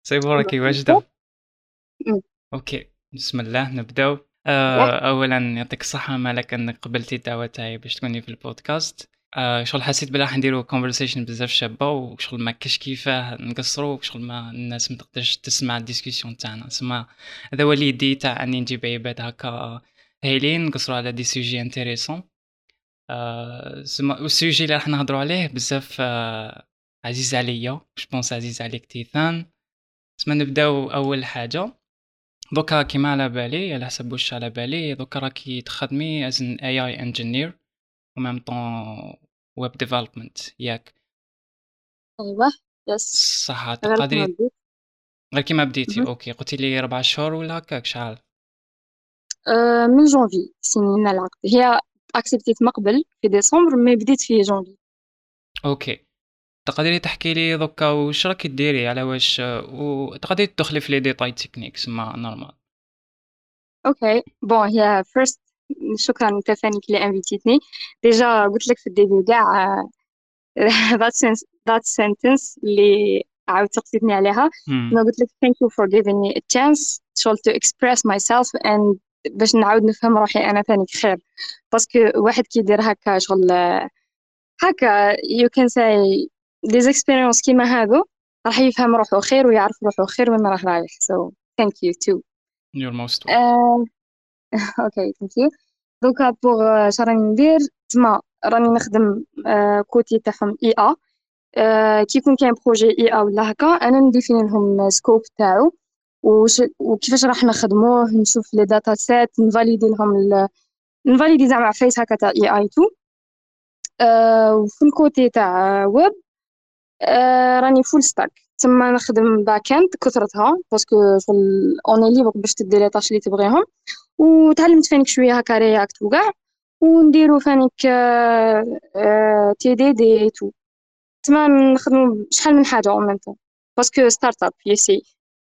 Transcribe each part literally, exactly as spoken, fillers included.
سيبورك أيوة. واجدة. أمم، اوكي، بسم الله نبداو. ياه. آه، اولا يعطيك الصحة مالك انك قبلتي الدعوة تاعي باش تكوني في البودكاست. آه، شغل حسيت بلا راح نديرو كونفرسيشن بزاف شابة، وشغل ما كاش كيفاه نقصرو، شغل ما الناس ما تقدرش تسمع الديسكسيون تاعنا. سما هذا هو اليدي تاع اني نجيب عباد هكا هايلين نقصرو على دي سوجي انتريسون. آه، سما والسوجي اللي راح نهضروا عليه بزاف آه، عزيز عليا، جو بونس عزيز عليك تيثان. سما نبداو اول حاجة. دوكا كيما على بالي، على حسب واش على بالي، دوكا راكي تخدمي as an إيه آي engineer و même temps web development ياك؟ أيوة. يس. صح غير كما تقدري؟ بديت. غير كيما بديتي، مهم. اوكي قلتي لي ربع شهور ولا هكاك شحال؟ آه، من جونفي سنين العقد هي اكسبتيت من قبل في ديسمبر، مي بديت في جونفي. اوكي، تقدري تحكي لي دوكا واش راكي ديري على واش، وتقدري تدخلي في لي ديتاي تكنيك سما نورمال. اوكي بون، هي فيرست شكرا انت ثاني اللي انفيتيتني. ديجا قلت لك في الديبي كاع that sentence that sentence اللي عاود تقصدني عليها. امم انا قلت لك thank you for giving me a chance شغل to express myself and باش نعاود نفهم روحي انا ثاني خير. باسكو واحد كيدير هكا شغل هكا you can say des experiences كيما هادو راح يفهم روحه خير ويعرف روحه خير وين راه رايح. so thank you too. you're most welcome. uh, okay thank you. دوكا بوغ شراني ندير تما راني نخدم uh, كوتي تاعهم اي ا. uh, كي يكون كاين بروجي اي ا ولا هكا انا نديفيني لهم سكوب تاعو وش وكيفاش راح نخدموه، نشوف لي داتا سيت، نفاليدي لهم ال... نفاليدي زعما فيس هكا تاع اي اي تو. uh, وفي الكوتي تاع ويب آه راني فول ستاك. تما نخدم باك اند كثرتها باسكو في اوني ليبر باش تدي لي طاش اللي تبغيهم. وتعلمت فانيك شويه هكا رياكت وكاع، ونديرو فانيك آه آه تي دي دي تو. تما نخدمو شحال من حاجه اون ميم طون باسكو ستارت اب يسي.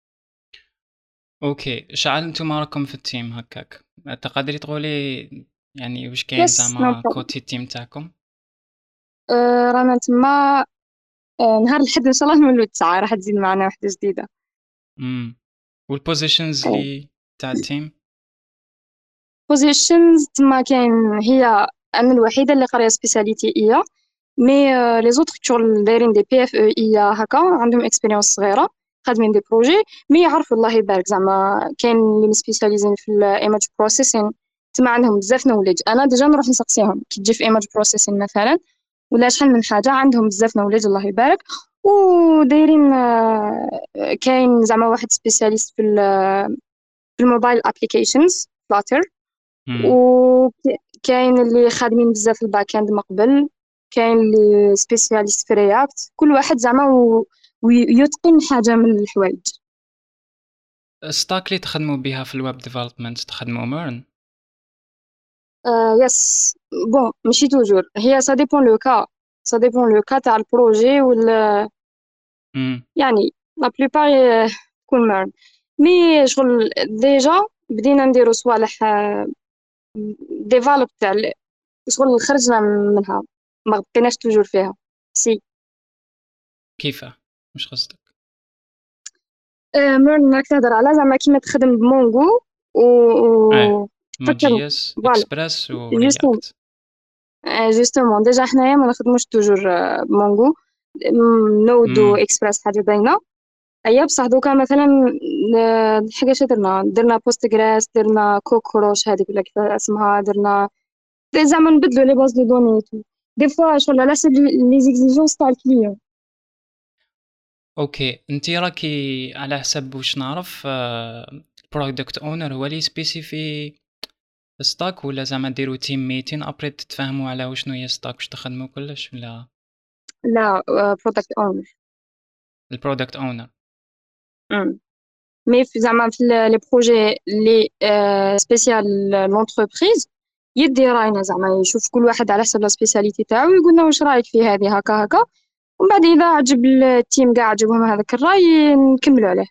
اوكي، شعل نتوما راكم في التيم هكاك؟ تقدري تقولي يعني واش كاين يس نو زعما بروبلم. كوتي التيم تاعكم؟ آه رانا تما آه نهار الحد ان شاء الله نولو تسعة راح تزيد معنا وحده جديده. امم والبوزيشنز اللي تاع التيم؟ بوزيشنز تما كاين هي انا الوحيده اللي قاريه سبيساليتي اي. مي لي زوتر شغل دايرين دي بي اف او اي هكا عندهم اكسبيريونس صغيره خادمين دي بروجي. مي يعرفوا الله يبارك زعما كاين اللي سبيسياليزين في الايماج بروسيسين تما عندهم بزاف نوليدج. انا ديجا نروح نسقسيهم كي تجي في ايماج بروسيسين مثلا ولا شحال من حاجه عندهم بزاف نوليدج الله يبارك. ودايرين آه، كاين زعما واحد سبيسياليست في ال- في الموبايل ابليكيشنز فلاتر. امم وكاين اللي خادمين بزاف في الباك اند من قبل. كاين اللي سبيسياليست في رياكت كل واحد زعما و- ويتقن حاجه من الحوايج. ستاك اللي تخدموا بها في الويب ديفلوبمنت تخدموا مورن؟ آه يس. بون ماشي توجور، هي سا ديبون لو كا سا ديبون لو كا تاع البروجي ولا امم يعني لا بليبار تكون مارن. مي شغل ديجا بدينا نديرو صوالح ديفلوب تاع ال- شغل خرجنا منها ما بقيناش توجور فيها سي. كيفاه؟ مش قصدك؟ آه، مرن راك تهضر على زعما كيما تخدم بمونغو و اه، و- نوت تفكر. جي اس فوالا اكسبريس جوستومون. ورياكت. جوستومون ديجا حنايا ما نخدموش توجور آه، بمونغو. م- نودو امم اكسبريس حاجه باينه. ايا بصح دوكا مثلا ن- حاجه شي درنا درنا بوست جراس درنا كوكروش هذيك ولا كيف اسمها درنا زعما نبدلو لي باز دو دوني دي فوا شغل على حسب لي زيكزيجونس تاع الكليون. اوكي، انتي راكي على حسب واش نعرف البرودكت اونر هو اللي سبيسيفي ستاك، ولا زعما ديروا تيم ميتين ابري تتفاهموا على وشنو هي ستاك واش تخدموا كلش، ولا لا برودكت اونر. البرودكت اونر؟ مي في زعما في لي بروجي لي سبيسيال لونتربريز يدي راينا زعما يشوف كل واحد على حسب لا سبيساليتي تاعو ويقول لنا واش رايك في هذه هكا هكا. ومن بعد اذا عجب التيم كاع عجبهم هذاك الراي نكملوا عليه.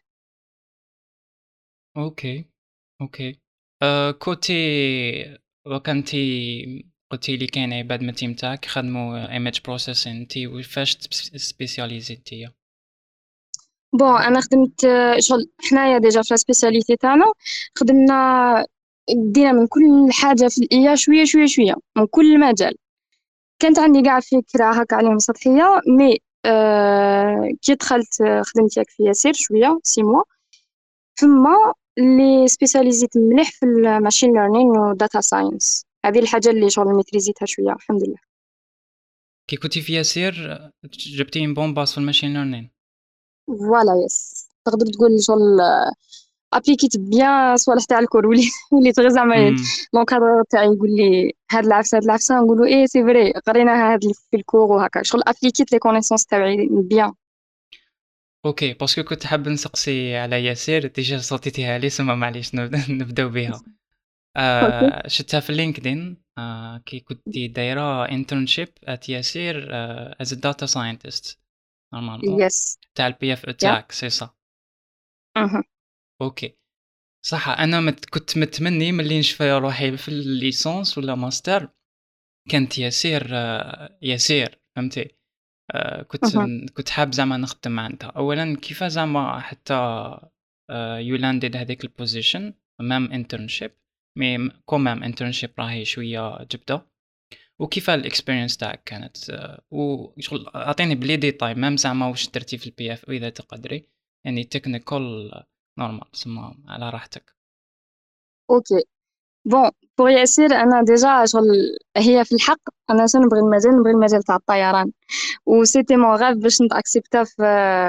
اوكي اوكي. أه كوتي وكنتي قلتي لي كاين عباد من التيم تاعك خدموا ايمج بروسيسين، انتي فاش سبيسياليزيتي؟ بون انا خدمت آه، شغل حنايا ديجا في سبيسياليتي تاعنا خدمنا دينا من كل حاجه في الاي شويه شويه شويه من كل مجال. كانت عندي قاع فكره هكا عليهم سطحيه مي آه كي دخلت آه، خدمت ياك في ياسير شويه سي موا ثم اللي سبيسياليزيت مليح في الماشين ليرنين وداتا ساينس. هذه الحاجه اللي شغل ميتريزيتها شويه الحمد لله. كي كنتي في ياسير جبتي ان بون باس في الماشين ليرنين. فوالا يس تقدر تقول شغل ابليكيت بيان صوالح تاع الكور ولي وليت غير زعما امم لونكادر تاعي يقول لي هاد العفسه هاد العفسه نقولوا ايه سي فري قريناها هاد في الكور وهكا شغل ابليكيت لي كونيسونس تاعي بيان. اوكي باسكو كنت حاب نسقسي على ياسير ديجا صوتيتيها لي سما معليش نبدا- نبداو بها. اوكي آه شفتها في لينكدين آه كي كنتي دايره انترنشيب ات ياسير از داتا ساينتست نورمالمون يس تاع البي اف يا تاعك سي صا. اها اوكي صح انا مت كنت متمني ملي نشفى روحي في الليسانس ولا ماستر كانت ياسير آه ياسير فهمتي. آه كنت اها كنت حاب زعما نخدم عندها اولا كيف زعما حتى آه يو لاندد هذيك البوزيشن مام انترنشيب مي كومام انترنشيب راهي شويه جبده وكيف الاكسبيرينس تاعك كانت آه وشغل اعطيني بلي ديتاي مام زعما واش درتي في البي اف اذا تقدري يعني تكنيكال نورمال سما على راحتك. اوكي بون بور ياسير انا ديجا شغل هي في الحق انا شنو نبغي المجال نبغي المجال تاع الطيران و سيتي مون غاف باش نتاكسبتا في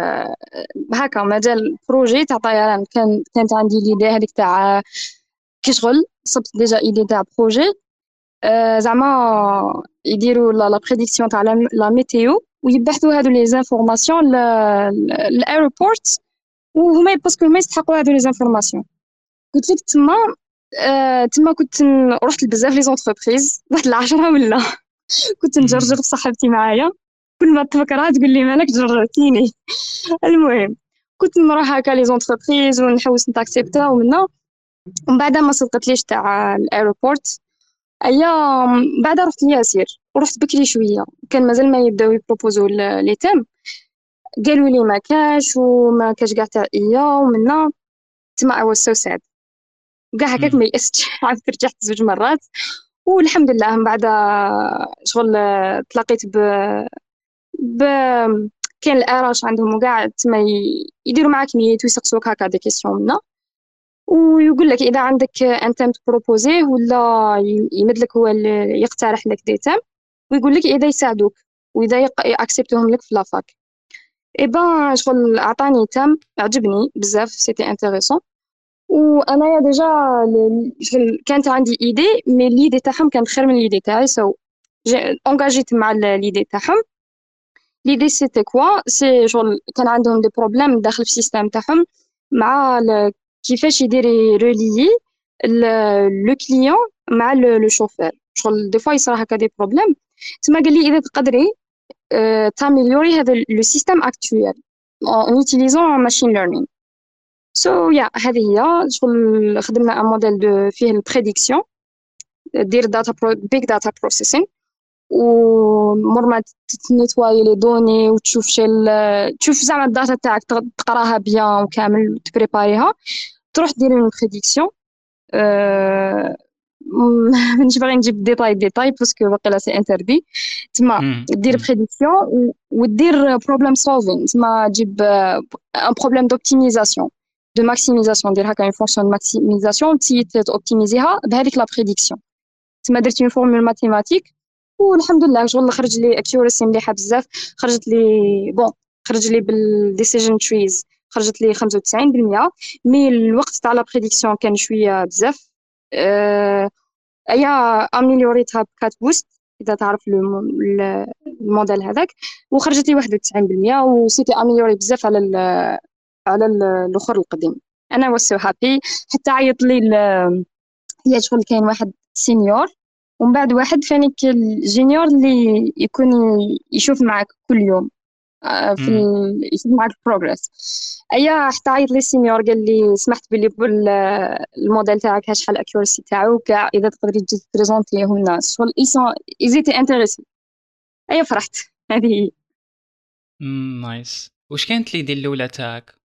هكا مجال بروجي تاع طيران. كان كانت عندي ليدي هذيك تاع كي شغل صبت ديجا ايدي تاع بروجي آه زعما يديروا لا بريديكسيون تاع لا لا ميتيو ويبحثوا هادو لي زانفورماسيون للايروبورت وهما باسكو هما يستحقوا هادو لي زانفورماسيون. قلت لك تما آه تما كنت ن- رحت لبزاف لي زونتربريز واحد العشرة ولا كنت نجرجر امم بصاحبتي معايا كل ما تفكرها تقول لي مالك جرجرتيني. المهم كنت نروح هكا لي زونتربريز ونحوس نتاكسبتا ومنا ومن بعد ما صدقتليش تاع الايروبورت ايام بعد رحت لياسير ورحت بكري شويه كان مازال ما يبداو يبروبوزو ل- لي تيم. قالوا لي ما كاش وما كاش كاع تاع ايا ومنا تما I was so sad وكاع هكاك ما يأستش عاودت رجعت زوج مرات والحمد لله من بعد شغل تلاقيت ب ب كاين الارش عندهم وكاع تما ي- يديروا معاك ميت ويسقسوك هكا دي كيسيون منا ويقول لك اذا عندك ان تيم تبروبوزيه ولا ي- يمد لك هو اللي يقترح لك دي تيم ويقول لك اذا يساعدوك واذا ياكسبتوهم لك في لافاك. اي بان شغل عطاني تيم عجبني بزاف سيتي انتريسون وانا ديجا ل- شغل كانت عندي ايدي مي ليدي تاعهم كانت خير من ليدي تاعي سو انجاجيت مع ليدي تاعهم. ليدي سيتي كوا سي شغل كان عندهم دي بروبليم داخل في السيستم تاعهم مع ال- كيفاش يدير ريليي لو كليون مع لو شوفير شغل دي فوا يصرا هكا دي بروبليم. تما قال لي اذا تقدري آه، تاميليوري هذا لو سيستم اكتويل en utilisant machine learning. سو so, يا yeah, هذه هي شغل خدمنا ان موديل دو فيه البريديكسيون دير داتا بيج داتا بروسيسين ومر ما تنيتواي لي دوني وتشوف شل تشوف زعما الداتا تاعك تق- تقراها بيان وكامل وتبريباريها تروح ديري اون بريديكسيون. أه... مانيش باغي نجيب ديتاي ديتاي باسكو واقيلا سي انتردي. تما دير امم بريديكسيون ودير بروبليم سولفين تما تجيب ان بروبليم دوبتيميزاسيون دو ماكسيميزاسيون دير هكا اون فونكسيون ماكسيميزاسيون تي توبتيميزيها بهذيك لا بريديكسيون. تما درت اون فورمول ماتيماتيك والحمد لله شغل خرج لي اكيورسي مليحه بزاف. خرجت لي بون خرج لي بالديسيجن تريز خرجت لي خمسة وتسعين بالمية مي الوقت تاع لا بريديكسيون كان شويه بزاف. أه... ايا اميليوريتها بكات بوست اذا تعرف لو ال- الموديل هذاك وخرجت لي واحد وتسعين بالمية وسيتي اميليوري بزاف على ال على ال- الاخر القديم. انا was so happy حتى عيط لي ال- هي شغل كاين واحد سينيور ومن بعد واحد فانيك الجونيور اللي يكون يشوف معك كل يوم آه، في امم ال... يشوف معك البروغرس. ايا حتى عيط لي السينيور قال لي سمحت بلي بال- الموديل تاعك ها شحال الاكيورسي تاعو كاع اذا تقدري تجي تبريزونتيهم الناس شغل ايسون ايزيتي انتريسي. ايا فرحت هذه هي. نايس. واش كانت ليدي الاولى تاعك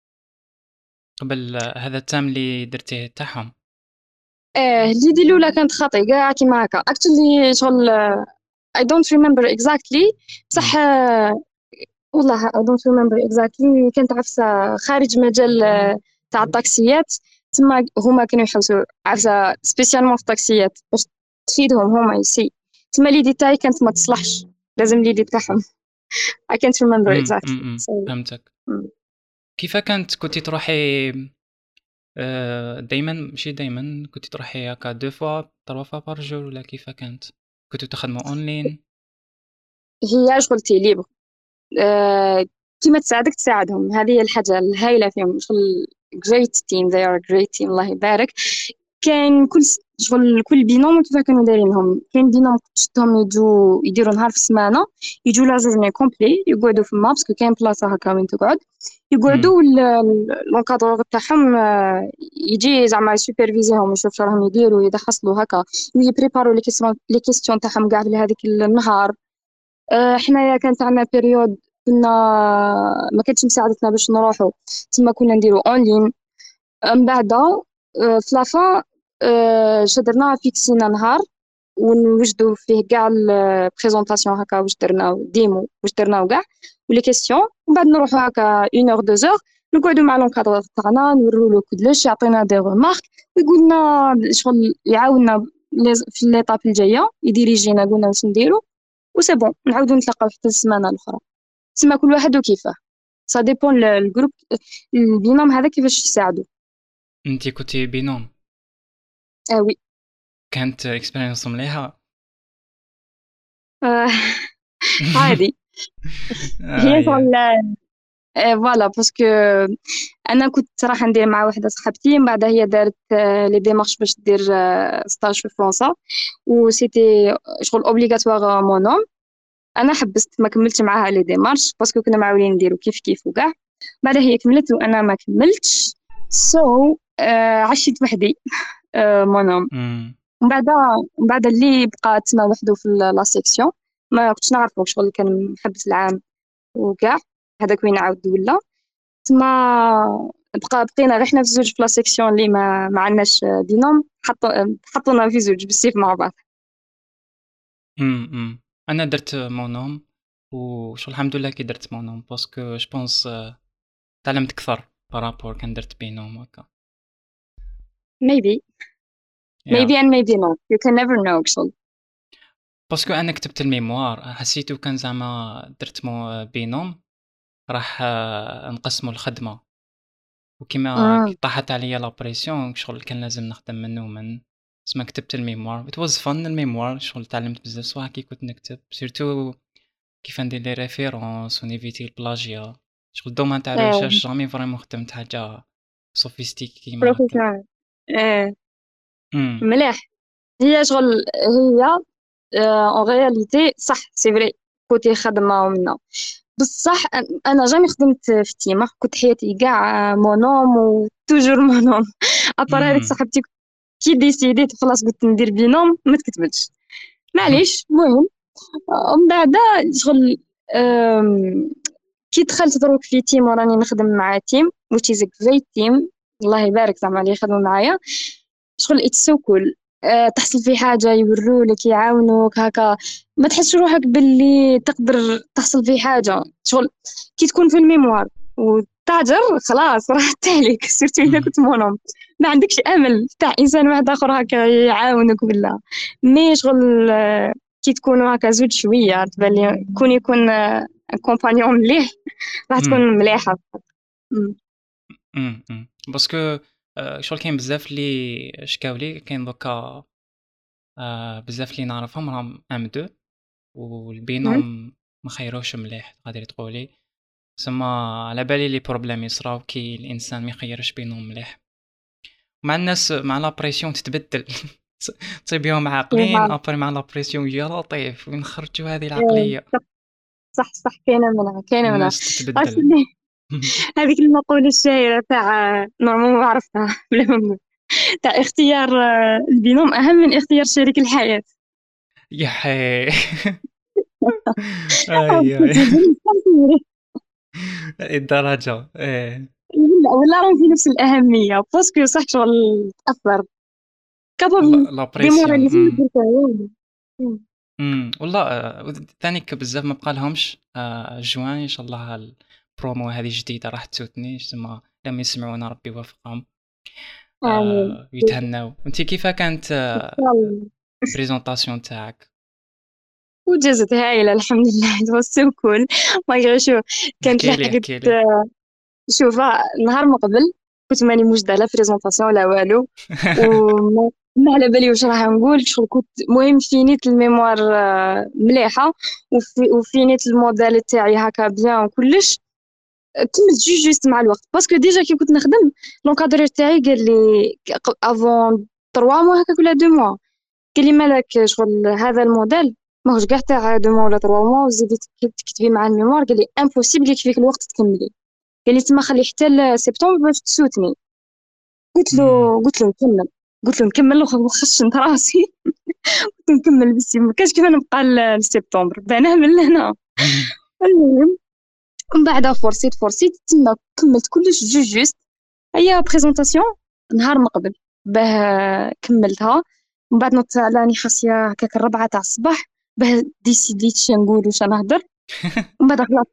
قبل هذا التام اللي درتيه تاعهم. اه ليدي الاولى كانت خاطئ كاع كيما هكا اكشلي شغل I don't remember exactly بصح إمم. آه، والله I don't remember exactly كانت عفسة خارج مجال آه، تاع الطاكسيات. تما هما كانوا يحوسوا عفسة سبيسيالمون في الطاكسيات باش تفيدهم هما يسي. تما لي ديتاي كانت ما تصلحش لازم لي دي تاعهم. I can't remember إمم، إمم، exactly إمم، so فهمتك. mm. كيف كانت كنتِ تروحي آآ دايمًا ماشي دايمًا، كنتِ تروحي هكا deux fois trois fois par jour والّا كيف كانت؟ كنتم تخدموا online؟ هي شغل تي ليبر آه، كيما تساعدك تساعدهم. هذه هي الحاجة الهايلة فيهم شغل great team they are a great team الله يبارك. كان كل س- شغل كل بينوم كيف كانوا دايرينهم. كاين بينوم شفتهم يجوا يديروا نهار في السمانة يجوا لا جورني كومبلي يقعدوا في الماب باسكو كاين بلاصة هكا وين تقعد إمم. يقعدوا. لونكادور تاعهم آه، يجي زعما يسوبرفيزيهم يشوف شو راهم يديروا يدخصلوا هكا ويبريباروا لي كيسيون لي كيسيون تاعهم كاع في هذيك النهار. آه، حنايا كانت عندنا بيريود كنا ما كانتش مساعدتنا باش نروحوا تما كنا نديروا اونلاين. من بعد آه، في لافان شدرنا فيكسينا نهار ونوجدوا فيه كاع البريزونطاسيون هكا واش درنا ديمو واش درنا وكاع ولي كيسيون. ومن بعد نروحوا هكا اون اور دو زور نقعدوا مع لونكادرور تاعنا نوروا له كلش يعطينا دي ريمارك ويقول لنا شغل يعاوننا لي- في ليطاب الجايه يديريجينا قلنا واش نديروا وسي بون نعاودو نتلاقاو حتى السمانه الاخرى. تسمى كل واحد وكيفاه سا ديبون الجروب البينوم هذا كيفاش يساعدو. أنتِ كنتِ بينوم، اه وي كانت experience مليحة؟ آه عادي. هي أييه. شغل آه فوالا باسكو انا كنت راح ندير مع واحده صاحبتي من بعد هي دارت آه لي ديمارش باش دير آه ستاج في فرنسا و سيتي شغل اوبليغاتوار مونوم. انا حبست ما كملتش معاها لي ديمارش باسكو كنا معاولين نديرو كيف كيف وكاع. بعد هي كملت وانا ما كملتش سو so, آه عشت وحدي آه مونوم. إمم. ومن بعد من بعد اللي بقى تما وحده في لا سيكسيون ما كنتش نعرفو شغل كان محبس العام وكاع هذاك وين عاود ولا تما بقى بقينا غير حنا في زوج في لا سيكسيون اللي ما ما عندناش بينوم حطوا حطونا في زوج بالسيف مع بعض. إمم، إمم. أنا درت monome وشغل الحمد لله كي درت monome باسكو je pense تعلمت أكثر par rapport كان درت بينوم هاكا. maybe Yeah. maybe and maybe not you can never know شغل. باسكو أنا كتبت الميموار حسيتو كان زعما درت مو بينوم راح آه، نقسمو الخدمة، وكيما كي امم طاحت عليا لا بريسيون شغل كان لازم نخدم من ومن تسما كتبت الميموار. it was fun الميموار شغل تعلمت بزاف صوالح كي كنت نكتب سيرتو كيف ندير لي ريفيرونس ونيفيتي البلاجيا. شغل الدومين تاع الريشيرش جامي فريمون خدمت حاجة سوفيستيكي كيما هاكا. بروفيسيونيل ايه امم. مليح. هي شغل هي اون رياليتي صح سي فري كوتي خدمه ومنا بصح أن- انا جامي خدمت في تيمه كنت حياتي كاع مونوم وتوجور مونوم ابار هذيك امم. صاحبتي كي ديسيديت خلاص قلت ندير بينوم ما تكتبلش معليش المهم. ومن بعد شغل أم، كي دخلت دروك في تيم وراني نخدم مع تيم which is a great team الله يبارك زعما اللي يخدموا معايا شغل اتس سو كول. تحصل في حاجة يورولك يعاونوك هكا ما تحسش روحك باللي تقدر تحصل في حاجة شغل كي تكون في الميموار وتاجر خلاص راحت عليك سيرتو إذا كنت مونوم ما عندكش أمل تاع إنسان واحد آخر هكا يعاونك ولا مي شغل آه، كي تكونوا هكا زوج شوية تبالي كون يكون كومبانيون مليح راح تكون مليحة. مم. امم. امم. باسكو آه، شغل كاين بزاف اللي شكاو لي كاين دوكا آه، بزاف اللي نعرفهم راهم ام دو مم. والبينوم ما خيروش مليح غادي تقولي. سما على بالي لي بروبليم يصراو كي الانسان ما يخيرش بينهم مليح مع الناس مع لا بريسيون تتبدل. تصيبيهم عاقلين ابري مع لا بريسيون يا لطيف وين خرجوا هذه العقليه. صح صح كاينة منها كاينة منها. الناس عرفت تتبدل. اللي هذيك المقولة الشهيرة تاع نورمالمون ما عرفتها بلا ما نقول. تاع اختيار آه، البينوم أهم من اختيار شريك الحياة. يا حي. اي اي. كنت يجيني صافي. الدرجه ايه. ولا ولا راهم في نفس الأهمية باسكو صح شغل تأثر كابابل لا بريسيون. ديموراليزي امم درتها. امم والله آه، ثاني بزاف ما بقى لهمش آه، جوان ان شاء الله. البرومو هذه جديده راح تسوتني تما لما يسمعونا ربي يوفقهم آمين. آه، ويتهناو. انت كيف كانت يلا. بريزونطاسيون تاعك؟ وجازت هايلة الحمد لله. it was so cool. ما شو كانت احكي لي لحقت. احكي لي. شوف نهار ما قبل كنت ماني موجدة لا بريزونطاسيون لا والو، وما ما على بالي واش راح نقول شغل. كنت مهم فينيت الميموار آه، مليحة، وفي وفينيت الموديل تاعي هكا بيان وكلش. كملت جوج جوست مع الوقت باسكو ديجا كي كنت نخدم لونكادرور تاعي قال لي افون تروا موا هكاك ولا دو موا، قال لي مالك شغل هذا الموديل ماهوش كاع تاع دو موا ولا تروا موا وزيدي تك- تكتبي مع الميموار. قال لي امبوسيبل يكفيك الوقت تكملي، قال لي تما خلي حتى لسبتمبر باش تسوتني. قلت امم له قلت له نكمل قلت له نكمل وخشنت راسي. قلت نكمل بس ما كاش كيف نبقى ل- لسبتمبر بانه من لهنا. المهم من بعد فورسيت فورسيت تما كملت كلش جوج جوست. هي بريزونطاسيون نهار ما قبل باه كملتها. من بعد نوضت علاني خاصية هكاك الربعة تاع الصباح باه ديسيديت شنو نقول واش نهضر. ومن بعد خلاص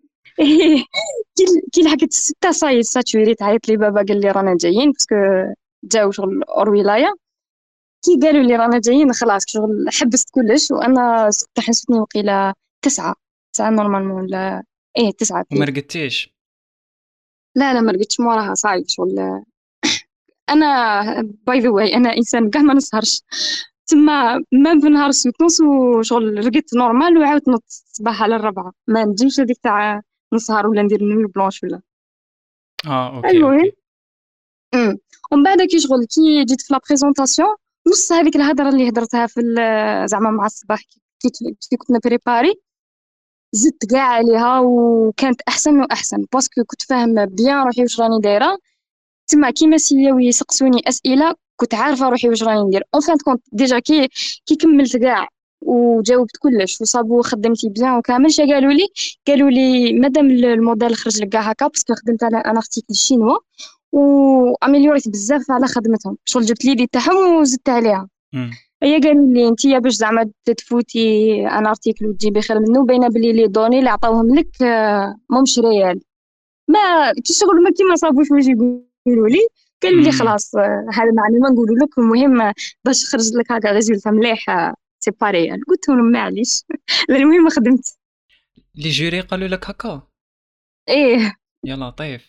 كي كي لحقت الستة صاي ساتوري تعيط لي بابا قال لي رانا جايين باسكو جاو شغل اور ولاية. كي قالوا لي رانا جايين خلاص شغل حبست كلش. وانا كنت حسبتني وقيلة تسعة تسعة نورمالمون ولا ايه تسعة وما بليز. رقدتيش؟ لا لا ما رقدتش موراها صايد شغل. انا باي ذا واي انا انسان كاع ما نسهرش تما ما بنهار سويت نص وشغل رقدت نورمال وعاودت نط الصباح على الربعة. ما نجمش هذيك تاع نسهر ولا ندير نوي بلونش ولا. اه اوكي المهم اوكي. امم ومن بعد كي شغل كي جيت في لا بريزونطاسيون نص هذيك الهضره اللي هدرتها في ال- زعما مع الصباح كي كي كي كنت بريباري زدت كاع عليها وكانت احسن واحسن باسكو كنت فاهمه بيان روحي واش راني دايره. تما كيما سياو يسقسوني اسئله كنت عارفه روحي واش راني ندير اون فان كونت ديجا كي كي كملت كاع وجاوبت كلش وصابوا خدمتي بيان وكامل شا قالوا لي قالوا لي مادام الموديل خرج لك كاع هكا باسكو خدمت على ان ارتيكل شينوا واميليوريت بزاف على خدمتهم شغل جبت ليدي تاعهم وزدت عليها. امم هي قالوا لي انت باش زعما تفوتي ان ارتيكل وتجيبي خير منه باينه بلي لي دوني اللي عطاوهم لك آه، ماهمش ريال. ما كي شغل ما كيما صابوش واش يقولوا لي. قالوا لي امم خلاص آه، هذا معلومه نقولوا لك المهم آه، باش خرج لك هكا ريزولتا مليح آه، سي با ريال. قلت لهم معليش. المهم خدمت. لي جوري قالوا لك هكا؟ ايه يا لطيف.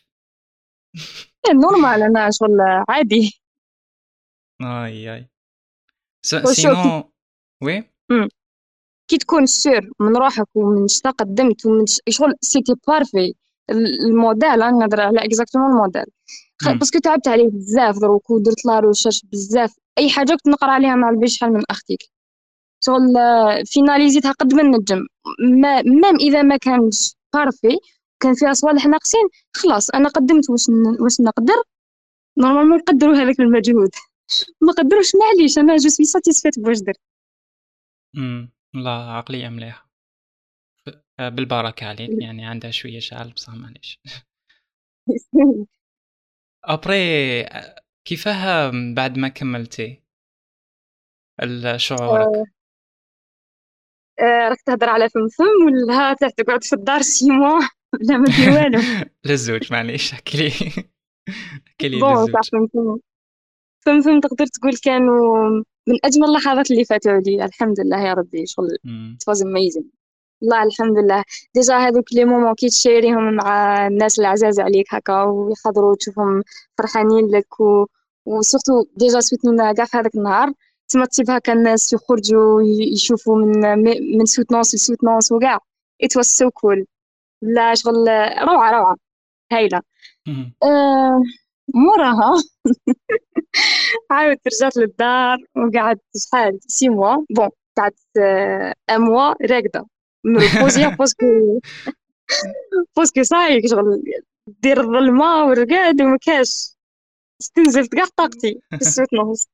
نورمال انا شغل عادي. اي اي. س- وشو كي سينو وي. مم. كي تكون سير من روحك ومن شتا قدمت ومن ش- شغل سيتي بارفي الموديل. انا نهضر على اكزاكتومون الموديل خ- امم باسكو تعبت عليه بزاف دروك ودرت لا ريشيرش بزاف. اي حاجه كنت نقرا عليها مع البي شحال من اختك شغل آه، فيناليزيتها قد ما نجم. ما مام اذا ما كانش بارفي كان فيها صوالح ناقصين خلاص انا قدمت واش ن- واش نقدر. نورمالمون نقدروا هذاك المجهود ما قدروش معليش انا جو سوي ساتيسفيت بواش درت. امم لا عقلية مليحة. آه، بالبركة عليك، يعني عندها شوية شعل بصح معليش. ابري كيفاه بعد ما كملتي ال- آه، شعورك؟ آه، راك تهضر على فم فم ولا تاع تقعد في الدار سي موا بلا ما دير والو. للزوج معليش احكي لي. احكي لي بون صح للزوج. فم فم فم فم تقدر تقول كانوا من اجمل اللحظات اللي فاتوا علي الحمد لله يا ربي شغل امم it was amazing. والله الحمد لله. ديجا هذوك لي مومون كي تشيريهم مع الناس العزاز عليك هكا ويحضروا تشوفهم فرحانين لك و... وسورتو ديجا سويتنا كاع في هذاك النهار. تما تصيب هكا الناس يخرجوا ي- يشوفوا من من سوتنونس لسوتنونس وكاع it was so cool. لا شغل روعة روعة هايلة. أمم. أه موراها عاودت رجعت للدار وقعدت شحال سي موا بون قعدت أه ان موا راقدة مريبوزيا باسكو باسكو صايك شغل دير الظلمة والرقاد ومكاش استنزلت كاع طاقتي في السويت نص.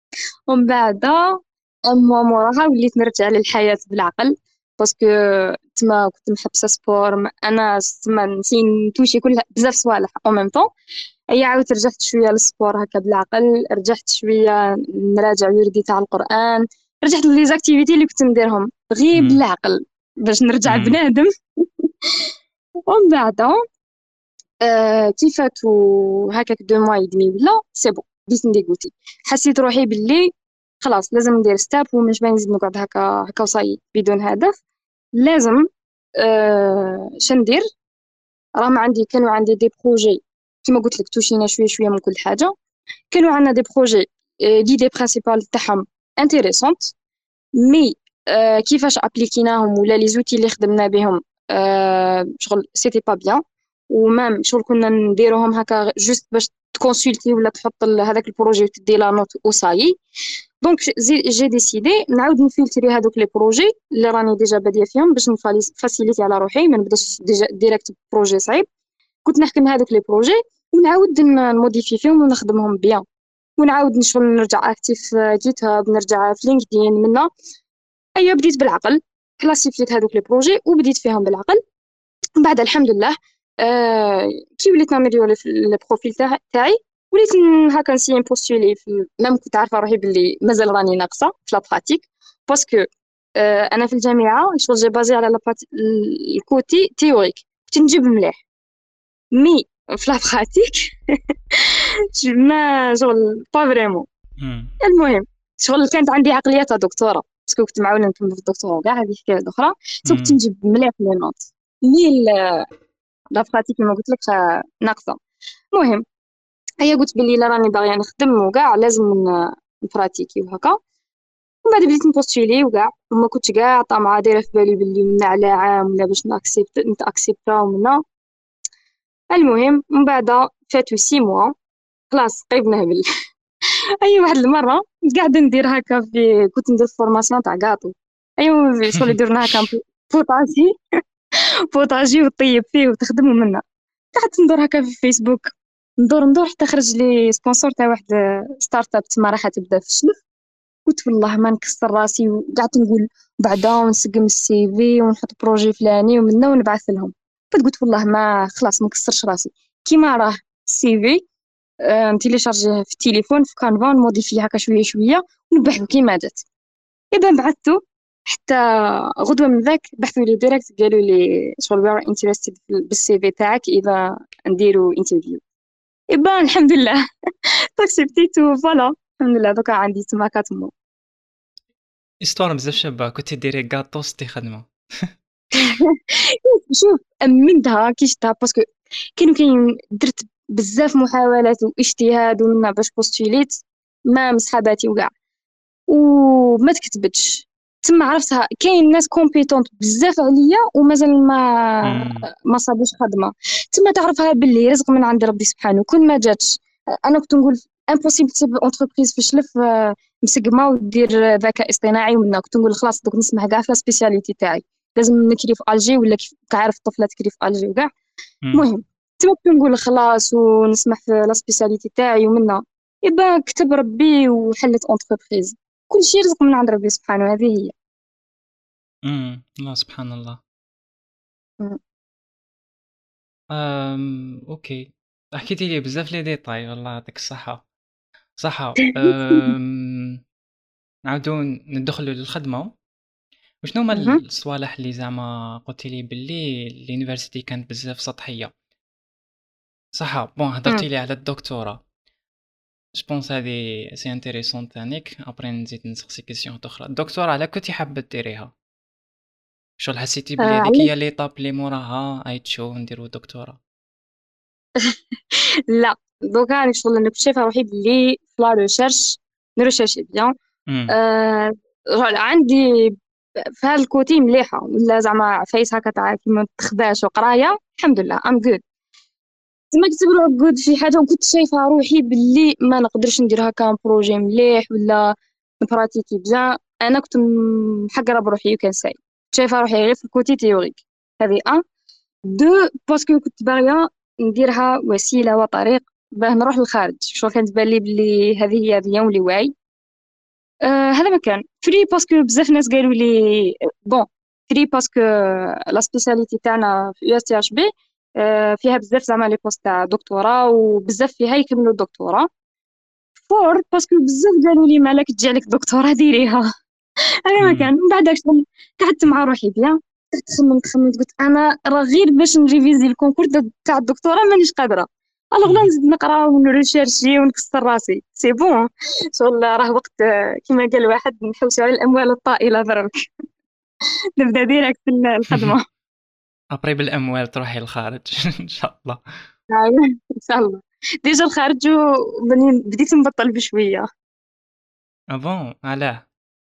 ومن بعد اما موراها وليت نرجع للحياة بالعقل باسكو تما كنت محبسه سبور م- انا تما نسي نتوشي كل بزاف صوالح او ميم طون. هي عاودت رجعت شويه للسبور هكا بالعقل، رجعت شويه نراجع وردي تاع القران، رجعت لي زاكتيفيتي اللي كنت نديرهم غير مم. بالعقل باش نرجع مم. بنادم. ومن بعد آه كي فاتوا هكاك دو موا يدمي ولا سي بون بديت نديغوتي، حسيت روحي باللي خلاص لازم ندير ستاب ومش باين نزيد نقعد هكا هكا وصاي بدون هدف. لازم آه شندير. راهم عندي كانوا عندي دي بروجي كيما قلت لك توشينا شويه شويه من كل حاجه. كانوا عندنا دي بروجي ليدي برينسيبال تاعهم انتريسونت، مي آه كيفاش ابليكيناهم ولا لي زوتي اللي خدمنا بهم آه شغل سيتي با بيان. ومام شغل كنا نديروهم هكا جوست باش تكونسلتي ولا تحط ال- هذاك البروجي وتدي لا نوت وصاي. دونك جي جي ديسيدي نعاود نفلتري هذوك لي بروجي اللي راني ديجا باديه فيهم باش نفاسيليتي على روحي ما نبداش ديجا ديريكت بروجي صعيب. كنت نحكم هذوك لي بروجي ونعاود ن- نموديفي فيهم ونخدمهم بيان، ونعاود نشغل نرجع اكتيف في جيت هاب، نرجع في لينكدين منا. ايوه بديت بالعقل، كلاسيفيت هذوك لي بروجي وبديت فيهم بالعقل. من بعد الحمد لله آه كي وليت نامليوري في البروفيل تاع- تاعي، وليت ن- هكا نسي نبوستولي في ميم كنت عارفه روحي باللي مازال راني ناقصه في لا براتيك. باسكو آه انا في الجامعه شغل جي بازي على لا براتيك الكوتي تيوريك كنت نجيب مليح، مي في لا براتيك ما شغل با فريمون. مم. المهم شغل كانت عندي عقلية تاع دكتورة باسكو كنت معاونة نكمل في الدكتوراه وكاع هذه حكاية أخرى. سو كنت مم. نجيب مليح لي نوت، مي ال- لا براتيك كيما قلت لك آه، ناقصة. المهم هي قلت بلي لا راني باغية نخدم وكاع لازم ن- نبراتيكي وهكا. ومن بعد بديت نبوستيلي وكاع وما كنتش كاع طامعة دايرة في بالي بلي منا على عام ولا باش ناكسبت نتاكسبتا ومنا. المهم من بعد فاتو سي موا خلاص قريب نهبل. اي واحد المره قاعده ندير هكا في كنت ندير فورماسيون تاع كاطو. ايوا شغل يديرنا هكا بوطاجي بوطاجي وطيب فيه وتخدم منه. قعدت ندور هكا في فيسبوك، ندور ندور حتى خرج لي سبونسور تاع واحد ستارت اب تما راح تبدا في الشلف. قلت والله ما نكسر راسي وقعدت نقول بعدا ونسقم السي في ونحط بروجي فلاني ومنه ونبعث لهم. بعد قلت والله ما خلاص ما نكسرش راسي كيما راه السي في آه، نتيليشارجيه في التليفون في كانفا نموديفيه هكا شويه شويه ونبعثو كيما جات. اذا بعثتو حتى غدوه من ذاك بحثوا لي ديريكت قالوا لي شغل وي ار انتريستد بالسي في تاعك اذا نديرو انترفيو. يبا الحمد لله اكسبتيت فوالا الحمد لله دوكا عندي تما كاتمو. استوار بزاف شابه، كنتي ديري كاطوس دي خدمه. شوف امنتها كي شفتها باسكو كانوا كاين درت بزاف محاولات واجتهاد ومنا باش بوستوليت ما مصحاباتي وكاع وما تكتبتش. تما عرفتها كاين ناس كومبيتونت بزاف عليا ومازال ما مم. ما صابوش خدمه. تما تعرفها باللي رزق من عند ربي سبحانه كل ما جاتش. انا كنت نقول امبوسيبل تسيب اونتربريز في شلف آه، مسقمه ودير ذكاء اصطناعي ومنا كنت نقول خلاص دوك نسمع كاع في السبيسياليتي تاعي لازم نكري في الجي ولا كيف كعارف الطفله تكري في الجي وكاع. مم. المهم تما كنت نقول خلاص ونسمح في لا سبيسياليتي تاعي ومنا يبا كتب ربي وحلت اونتربريز. كل شيء رزق من عند ربي سبحانه هذه هي. مم. الله سبحان الله. مم. أم... اوكي، حكيتي لي بزاف لي ديتاي، والله يعطيك الصحه. صحه. أم... نعاودو ندخلو للخدمه. وشنو هما مهم. الصوالح اللي زعما قلتي لي باللي اليونيفرسيتي كانت بزاف سطحيه؟ صح. بون مم. هضرتي لي على الدكتوراه، جوبونس هادي سي انتريسون تانيك. ابري نزيد نسقسي كيسيون اخرى. الدكتوراه على كنتي حابه ديريها؟ شغل حسيتي آه بلي هذيك علاش؟ هي ليطاب اللي موراها ايتشو نديرو دكتوراه؟ لا دوكا راني شغل انا كنت شايفه روحي بلي في لا ريشيرش نريشيرشي بيان. امم. آه شغل عندي في هذا الكوتي مليحه ولا زعما فايس هكا تاع كيما تخباش وقرايه الحمد لله ام جود. تما كنت نقول جود في حاجه وكنت شايفه روحي باللي ما نقدرش ندير هكا بروجي مليح ولا نبراتيكي بيان. انا كنت محقره بروحي وكان ساي شايفه روحي غير في الكوتي تيوريك. هذه ان دو باسكو كنت باغيه نديرها وسيله وطريق باه نروح للخارج. شو كانت تبان لي بلي هذه هي بيان ولي واعي. آه هذا ما كان فري باسكو بزاف ناس قالوا لي بون ثلاثة باسكو لا سبيسياليتي تاعنا في يو اس تي اش بي فيها بزاف زعما لي بوست تاع دكتوراه وبزاف فيها يكملوا الدكتوراه. أربعة باسكو بزاف قالوا لي مالك تجي لك دكتوراه ديريها. انا ما كان إمم. من بعد شغل قعدت مع روحي بيان، قعدت خممت خممت قلت انا راه غير باش نريفيزي الكونكور د- تاع الدكتوراه مانيش قادره، الوغ لا اهم. نزيد نقرا ونريشيرشي ونكسر راسي سي بون. شغل راه وقت آه، كيما قال واحد نحوسوا على الاموال الطائله درك. نبدا ديريكت الخدمه. أبري بالأموال تروحي للخارج إن شاء الله. أيوة، ان شاء الله. ديجا الخارج وبني- بديت نبطل بشويه. آه bon علاه؟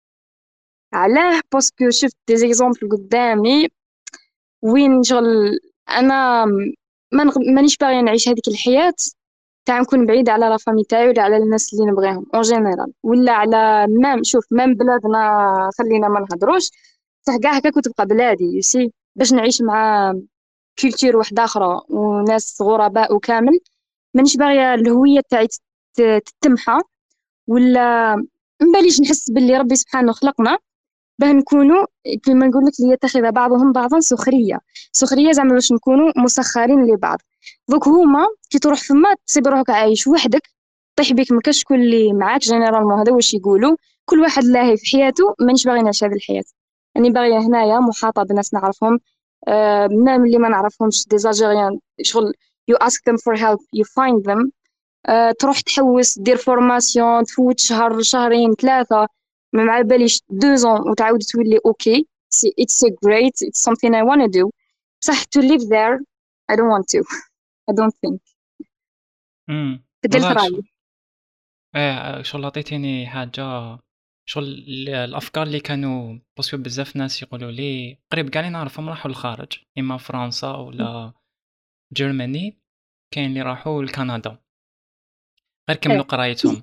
علاه باسكو شفت دي زيكزامبل قدامي وين شغل انا ما نغ... مانيش باغيه نعيش هذيك الحياه تاع نكون بعيده على لا فامي تاعي ولا على الناس اللي نبغيهم اون جينيرال، ولا على مام شوف مام بلادنا خلينا ما نهضروش، صح كاع هكاك وتبقى بلادي يسي باش نعيش مع كولتور واحده اخرى وناس غرباء وكامل. مانيش باغيه الهويه تاعي تت- تتمحى، ولا مباليش نحس باللي ربي سبحانه خلقنا باه نكونوا كيما نقول لك ليتخذ بعضهم بعضا سخريه. سخريه زعما باش نكونوا مسخرين لبعض. دوك هما كي تروح فما تصيب روحك عايش وحدك، طيح بيك ما كاش شكون اللي معاك جينيرالمون، هذا واش يقولوا، كل واحد لاهي في حياته. مانيش باغي نعيش هذه الحياه، راني باغيه هنايا محاطه بناس نعرفهم، آه مام اللي ما نعرفهمش دي زالجيريان شغل you ask them for help you find them. آه، تروح تحوس دير فورماسيون تفوت شهر شهرين ثلاثة ما مع باليش دوزون وتعاود تولي اوكي. سي it's a great it's something I wanna do. صح to live there I don't want to. I don't think. إمم. بدلت والله ش رأيي. آه، شغل عطيتيني حاجة شغل ال الأفكار اللي كانوا باسكو بزاف ناس يقولوا لي قريب كاع اللي نعرفهم راحوا للخارج، إما فرنسا ولا Germany، كاين اللي راحوا لكندا غير ايه كملوا قرايتهم.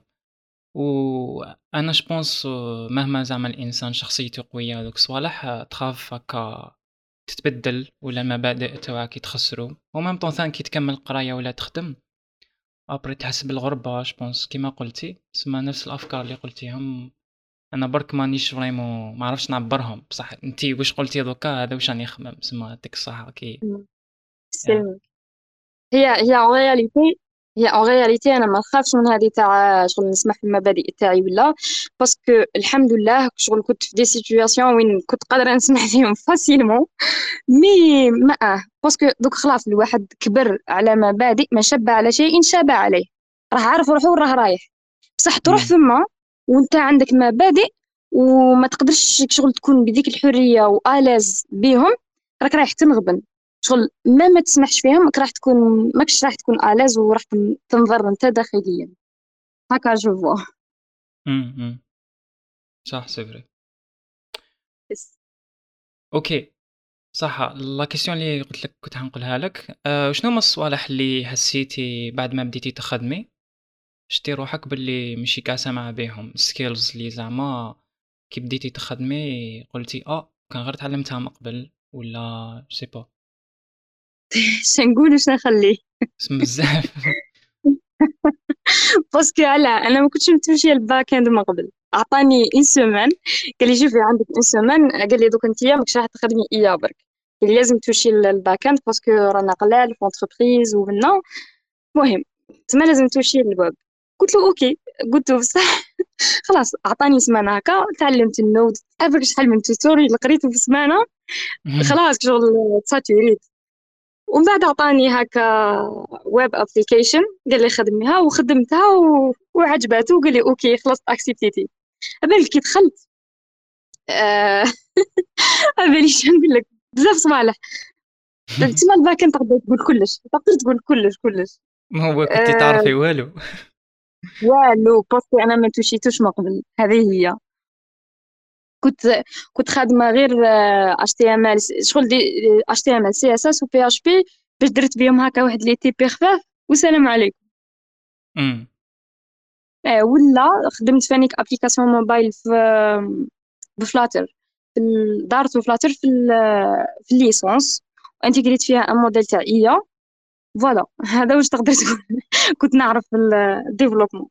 وأنا جو بونس مهما زعما الإنسان شخصيته قوية هاذوك الصوالح تخاف هاكا تتبدل ولا المبادئ تاوعك يتخسروا، وميم طون ثاني كي تكمل قراية ولا تخدم ابري تحس بالغربة جو بونس كيما قلتي، تسمى نفس الأفكار اللي قلتيهم أنا برك مانيش فريمون ما عرفتش نعبرهم، بصح أنتي واش قلتي دوكا هذا واش راني نخمم، تسمى يعطيك الصحة كي يا سلمي. هي هي en réalité هي en réalité انا ما نخافش من هذه تاع شغل نسمح في المبادئ تاعي ولا، باسكو الحمد لله شغل كنت في دي سيتوياسيون وين كنت قادره نسمح فيهم فاسيلمون. مي ما اه باسكو دوك خلاص الواحد كبر على مبادئ ما شب على شيء شاب عليه، راه عارف روحه وراه رايح. بصح تروح امم ثم وانت عندك مبادئ وما تقدرش شغل تكون بديك الحريه واليز بيهم، راك رايح تنغبن. شغل ما ما تسمحش فيهم راك راح تكون ماكش راح تكون اليز وراح تن- تنضر انت داخليا. هكا جو فوا. امم صح سي فري. بس اوكي صح، لا كيسيون اللي قلت لك كنت حنقولها لك، أه شنو هما الصوالح اللي حسيتي بعد ما بديتي تخدمي شتي روحك باللي ماشي كاع سامعة بيهم سكيلز اللي زعما كي بديتي تخدمي قلتي اه كان غير تعلمتها من قبل ولا سي با شنقول وش نخليه. اسم بزاف باسكو على انا ما كنتش متمشيه الباك اند من قبل. عطاني ان سومان قال لي شوفي عندك ان سومان، قال لي دوك انت ماكش راح تخدمي اياه برك، قال لي لازم تمشي للباك اند باسكو رانا قلال في اونتربريز ومنا. المهم تما لازم تمشي للويب. قلت له اوكي. قلت له بصح خلاص عطاني سمانه هكا تعلمت النود عارفك شحال من توتوريال قريته في سمانه. خلاص شغل تساتوريت. ومن بعد عطاني هكا ويب ابليكيشن قال لي خدميها وخدمتها و... وعجبته وقال لي اوكي خلاص اكسبتيتي. بالك كي دخلت آه... بالي شنو نقول لك بزاف صوالح. تما الباك انت تقدر تقول كلش تقدر تقول كلش كلش. ما هو كنتي آه... تعرفي والو والو باسكو انا ما توشيتوش من قبل هذه هي. كنت كنت خادمه غير اتش تي ام ال شغل دي اتش تي ام ال سي اس اس و بي اش بي باش درت بهم هكا واحد لي تيبي خفاف والسلام عليكم. امم آه، ولا خدمت فانيك ابليكاسيون موبايل في بفلاتر في ال- دارت فلاتر في ال- في الليسونس وانتجريت فيها ان موديل تاع اي. فوالا هذا واش تقدر تقول. كنت نعرف الديفلوبمون.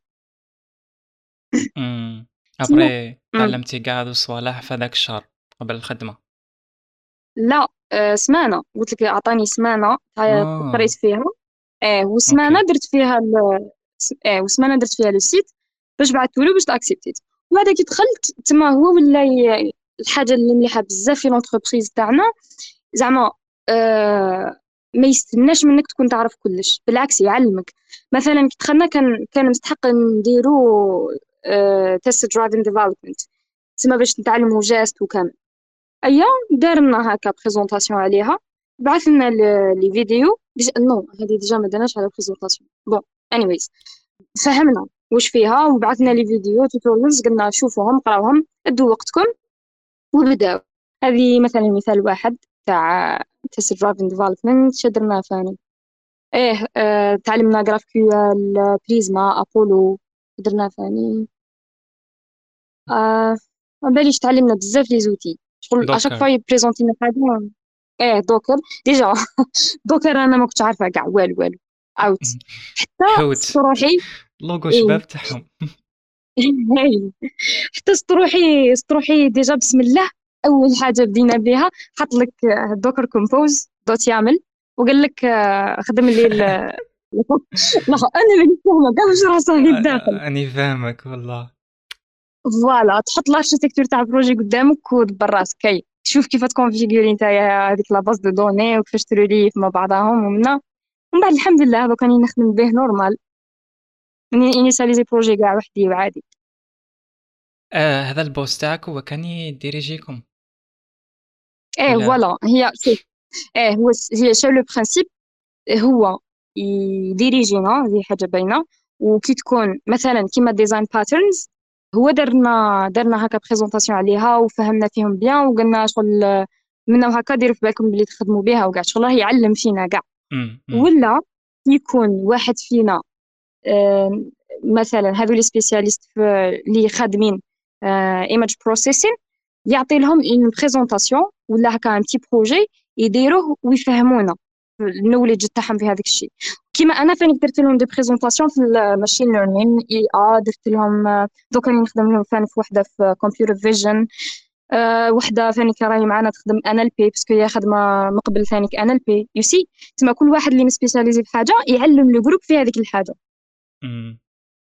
امم سمو ابري تعلمتي كاع هادو الصوالح في هذاك الشهر قبل الخدمة. لا آه، سمانه، قلت لك اعطاني سمانه تع- قريت اه فيها. اه وسمانه اوكي. درت فيها ال... اه وسمانه درت فيها لو سيت باش بعثتو له باش تاكسبتيت. وبعد كي دخلت تما هو ولا ي- الحاجه اللي مليحه بزاف في لونتربريز تاعنا زعما آه ما يستناش منك تكون تعرف كلش، بالعكس يعلمك. مثلا كي دخلنا كان كان مستحق نديرو تيست درايفين ديفلوبمنت، تسمى باش نتعلموا جاست وكامل. ايا دارنا هكا بريزونطاسيون عليها، بعث لنا ل- لي فيديو ديجا نو هذه ديجا ما درناش على بريزونطاسيون بون انيويز. فهمنا واش فيها وبعثنا لي فيديو توتوريالز قلنا شوفوهم قراوهم ادوا وقتكم وبداو. هذه مثلا مثال واحد تاع تيست درايفين ديفلوبمنت شدرنا ثاني. ايه آه، تعلمنا جراف كيو ال بريزما ابولو درنا ثاني. آه ما باليش تعلمنا بزاف لي زوتي شغل اشاك دوكر. فوا يبريزونتي لنا حاجه. ايه دوكر ديجا دوكر انا ما كنتش عارفه كاع والو والو اوت. حتى حوت سطروحي لوغو ايه شباب تاعهم. هاي. حتى سطروحي سطروحي ديجا بسم الله اول حاجه بدينا بها حط لك دوكر كومبوز دوت يامل وقال لك آه، خدم لي ال لا انا اللي فاهمه كاع واش راه صاير الداخل. اني فاهمك والله. فوالا تحط الاركتيكتور تاع البروجي قدامك ودبر راسك كي تشوف كيف تكونفيغوري نتايا هذيك لا باز دو دوني وكيفاش تروليف مع بعضهم ومنا ومن بعد الحمد لله دوك راني نخدم به نورمال. راني انيساليزي بروجي كاع وحدي وعادي. آه هذا البوست تاعك هو كان يديريجيكم ايه ولا؟ فوالا هي شوف. ايه هو س- هي شو لو برانسيب. هو يديريجينا هذه حاجه باينه. وكي تكون مثلا كيما ديزاين باترنز هو درنا درنا هكا بريزونطاسيون عليها وفهمنا فيهم بيان وقلنا شغل منا هكا ديروا في بالكم بلي تخدموا بها وكاع شغل راه يعلم فينا كاع. امم امم ولا يكون واحد فينا آه، مثلا هذو لي سبيسياليست اللي خادمين ايماج بروسيسين يعطي لهم اون بريزونطاسيون ولا هكا ان تي بروجي يديروه ويفهمونا النوليدج تاعهم في هذاك الشيء. كيما انا فاني درت لهم دي بريزونطاسيون في الماشين ليرنين اي ا درت لهم آه، دوك راني نخدم لهم فاني في وحده في كمبيوتر فيجن. أه وحده ثاني كراهي معنا تخدم ان ال بي باسكو هي خدمه مقبل ثاني ان ال بي يو سي. تما كل واحد اللي مسبيسياليزي في حاجه يعلم لو جروب في هذيك الحاجه. امم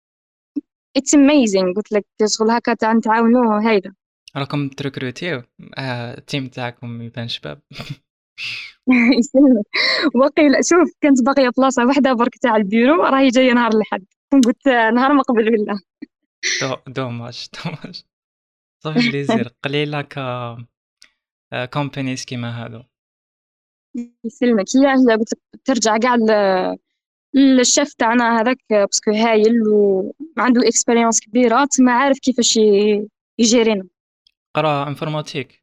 اتس اميزينغ قلت لك شغل هكا تاع نتعاونوا هيدا. راكم تركروتيو. آه التيم تاعكم يبان شباب. يسلمك. وقيل شوف كنت باغيه بلاصه واحده برك تاع البيرو راهي جايه نهار الاحد قلت نهار ما قبل ولا. دو دوماج دوماج. صافي بليزير قليله ك كومبانيز كيما هادو. يسلمك. هي هي قلت لك ترجع كاع ل- للشيف تاعنا هذاك باسكو هايل وما عنده اكسبيريونس كبيره تما عارف كيفاش ي- يجيرينا. قرا انفورماتيك.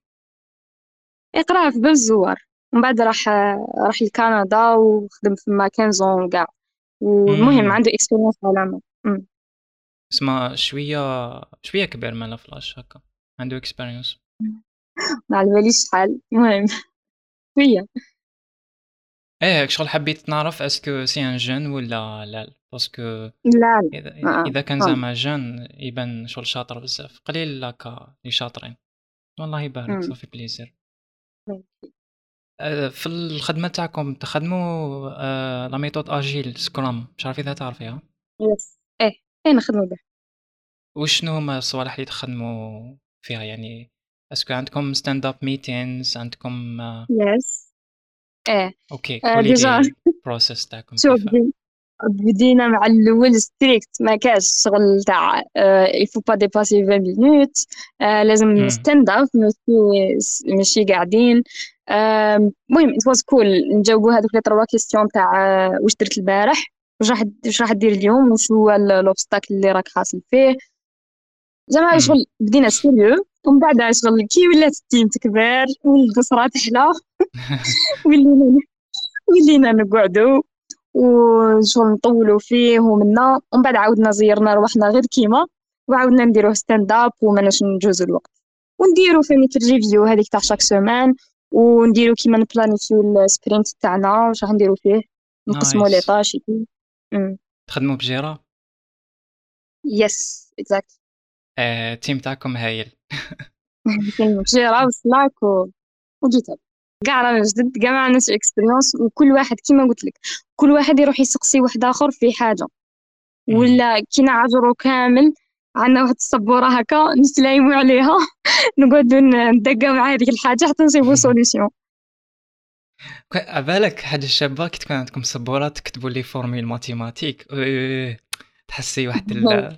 يقرا في بالزوار ومن بعد راح راح لكندا وخدم في ماكنزون وكاع. والمهم امم عنده اكسبيريونس على العمل. أمم. اسمع شويه شويه كبير مالا فلاش هكا عنده اكسبيرينس. ما على باليش شحال المهم هي. ايه شغل حبيت نعرف اسكو سي ان جون ولا لا باسكو لا لا اذا آه. اذا كان آه. زعما جون يبان شغل شاطر بزاف قليل هكا اللي شاطرين. والله يبارك أمم. صافي بليزير. أه، في الخدمه تاعكم تخدموا أه، لا ميثود اجيل سكرام مش عارف اذا تعرفيها. يس ايه ايه نخدمو به. وشنو هما الصوالح اللي تخدموا فيها يعني؟ اسكو عندكم ستاند اب ميتينز عندكم أه، يس ايه اوكي آه قولي ديجا لي البروسيس تاعكم شوف كيفاه. بدي- بدينا مع الاول ستريكت ما كاش شغل تاع il faut pas dépasser vingt minutes. آه لازم امم ستاند اب ماشي ماشي قاعدين. آه، المهم it was cool نجاوبوا هذوك لي تروا كيستيون تاع آه، واش درت البارح واش راح واش راح دير اليوم وش هو لوبستاكل اللي راك حاصل فيه. زعما امم شغل بدينا سيريو ومن بعد شغل كي ولات التيم تكبر والقصرى تحلى ولينا ولينا نقعدوا وشغل نطولوا فيه ومنا ومن بعد عاودنا زيرنا روحنا غير كيما وعاودنا نديروه ستاند اب وماناش نجوزو الوقت ونديرو فيني في الريفيو هذيك تاع شاك سيمان ونديرو كيما نبلانيفيو السبرينت تاعنا واش راح نديرو فيه نقسمو لي نايس. طاش. تخدموا بجيرة. يس اكزاكت. آه، التيم تاعكم هايل. كاين جيرا وسلاك و... وجيت كاع رانا جدد، كاع ما عندناش اكسبيريونس، وكل واحد كيما قلت لك كل واحد يروح يسقسي واحد اخر في حاجه، مم. ولا كي نعجرو كامل عندنا واحد السبوره هكا نتلايمو عليها نقعدو ندقاو مع هذيك الحاجه حتى نصيبو سوليسيون. ك- عبالك حاجة شابة كي تكون عندكم سبورة تكتبوا لي فورميل ماتيماتيك، إيه، تحسي واحد ال...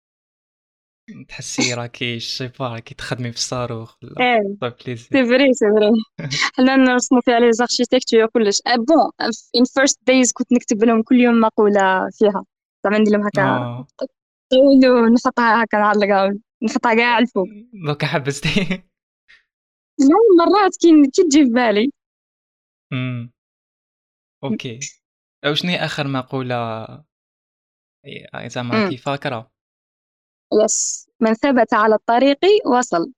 تحسي راكي شيبا راكي تخدمي في الصاروخ ولا ايه صافي بليزير. سي فري سي فري. حنا نرسمو فيها لي زاركتيكتور كلش. أه بون ان فيرست دايز كنت نكتب لهم كل يوم مقوله فيها، زعما ندير لهم هكا اه طولو نحطها هكا نعلقها نحطها كاع على الفوق. دوكا حبستي. لا مرات كي كي تجي في بالي. امم اوكي. او شنو هي اخر مقولة إيه، زعما امم كي فاكرة؟ يس، من ثبت على الطريق وصل.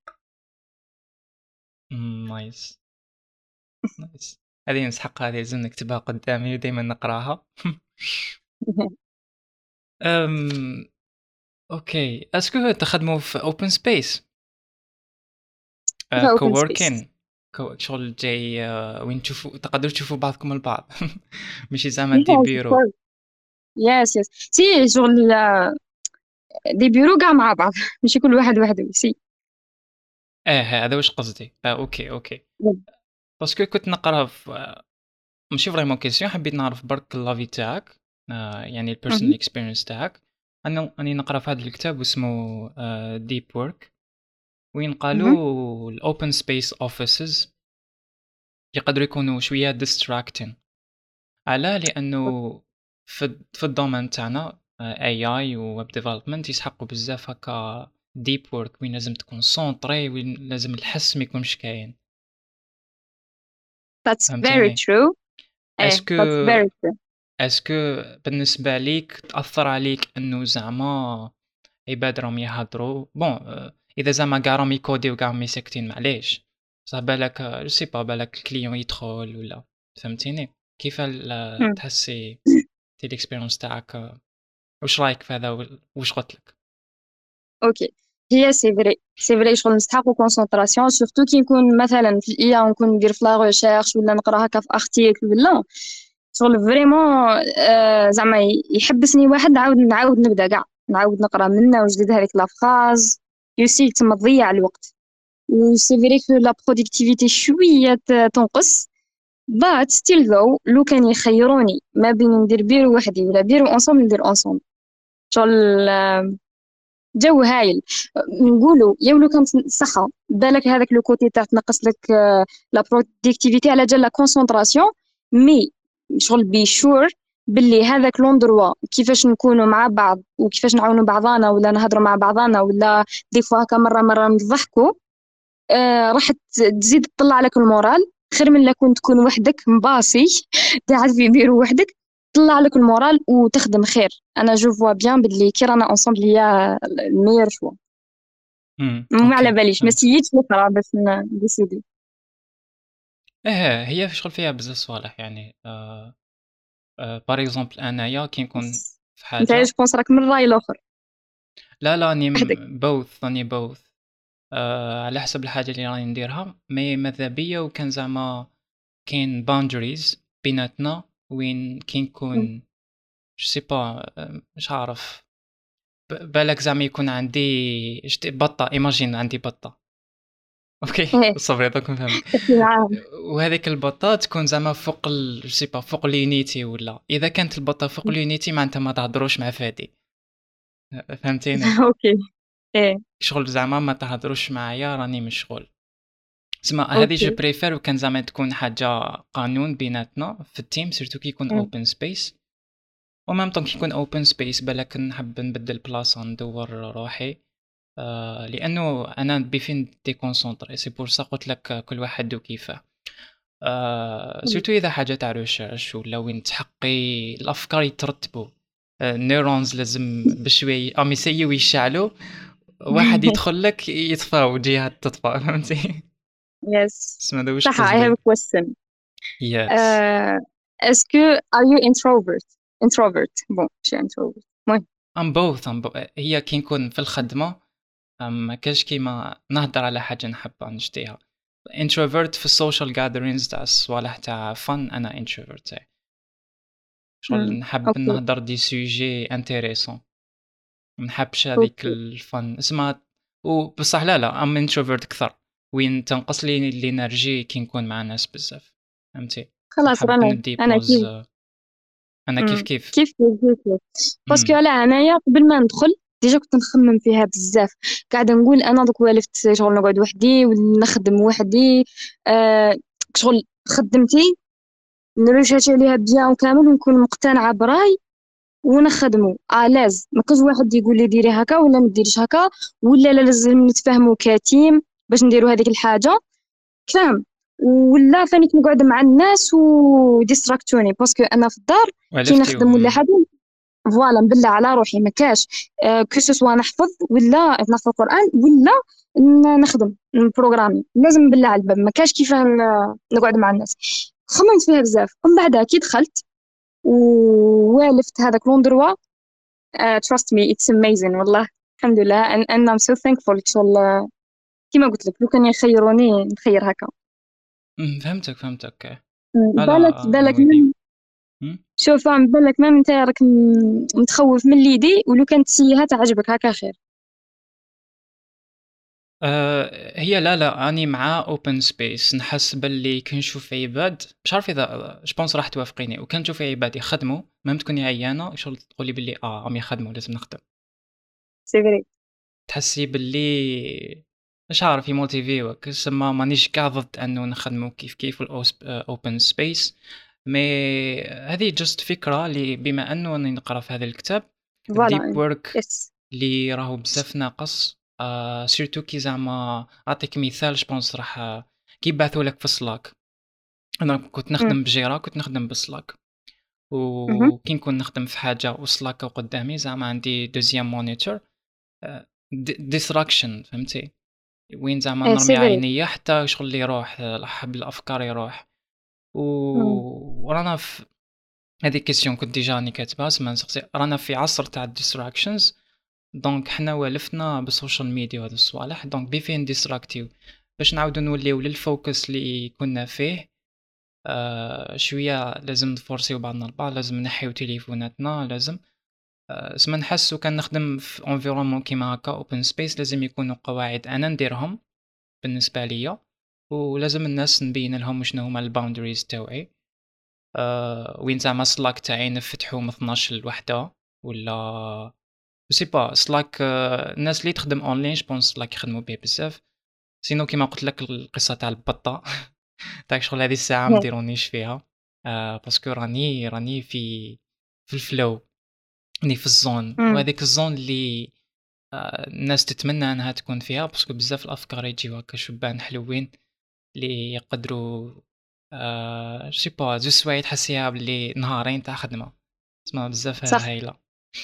امم نايس نايس. هذه نسحق، هذه لازم نكتبها قدامي ودائما نقراها. أم... اوكي، اسكو تخدموا في اوبن سبيس في اوبن سبيس. كووركين؟ شغل جاي آه، وين تشوفوا تقدروا تشوفوا بعضكم البعض. ماشي زعما دي بيرو. يس يس سي شغل دي بيرو كاع مع بعض ماشي كل واحد وحده سي. اه هذا واش قصدي، اه اوكي اوكي. باسكو كنت نقرا في آه، ماشي فريمون كيسيون، حبيت نعرف برك لافي تاعك، آه، يعني البيرسونال مهم. اكسبيرينس تاعك. انا راني نقرا في هذا الكتاب اسمه ديب وورك، وين مهم. قالوا الاوبن سبيس اوفيسز يقدروا يكونوا شويه ديستراكتين. علاه؟ لانه في في الدومين تاعنا اي اي ويب ديفلوبمنت يسحقوا بزاف هكا ديب وورك، وين لازم تكون سونطري، وين لازم الحس ما يكونش كاين. That's very فهمتيني؟ true. ايه اسكو that's very true. اسكو بالنسبه ليك تاثر عليك انه زعما عباد راهم يهضروا بون آه، اذا زعما كاع راهم يكوديو كاع راهم ساكتين معليش، صح بالك جو سي با بالك الكليون يدخل ولا. فهمتيني كيف ال- مم. تحسي تي الاكسبيرينس تاعك آه، واش رايك في هذا و- واش قلت لك؟ اوكي هي سي فري سي فري شغل نستحقو كونسونطراسيون سورتو كي نكون مثلا في الاي ونكون ندير في لا ريشيرش ولا نقرا هكا في ارتيكل ولا شغل فريمون آه زعما يحبسني واحد نعاود نعاود نبدا كاع نعاود نقرا منه وجديد هذيك لا فراز يوسي تما تضيع الوقت. وسي فري كو لا برودكتيفيتي شويه ت- تنقص. but still though لو كان يخيروني ما بين ندير بيرو وحدي ولا بيرو انصومبل ندير انصومبل. شغل آه، جو هايل. نقولوا يا ولو كانت صحة بالك هذاك لو كوتي تاع تنقص لك آه، لا برودكتيفيتي على جال لا كونسونطراسيون. مي شغل بي شور باللي هذاك لوندروا كيفاش نكونوا مع بعض وكيفاش نعاونوا بعضانا ولا نهضروا مع بعضانا ولا دي فوا هكا مره مره نضحكوا. آه راح ت- تزيد تطلع لك المورال خير من لا كنت تكون وحدك مباسي قاعد في بيرو وحدك طلع لك المورال وتخدم خير. انا جو فوا بيان باللي كي رانا انصومبل هي الميور شوا. امم ما على اوكي باليش ما فهمت. سييتش نقرا باش نديسيدي. ايه هي شغل فيها بزاف صوالح يعني آه آه بار اكزومبل انايا كي نكون في انت حاجه. عايش بونس راك من الراي الاخر لا لا راني وحدك. بوث راني بوث آه على حسب الحاجه اللي راني نديرها، مي ماذا بيا وكان زعما كاين باوندريز بيناتنا وين كي نكون جو سي با مش عارف ب- بالك زعما يكون عندي شت- بطه، ايماجين عندي بطه. اوكي ايه صبري دوك نفهمك. تحكي معاهم. وهذيك البطه تكون زعما فوق ال... جو سي با فوق اليونيتي، ولا اذا كانت البطه فوق اليونيتي معناتها ما تهضروش مع فادي. فهمتيني؟ اوكي ايه شغل زعما ما تهضروش معايا راني مشغول. تسمى هذه جو اوكي. بريفير وكان زعما تكون حاجه قانون بيناتنا في التيم، سيرتو كي يكون مم. اوبن سبيس. ومام طون كي يكون اوبن سبيس بالك نحب نبدل بلاصه ندور روحي، آه لانه انا بفين دي كونسونطري، سي بور سا قلت لك كل واحد وكيفه. آه مم. سيرتو اذا حاجه تاع ريشيرش ولا وين تحقي الافكار يترتبوا، النيورونز لازم بشوي ام يسيو يشعلوا، واحد يدخل لك يطفى وجهات تطفى. فهمتي؟ يس اسمع هذا واش صح. I have قصدي. a question. يس uh, est-ce que are you introvert introvert bon je suis introvert المهم. ام بوث ام بو... هي كي نكون في الخدمه ما كاش كيما نهضر على حاجه نحب نشتيها. introvert في السوشيال gatherings تاع الصوالح تاع fun. انا introvert تاعي شغل مم. نحب اوكي نهضر دي سوجي انتريسون، ما نحبش هذيك اوكي الفن اسمها. وبصح لا لا ام انتروفيرت اكثر، وين تنقص لي الانرجي كي نكون مع ناس بزاف، فهمتي. خلاص نحب رانا ندي انا بوز. كيف. انا كيف مم. كيف. كيف كيف كيف كيف. باسكو امم على انايا قبل ما ندخل ديجا كنت نخمم فيها بزاف، قاعده نقول انا دوك والفت شغل نقعد وحدي ونخدم وحدي. آه شغل خدمتي نريشاتي عليها بيان وكامل ونكون مقتنعه براي ونخدمو الاز، ما كاش واحد يقول لي ديري هكا ولا ما ديريش هكا، ولا لا لازم نتفاهموا كتيم باش نديروا هذيك الحاجه، فاهم؟ ولا فاني نقعد مع الناس وديستراكتوني باسكو انا في الدار كي نخدم ولا والفتيهم. حاجه فوالا نبلع على روحي، ما كاش آه كو سوا نحفظ ولا نحفظ القران ولا ن- نخدم بروغرامي، لازم نبلع على الباب، ما كاش كيفاه ن- نقعد مع الناس. خممت فيها بزاف ومن بعد كي دخلت ووالفت هذاك لوندروا. uh, trust me it's amazing والله. الحمد لله and, and I'm so thankful شغل كيما قلت لك لو كان يخيروني نخير هكا. أمم، فهمتك فهمتك. بالك لا بالك نويدي. من شوف عم بالك ما انت راك م- متخوف من ليدي، ولو كانت سيها تعجبك هكا خير. أه هي لا لا اني مع اوبن سبيس. نحس باللي كي نشوف عباد مش عارف اذا جبونس راح توافقيني، وكان نشوف عباد يخدموا ميم تكوني عيانه شغل تقولي باللي اه عم يخدموا لازم نخدم. سي فري. تحسي باللي مش عارف يموتيفيوك. سما مانيش كاع ضد انه نخدمو كيف كيف الاوبن سبيس، مي هذه جست فكره اللي بما انه اني نقرا في هذا الكتاب الديب فوالا ورك يس. اللي راهو بزاف ناقص. آه سيرتو كي زعما اعطيك مثال جبونس راح آه، كي بعثوا لك في السلاك. انا كنت نخدم بجيرا، كنت نخدم بالسلاك، وكي نكون نخدم في حاجه وسلاك قدامي زعما عندي دوزيام مونيتور ديستراكشن، فهمتي. وين زعما سي نرمي فري. عينيا حتى شغل اللي يروح حب الافكار يروح. و... ورانا في هذه كيسيون كنت ديجا راني كاتبها سما نسقسي. رانا في عصر تاع الديستراكشنز، دونك حنا والفنا بالسوشيال ميديا وهذا الصوالح، دونك بيفين ديستراكتيو باش نعاودو نوليو للفوكس اللي كنا فيه. آه شويه لازم نفورسيو بعضنا البعض، لازم نحيو تليفوناتنا، لازم آه سما نحسو كان نخدم في انفيرونمون كيما هكا اوبن سبيس لازم يكونوا قواعد انا نديرهم بالنسبة ليا، ولازم الناس نبين لهم شنو هما الباوندريز تاوعي. أه وين زعما سلاك تاعي نفتحو من اثناش لوحدة ولا سي با سلاك. أه الناس اللي تخدم اونلاين جبونس سلاك يخدموا به بزاف. سينو كيما قلت لك القصة تاع البطة تاع شغل هذه الساعة مديرونيش فيها. أه باسكو راني راني في في الفلو، راني في الزون، وهذيك الزون اللي أه الناس تتمنى انها تكون فيها، باسكو بزاف الافكار يجيو هكا شبان حلوين اللي يقدروا آه سي با زوج سوايع تحسيها باللي نهارين تاع خدمة، اسمها بزاف صح. هايلة.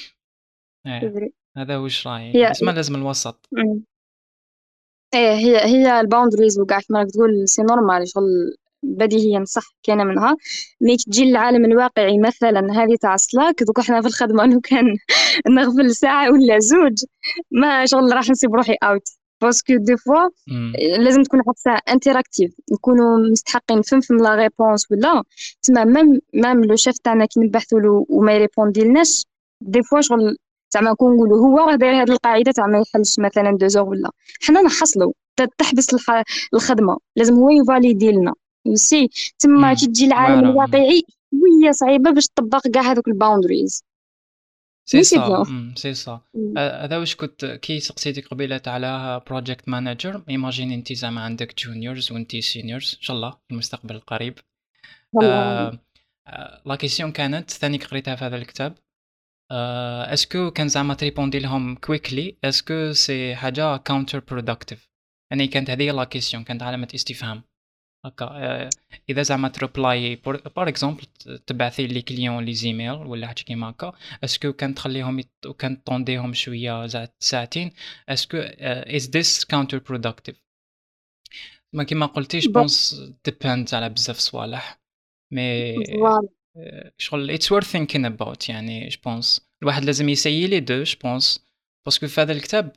سي ايه فري. هذا واش رايي، هي اسمها لازم الوسط. مم. ايه هي هي الباوندريز وكاع كما راك تقول سي نورمال شغل بديهيا صح كاينه منها. مي تجي للعالم الواقعي مثلا هذه تاع سلاك دوك احنا في الخدمه لو كان نغفل ساعه ولا زوج ما شغل راح نسيب روحي اوت، باسكو دي فوا امم لازم تكون حتى انتراكتيف نكونوا مستحقين فهمتم لا ريبونس ولا تما ميم ميم لو شيف تاعنا كي نبحثوا له وما يريبوندي لناش دي فوا شغل زعما نكون نقولوا هو راه داير هذه القاعده تاع ما يحلش مثلا دو زور ولا حنا نحصلوا ت- تحبس الح... الخدمه لازم هو يفاليدي لنا يسي. تما امم كي تجي العالم واعرة. الواقعي شويه صعيبه باش تطبق كاع هذوك الباوندريز. سي مي سي صا بيان. امم سي صا. آه، هذا واش كنت كي سقسيتك قبيلة على بروجكت مانجر. ايماجين انت زعما عندك جونيورز وانت سينيورز ان شاء الله في المستقبل القريب. والله آه آه، لا كيسيون كانت ثاني قريتها في هذا الكتاب. آه، اسكو كان زعما تريبوندي لهم كويكلي، اسكو سي حاجه كاونتر برودكتيف. يعني كانت هذه لا كيسيون، كانت علامه استفهام هكا. آه، اذا زعما تريبلاي بار اكزومبل تبعثي لي كليون لي زيميل ولا حاجه كيما هكا، اسكو كان تخليهم يت... وكان طونديهم شويه زع- ساعتين، اسكو از ذس كاونتر برودكتيف. ما كيما قلتيش بون بونس ديبيند على بزاف صوالح، مي فوالا. آه، شغل it's worth thinking about. يعني جو بونس الواحد لازم يسيي لي دو جو بونس، باسكو في هذا الكتاب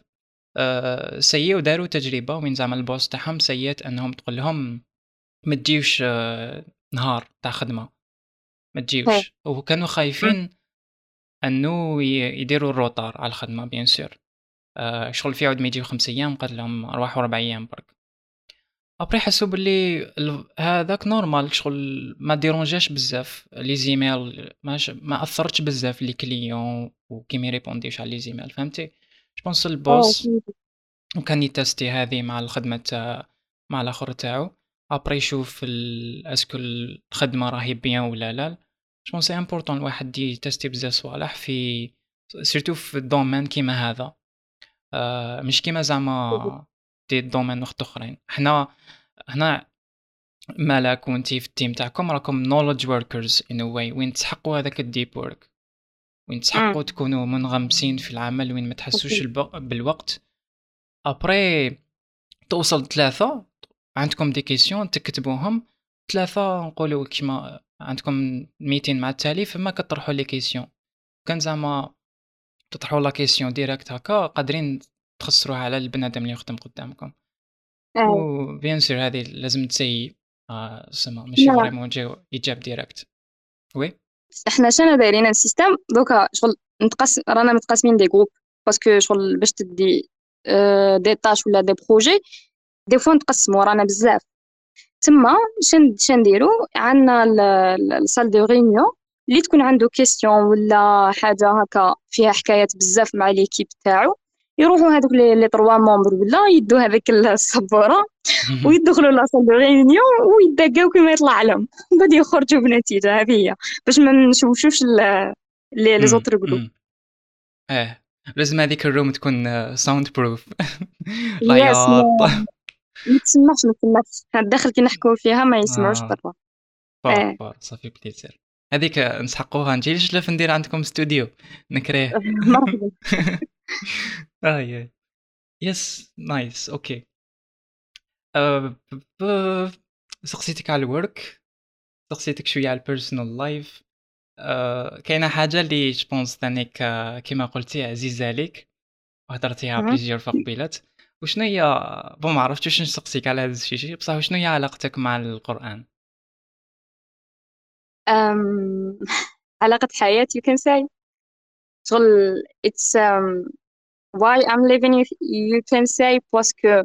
آآ سيّي وداروا تجربة وين زعما الboss تاعهم سيّات أنهم تقول لهم ما تجيوش آه، نهار تاع خدمة، ما إيه. تجيوش، وكانوا إمم. خايفين إنه ي يديروا الروطار على الخدمة bien sûr. آآ شغل في عود ما يجيو خمس أيام قال لهم أرواحوا ربع أيام برك. أبري حسوا باللي ال هذاك نورمال شغل ما ديرونجاش بزاف لي زيميل ماش ما أثّرتش بزاف لي كليون وكي ما يريبونديوش على لي زيميل فهمتي؟ جو بونس آه الboss فهمتك. وكان يتاستي هذه مع الخدمة تاع مع الآخر تاعو، أبري يشوف ال اسكو الخدمة راهي بيان والّا لا، جو بونس سي امبورطون الواحد يتاستي بزاف صوالح في سيرتو في الdomaine كيما هذا. آآ مش كيما زعما دي domaine وحدوخرين، حنا هنا مالك وأنتِ في الteam تاعكم راكم knowledge workers in a way وين تسحقوا هذاك الdeep work، وين إمم. تسحقوا تكونوا منغمسين في العمل، وين ما تحسوش أكيد. الب بالوقت. après توصل ثلاثة عندكم des questions تكتبوهم، ثلاثة نقولوا كيما عندكم meeting مع التالي فما كطرحوا les questions، كان زعما تطرحوا la question direct هاكا قادرين تخسروها على البنادم اللي يخدم قدامكم. آه. وبيان سور هذه لازم تسيي آه سما ماشي لا، فريمون يجاو يتجاب ديريكت. وي إحنا شنو دايرين السيستم دوكا شغل نتقسم رانا متقسمين دي جروب باسكو شغل باش تدي آه، دي طاش ولا دي بروجي دي فوا نتقسموا رانا بزاف تما شن شنديرو عندنا الصال دو ريونيون اللي تكون عنده كيستيون ولا حاجه هكا فيها حكايات بزاف مع ليكيب تاعو يروحوا هذوك لي لي تروا ممبر ولا يدو هذيك السبوره ويدخلوا لاصال دو ريونيون ويدقاو كيما يطلع لهم بعد يخرجوا بنتيجه. هذه هي باش ما نشوشوش ال- لي لي امم زوتر جروب. امم اه لازم هذيك الروم تكون ساوند بروف يس العياط. ما ما تسمعش ما تسمعش الداخل كي نحكوا فيها ما يسمعوش اه برا. بار اه. بار صافي بليزير. هذيك نسحقوها نجي ليش ندير عندكم استوديو نكريه. مرحبا. اه يا يس نايس اوكي. أه ب- ب- سقسيتك على الورك، سقسيتك شويه على البيرسونال لايف. آآ كاينة حاجة اللي je pense تانيك كيما قلتِ عزيزة عليك وهضرتيها مهم. plusieurs fois قبيلات، وشنو هي بون ما عرفتش واش نسقسيك على هذا الشيء بصح وشنو هي علاقتك مع القرآن؟ أم... علاقة حياة you can say شغل it's um, why I'm living you, you can say باسكو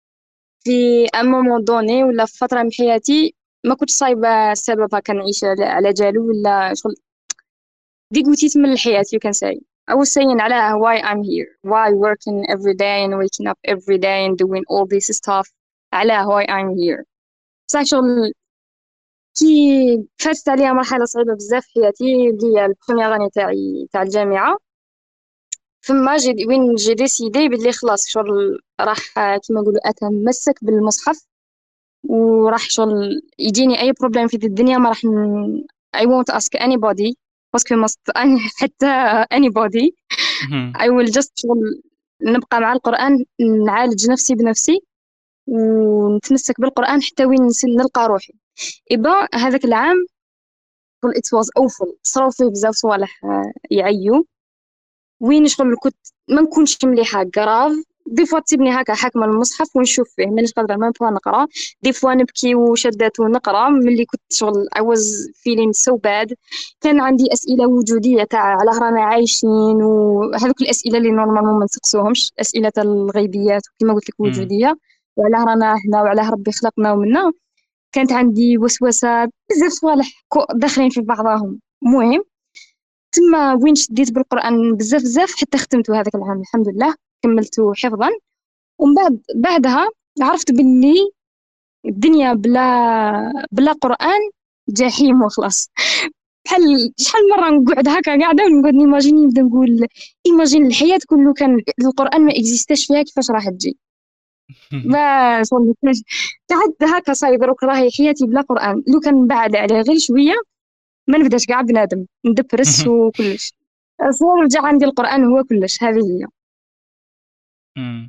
في ان مومون دوني ولا في فترة من حياتي ما كنتش صايبة سبب هكا نعيش على على جالو ولا شغل دي قوتيت من الحياة you can say I was saying على why I'm here why working every day and waking up every day and doing all this stuff على why I'm here صح. شغل كي فاتت عليها مرحلة صعيبة بزاف في حياتي اللي هي البروميير اني تاعي تاع الجامعة فما جي وين جي ديسيدي بلي خلاص شغل راح آه، كيما نقولوا اتمسك بالمصحف وراح شغل يجيني اي بروبليم في الدنيا ما راح ن... I won't ask anybody باسكو مست حتى anybody اهم، I will just شغل نبقى مع القرآن نعالج نفسي بنفسي ونتمسك بالقرآن حتى وين نس- نلقى روحي. إبا هذاك العام شغل it was awful صراو فيه بزاف صوالح آه، يعيو وين شغل كنت ما نكونش مليحه كراف دي فوا تسيبني هكا حاكمه المصحف ونشوف فيه مانيش قادره ما نبغى نقرا دي فوا نبكي وشدات ونقرا ملي كنت شغل I was feeling so bad. كان عندي اسئله وجوديه تاع علاه رانا عايشين وهذوك الاسئله اللي نورمالمون ما نسقسوهمش اسئله الغيبيات وكما قلت لك إمم، وجوديه وعلاه رانا هنا وعلاه ربي خلقنا ومنا. كانت عندي وسوسه بزاف صوالح كو- داخلين في بعضهم. المهم تما وين شديت بالقرآن بزاف بزاف حتى ختمته هذاك العام الحمد لله كملته حفظا. ومن بعد بعدها عرفت باللي الدنيا بلا بلا قرآن جحيم وخلاص. بحال شحال مرة نقعد هكا قاعدة ونقعد نيماجيني نبدا نقول ايماجين الحياة كله كان القرآن ما اكزيستاش فيها كيفاش راح تجي. ما شغل قعدت هكا صايب دروك راهي حياتي بلا قرآن لو كان بعد عليه غير شوية ما نبداش كاع بنادم ندبرس وكلش. صار رجع عندي القرآن هو كلش. هذه هي. إمم.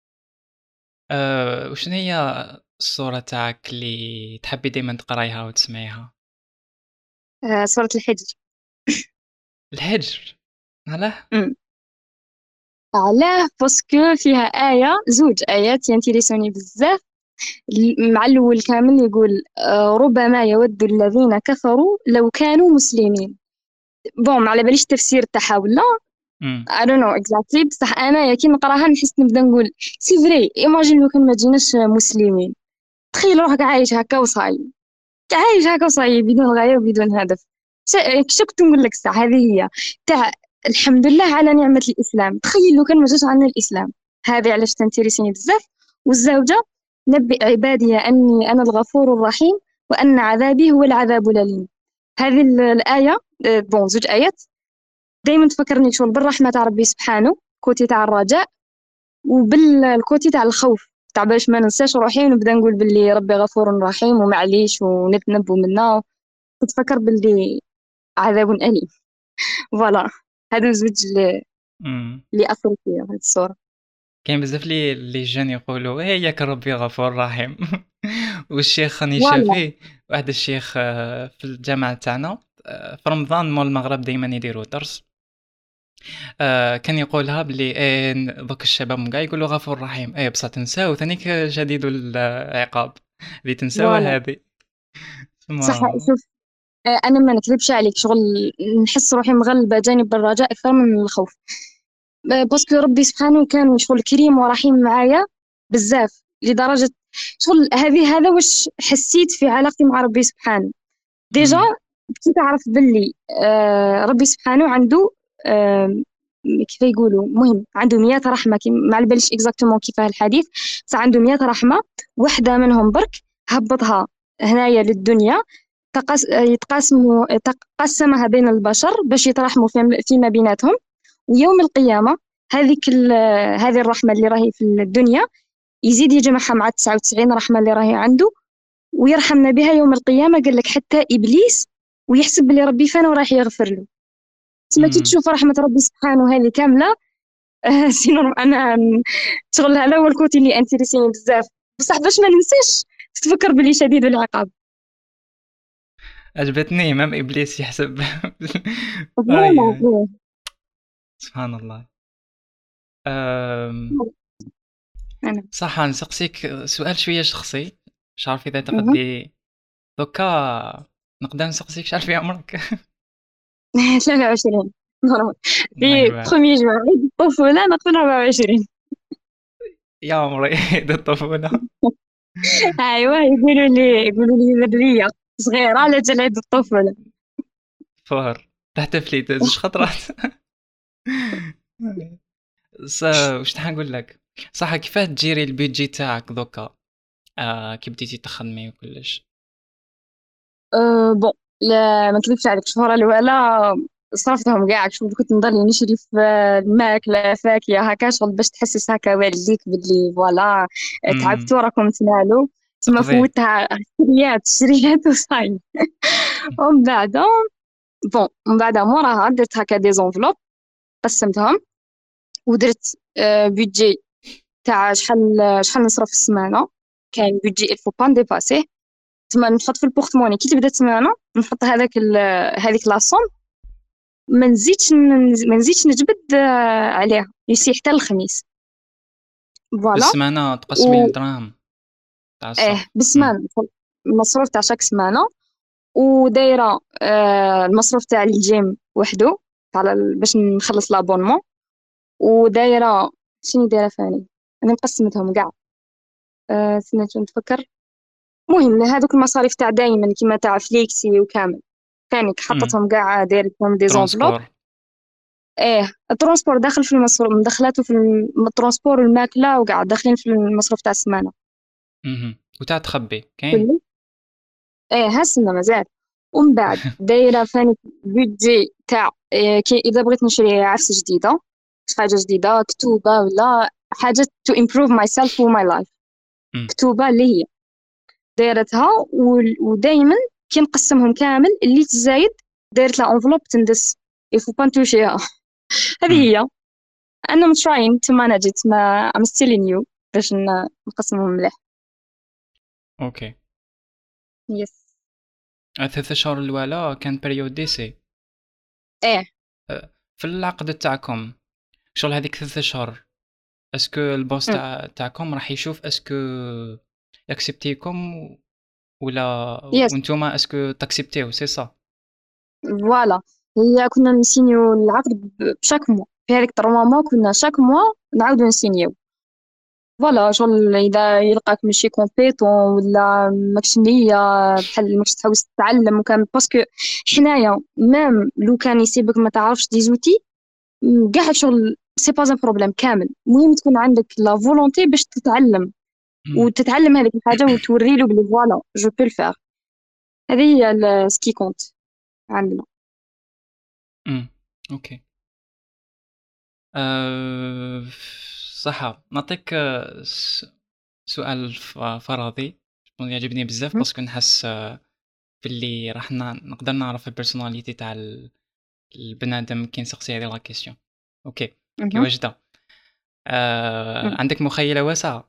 آآ وشنو هي السورة تاعك اللي تحبي دايمًا تقرايها وتسمعيها؟ آه، سورة الحجر. الحجر، علاه؟ أمم. علاه باسكو فيها آية زوج آيات ينترسوني بزاف. ال- مع الأول كامل يقول آه، ربما يود الذين كفروا لو كانوا مسلمين. بون ما على باليش التفسير تاعها ولا امم I don't know exactly، بصح انا يا كي نقراها نحس نبدا نقول سي فري، ايماجين لو كان ما جيناش مسلمين. تخيل روحك عايش هكا وصاي، عايش هكا وصاي بدون غاية وبدون هدف. ش- كش كنت نقول لك الساعة هذه هي تاع الحمد لله على نعمة الإسلام. تخيل لو كان ما جاش عنا الإسلام. هذه علاش تنتريسيني بزاف. والزوجة نبئ عبادي أني أنا الغفور الرحيم وأن عذابي هو العذاب الأليم. هذه ال- الآية آه، بون زوج آيات دايما تفكرني شغل بالرحمة تاع ربي سبحانه، كوتي تاع الرجاء، وبالكوتي تاع الخوف تاع باش ما ننساش روحي ونبدا نقول باللي ربي غفور رحيم ومعليش ونتنبو منا، وتفكر باللي عذاب أليم. فوالا، هادو زوج اللي امم اللي أثروا فيا هاد الصورة. كاين بزاف لي لي جون يقولوا إيه ياك ربي غفور رحيم. والشيخ راني فوالا شافيه، واحد الشيخ آه، في الجامعة تاعنا آه، في رمضان مول المغرب دايما يديروا درس. آه، كان يقولها بلي إيه دوك الشباب كاع يقولوا غفور رحيم، ايه بصح تنساو ثانيك شديد العقاب اللي تنساوه فوالا هذه. صح. ما شوف، آه، أنا ما نكذبش عليك، شغل نحس روحي مغلبة جانب الرجاء أكثر من الخوف. آه، باسكو ربي سبحانه كان شغل كريم ورحيم معايا بزاف، لدرجة شغل هذه هذا واش حسيت في علاقتي مع ربي سبحانه. ديجا امم كنت أعرف باللي آه ربي سبحانه عنده آه كيف يقولوا، مهم عنده مئة رحمة، كي ما على باليش اكزاكتومون كيفاه الحديث، بس عنده مئة رحمة. واحدة منهم برك هبطها هنايا للدنيا، تقس يتقاسموا تقسمها بين البشر باش يترحموا في- فيما بيناتهم. ويوم القيامة هذيك ال- هذه الرحمة اللي راهي في الدنيا يزيد يجمعها مع تسعة وتسعين رحمة اللي راهي عنده ويرحمنا بها يوم القيامة. قال لك حتى إبليس ويحسب بلي ربي فانا وراح يغفر له. تسمى كي امم تشوف رحمة ربي سبحانه هذه كاملة. آه سينو أنا م- شغل هذا هو الكوتي اللي انتريسيني بزاف. بصح باش ما ننساش تتفكر بلي شديد العقاب. عجبتني امام ابليس يحسب. اي فوالا اي سبحان الله. أم... أنا صح نسقسيك سؤال شويه شخصي، مش عارف اذا مهم. تقدي دوكا نقدر نسقسيك شحال في عمرك؟ ثلاثة وعشرين نورمال. في ايوا بخوميي جو عيد الطفولة نقول أربعة وعشرين. يا عمري. ده الطفوله. أيوا يقولوا لي يقولوا لي ذرية صغيرة على جال عيد الطفولة. فهر تحتفلي زوج خطرات. ص واش نقول لك، صح كيفاه تجيري البيدجي تاعك دوكا آه كي بديتي تخدمي وكلش؟ أه بون، لا ما نكذبش عليك، الشهورة الأولى صرفتهم كاع. شوف كنت نضل نشري في الماكلة فاكهة هكا شغل باش تحسس هكا والديك بلي فوالا امم تعبتوا راكم تنالوا. تما تقضي. فوتها شريات شريات وصاي. ومن بعد بون من بعد موراها درت هكا دي زونفلوب قسمتهم، ودرت أه بيدجي تاع شحال شحال نصرف في السمانة. كاين بيدجي الفو با نديباسيه. تما نحط في البورتموني كي تبدا السمانة نحط هذاك ال- هذيك لاصوم، ما نزيدش ن- ما نزيدش نجبد آه، عليها يسي حتى الخميس. فوالا. بالسمانة تقسمي و الدراهم تاع اه الصرف. امم بالسمانة المصروف تاع شاك سمانة. ودايرة آه المصروف تاع الجيم وحده على ال- باش نخلص لابونمون. ودايرة شنو دايرة ثاني، انا مقسمتهم كاع. آه سنة نتفكر. المهم هذوك المصاريف تاع دايما كيما تاع فليكسي وكامل ثاني امم حطيتهم كاع دايرتهم دي زونفلوب. ترونسبور. ايه الترونسبور داخل في المصروف، مدخلاته في الم- الترونسبور والماكلة وقاعد داخلين في المصروف تاع السمانة اهم وتاع تخبي كاين. كله. ايه هالسنة مازال. ومن بعد دايرة ثاني بيدجي تاع إيه كي إذا بغيت نشري عفسة جديدة، حاجة جديدة كتوبة ولا حاجة to improve myself و my life. امم كتوبة اللي هي دايرتها وال- ودايما كي نقسمهم كامل اللي تزايد دايرت لا انفلوب تندس يفو با نتوشيها. هذه امم هي. أنا I'm trying to manage it، ما I'm still new باش ن- نقسمهم مليح. اوكي. يس. الثلاث شهور الأولى كان بريود ديسي ايه في العقد تاعكم. شغل هذيك ثلاثة اشهر اسكو البوس مم. تاع تاعكم راح يشوف اسكو ياكسبتيكم ولا يس وانتوما اسكو تاكسبتيو سي صا. فوالا. هي كنا نسينيو العقد ب- بشاك موا، في هذيك تروا موا كنا شاك موا نعاودو نسينيو. فوالا شغل اذا يلقاك ماشي كومبيتون ولا ماكش نية، بحال ماكش تحوس تتعلم وكامل، باسكو حنايا مام لو كان يسيبك ما تعرفش دي زوتي كاع شغل سي با ان بروبليم كامل. المهم تكون عندك لا فولونتي باش تتعلم وتتعلم هذيك الحاجه وتوري له بلي فوالا جو بو الفير. هذه هي سكي كونت عندنا. امم اوكي. أه... صح نعطيك آه، س- سؤال ف- فراغي شكون يعجبني بزاف مهم. باسكو نحس آه، باللي راح ن- نقدر نعرف البيرسوناليتي تاع ال- البنادم كي نسقسي هذه لا كيسيون. اوكي كي مهم. واجده. أه... مهم. عندك مخيله واسعه.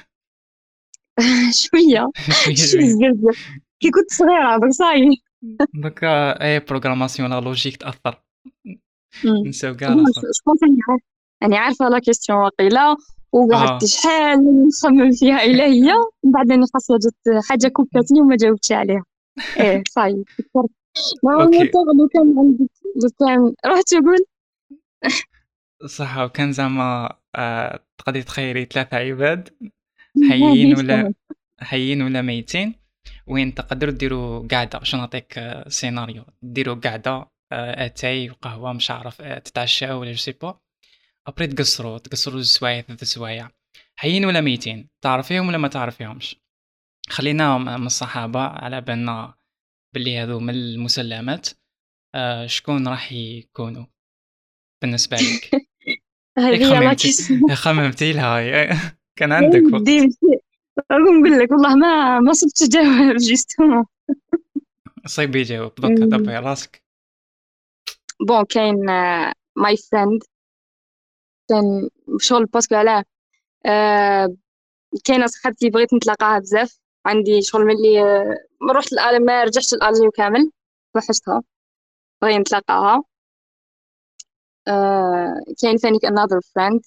شويه. شويه شي شويه. بزاف بزاف. كي كنت صغيره داك صاي. دوكا اي بروغراماسيون لا لوجيك تاثر. مم. نساو كاع بون الاخر. جو بونس اني عارفه، اني عارفه لا كيستيون واقيلا، وقعدت اه شحال نخمم فيها الى هي، من بعد اني خاصها جات حاجه كوكاتني وما جاوبتش عليها. ايه صاي فكرت. نورمالمون اوكي لو كان عندك، لو كان رحت تقول. صح. وكان زعما آه، تقدري تخيري ثلاثة عباد حيين ولا حيين ولا ميتين، وين تقدروا ديروا قعدة. شنو نعطيك آه، سيناريو ديروا قعدة آه، اتاي وقهوة مش عارف آه، تتعشاو ولا جو سي با. ابري تقصروا تقصروا زوج سوايع ثلاث سوايع حيين ولا ميتين تعرفيهم ولا ما تعرفيهمش. خلينا من الصحابة على بالنا باللي هذو من المسلمات. آه، شكون راح يكونوا بالنسبة لك؟ ياك هذه لا خممتي كيسيون. خممتي لها يا- كان يا عندك ودي وقت. مشي- نقول لك والله ما ما صبت جواب جيستومون. صيب يجاوب دوكا دبي راسك. بون كاين ماي فريند، كان شغل باسكو علاه. آه، كاينه صاحبتي بغيت نتلاقاها بزاف، عندي شغل ملي آه، ما رحت الأل- ما رجعتش الالجي كامل، وحشتها، بغي نتلاقاها. آه، كاين ثاني another friend.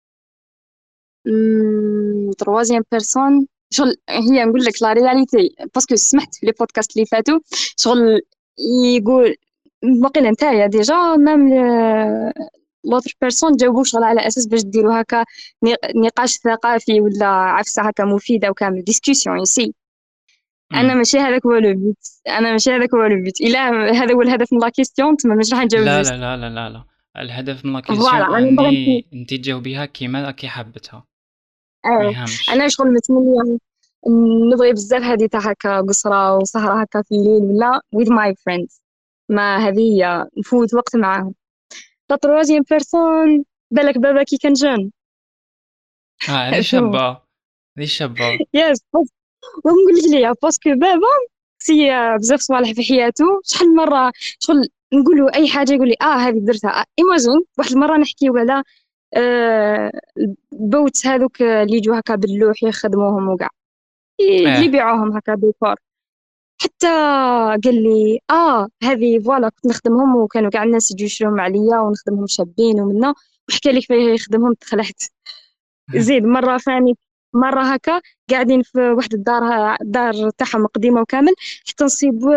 تروازيام بيرسون شغل هي نقول لك لا رياليتي، باسكو سمعت في لي بودكاست اللي فاتوا شغل يقول باقي نتايا ديجا مام لوتر بيرسون جاوبوا شغل على اساس باش ديروا هكا نق- نقاش ثقافي ولا عفسه هكا مفيده وكامل ديسكوسيون يسي. انا امم ماشي هذاك هو لو بيت، انا ماشي هذاك هو لو بيت، الا هذا هو الهدف من لا كيستيون تما مش راح نجاوب لا جوست. لا لا لا لا لا. الهدف من لا فوالا كيسيون انا اني بغيت. انت تجاوبيها كيما كي حبتها. ما آه. يهمش. انا شغل متمنيه نبغي بزاف هذه تاع هكا قصرة وسهرة هكا في الليل ولا with my friends، ما هذه هي نفوت وقت معاهم. لا تروازيام بيرسون بالك بابا كي كان جون. اه هذه شو شابة. هذه شابة. يس بس ونقول لك ليا باسكو بابا سي بزاف صوالح في حياته، شحال مرة شغل نقول له اي حاجه يقول لي اه هذه درتها. ايماجين واحد المره نحكيو على آه البوت هذوك اللي يجوا هكا باللوح يخدموهم وكاع اللي اه يبيعوهم هكا ديكور. حتى قال لي اه هذه فوالا كنت نخدمهم وكانوا كاع الناس يجوا يشروهم عليا ونخدمهم شابين ومنا، وحكى لي كيفاه يخدمهم تخلعت. زيد مره ثاني مره هكا قاعدين في واحد الدار، الدار تاعهم قديمه وكامل، حتى نصيب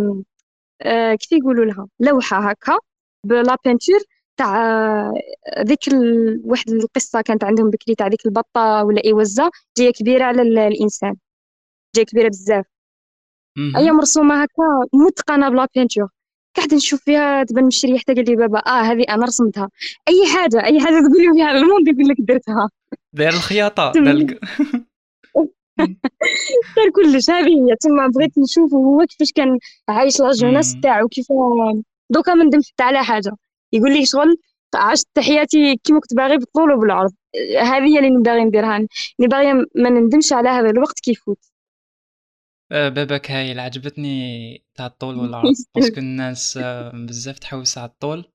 آه كيف يقولوا لها لوحه هكا بلا بينتور تاع آه، ذيك ال... واحد القصه كانت عندهم بكري تاع ذيك البطه ولا اي وزه جايه كبيره على ال- الانسان، جايه كبيره بزاف، هي مهم. مرسومه هكا متقنه بلا بينتور. قاعد نشوف فيها تبان مشريه، حتى قال لي بابا اه هذه انا رسمتها. اي حاجه اي حاجه تقولي فيها الموند يقول لك درتها. داير الخياطة داير تما الق- مم. دار كلش. هذه هي تما بغيت نشوف هو كيفاش كان عايش لا جوناس مم. تاعو كيف. دوكا ما ندمت حتى على حاجه، يقول لي شغل عشت حياتي كيما كنت باغي بالطول وبالعرض. هذه هي اللي نبغي نديرها، اللي باغيه ما نندمش على هذا الوقت كيفوت. آه، باباك هايل عجبتني تاع الطول والعرض باسكو الناس آه، بزاف تحوس على الطول.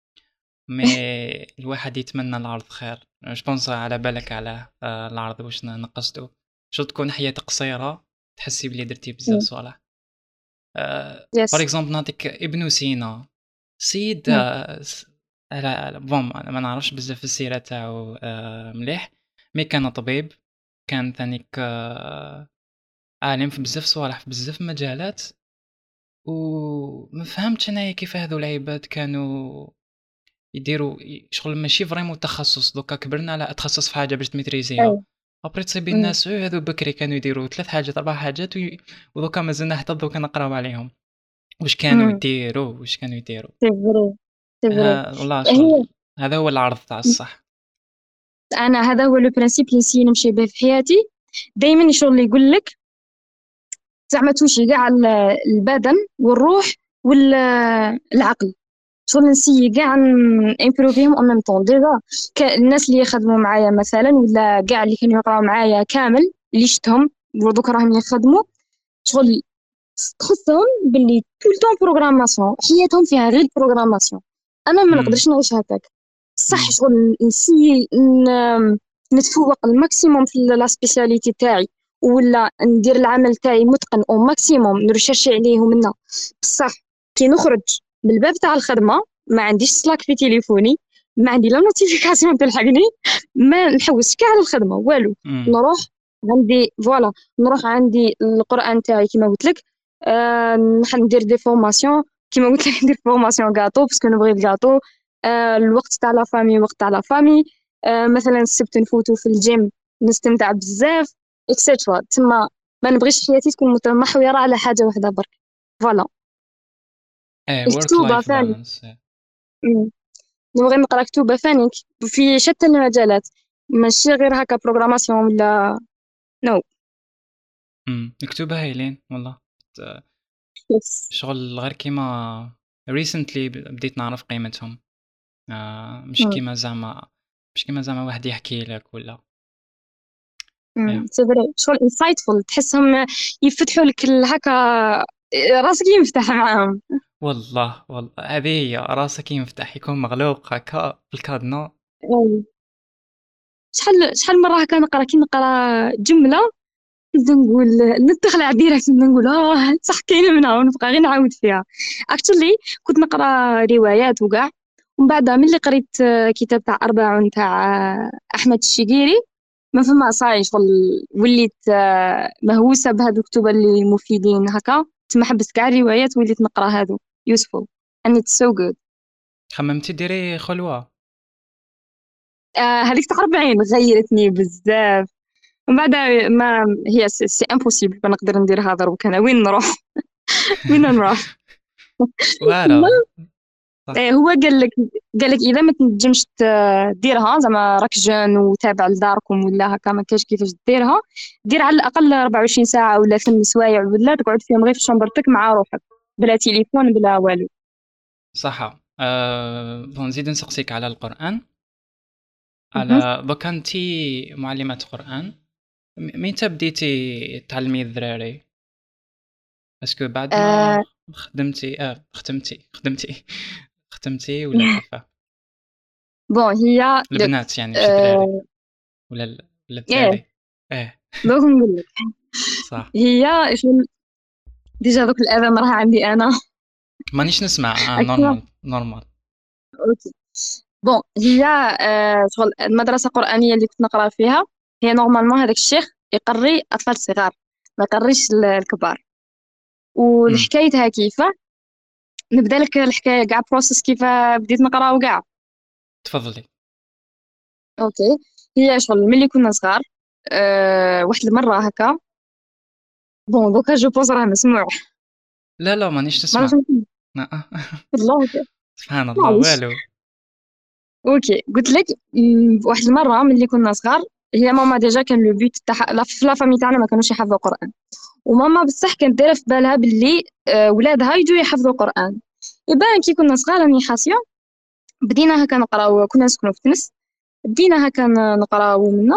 مي الواحد يتمنى العرض خير. جوبونس على بالك على آه، العرض واش نقصدو. شو تكون حياة قصيرة تحسي بلي درتي بزاف صوالح. بار يس. اكزومبل نعطيك ابن سينا. سيد آه، س- على بون أنا ما نعرفش بزاف السيرة تاعو آه، مليح، مي كان طبيب، كان ثانيك آه، عالم في بزاف صوالح في بزاف مجالات، وما فهمتش انايا كيف هذو العباد كانوا يديروا ي- شغل ماشي فريمون تخصص. دوكا كبرنا على اتخصص في حاجه باش تميتريزيها، أي. ابري تصيبي أمم. الناس "إيه، هذو بكري كانوا يديروا ثلاث حاجات اربع حاجات وي... ودوكا مازلنا حتى دوكا نقراو عليهم واش كانوا أمم. يديروا واش كانوا يديروا. سي فري، سي فري. ها والله هي شغل هذا هو العرض تاع الصح. انا هذا هو لو برانسيب اللي نسيي نمشي به في حياتي. دائما الشغل اللي يقول لك زعما توشي كاع ال- البدن والروح والعقل، شغل نسيي كاع نامبروفيهم اون ميم طون. ديجا الناس اللي يخدموا معايا مثلا ولا كاع اللي كانوا يقراو معايا كامل اللي شفتهم ودوك راهم يخدموا، شغل تحسهم باللي طول طون بروغراماسيون، حياتهم فيها غير بروغراماسيون. انا ما امم نقدرش نعيش هكاك. صح امم شغل نسي ن- نتفوق الماكسيموم في لا سبيسياليتي تاعي، ولا ندير العمل تاعي متقن او ماكسيموم نرشرشي عليه ومنه. بصح كي نخرج من الباب تاع الخدمه ما عنديش سلاك في تليفوني، ما عندي لا نوتيفيكاسيون تلحقني، ما نحوس كاع على الخدمه والو. امم نروح عندي فوالا، نروح عندي القران تاعي كيما قلت لك. آه نحن ندير دي فورماسيون كيما قلت لك، ندير فورماسيون غاتو باسكو نبغي الغاتو. آه الوقت تاع لا فامي وقت تاع لا فامي. آه مثلا السبت نفوتو في الجيم نستمتع بزاف اكسيترا. تما ما نبغيش حياتي تكون متمحورة على حاجة واحدة برك. فوالا. ايه ورك الكتوبة لايف ثاني. بالانس. مم. نبغي نقرا كتوبة ثاني في شتى المجالات، ماشي غير هكا بروغراماسيون ولا نو. امم مكتوبه هايلين والله. ت- يس. شغل غير كيما ريسنتلي بديت نعرف قيمتهم. آه مش مم. كيما زعما مش كيما زعما واحد يحكي لك ولا مم. يا سي فري شغل انسايتفul، تحسهم يفتحوا لك ال- هكا راسك ينفتح معاهم. والله والله هذه هي راسك ينفتح يكون مغلوق هكا في الكادنا. أي. شحال شحال مرة هكا نقرا كي نقرا جملة نبدا نقول ندخل على ديريكت، نبدا نقول اه صح كاينة منها ونبقى غير نعاود فيها. اكشلي كنت نقرا روايات وكاع، ومن بعد ملي قريت آه، كتاب تاع أربعون تاع آه، أحمد الشقيري، ما فما صاي شغل وليت آه، مهووسة بهادو الكتب اللي مفيدين هكا. تما حبست كاع الروايات وليت نقرا هادو useful and it's so good. خممتي ديري خلوة؟ آه هذيك تاع أربعين غيرتني بزاف. ومن بعد ما هي سي, سي امبوسيبل ما نقدر ندير هذا دروك. انا وين نروح؟ وين نروح؟ واعرة صح. إيه هو قال لك، قال لك اذا ما تنجمش ت- ديرها زعما راك جون وتابع لداركم ولا هكا ما كاينش كيفاش ديرها، دير على الاقل أربعة وعشرين ساعه ولا ثمان سوايع ولا تقعد فيهم غير في شنبرتك مع روحك بلا تليفون بلا والو. صح. أه... بون نزيد نسقسيك على القرآن. مهم. على دوكا انتي معلمة قرآن، م- متى بديتي تعلمي الذراري؟ اسكو بعد آه ما خدمتي اه ختمتي خدمتي ختمتي ولا كيفاه؟ بون هي دوك. البنات يعني ماشي الدراري آه ولا ال... ولا ايه الدراري. اه دوك نقول لك. صح. هي شغل ديجا دوك الاذان راه عندي انا. مانيش نسمع. اه نورمال نورمال. اوكي. بون هي آه شغل المدرسة القرآنية اللي كنت نقرا فيها، هي نورمالمون هذاك الشيخ يقري أطفال صغار ما يقريش ال- الكبار. امم والحكايتها كيفاه، نبدا لك الحكاية كاع بروسيس كيف بديت نقرا وكاع. تفضلي. اوكي. هي شغل ملي كنا صغار، آه واحد المرة هكا، بون دوكا جو بونس راه مسموع. لا لا مانيش ما نسمع. نعرفش لا. والله. سبحان الله معليش. والو. اوكي قلت لك م، واحد المرة ملي كنا صغار، هي ماما ديجا كان لو بيت تاع لا في لا فامي تاعنا ما كانوش يحفظوا قرآن. وماما بصح كانت دايره في بالها باللي آه، ولادها يجوا يحفظوا القران. يبان كي كنا صغار راني حاسيه، بدينا هكا نقراو كنا نسكنوا في تونس، بدينا هكا ن- نقراو منا.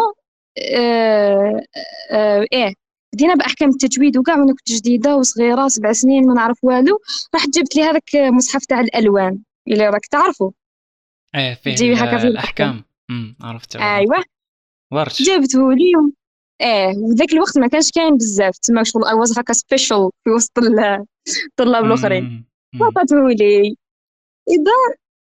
آه آه ايه بدينا باحكام التجويد وكاع وانا كنت جديده وصغيره سبع سنين ما نعرف والو. رحت جبت لي هذاك مصحف تاع الالوان اللي راك تعرفه، ايه فيه تجيبي ال- هكا فيه الاحكام. الأحكام. امم عرفته ايوه. عرفته. ورش. جبته لي. ايه وذاك الوقت ما كانش كاين بزاف تما شغل اي واز هكا سبيشال في وسط ال- الطلاب الاخرين. امم امم عطاتهولي. إذا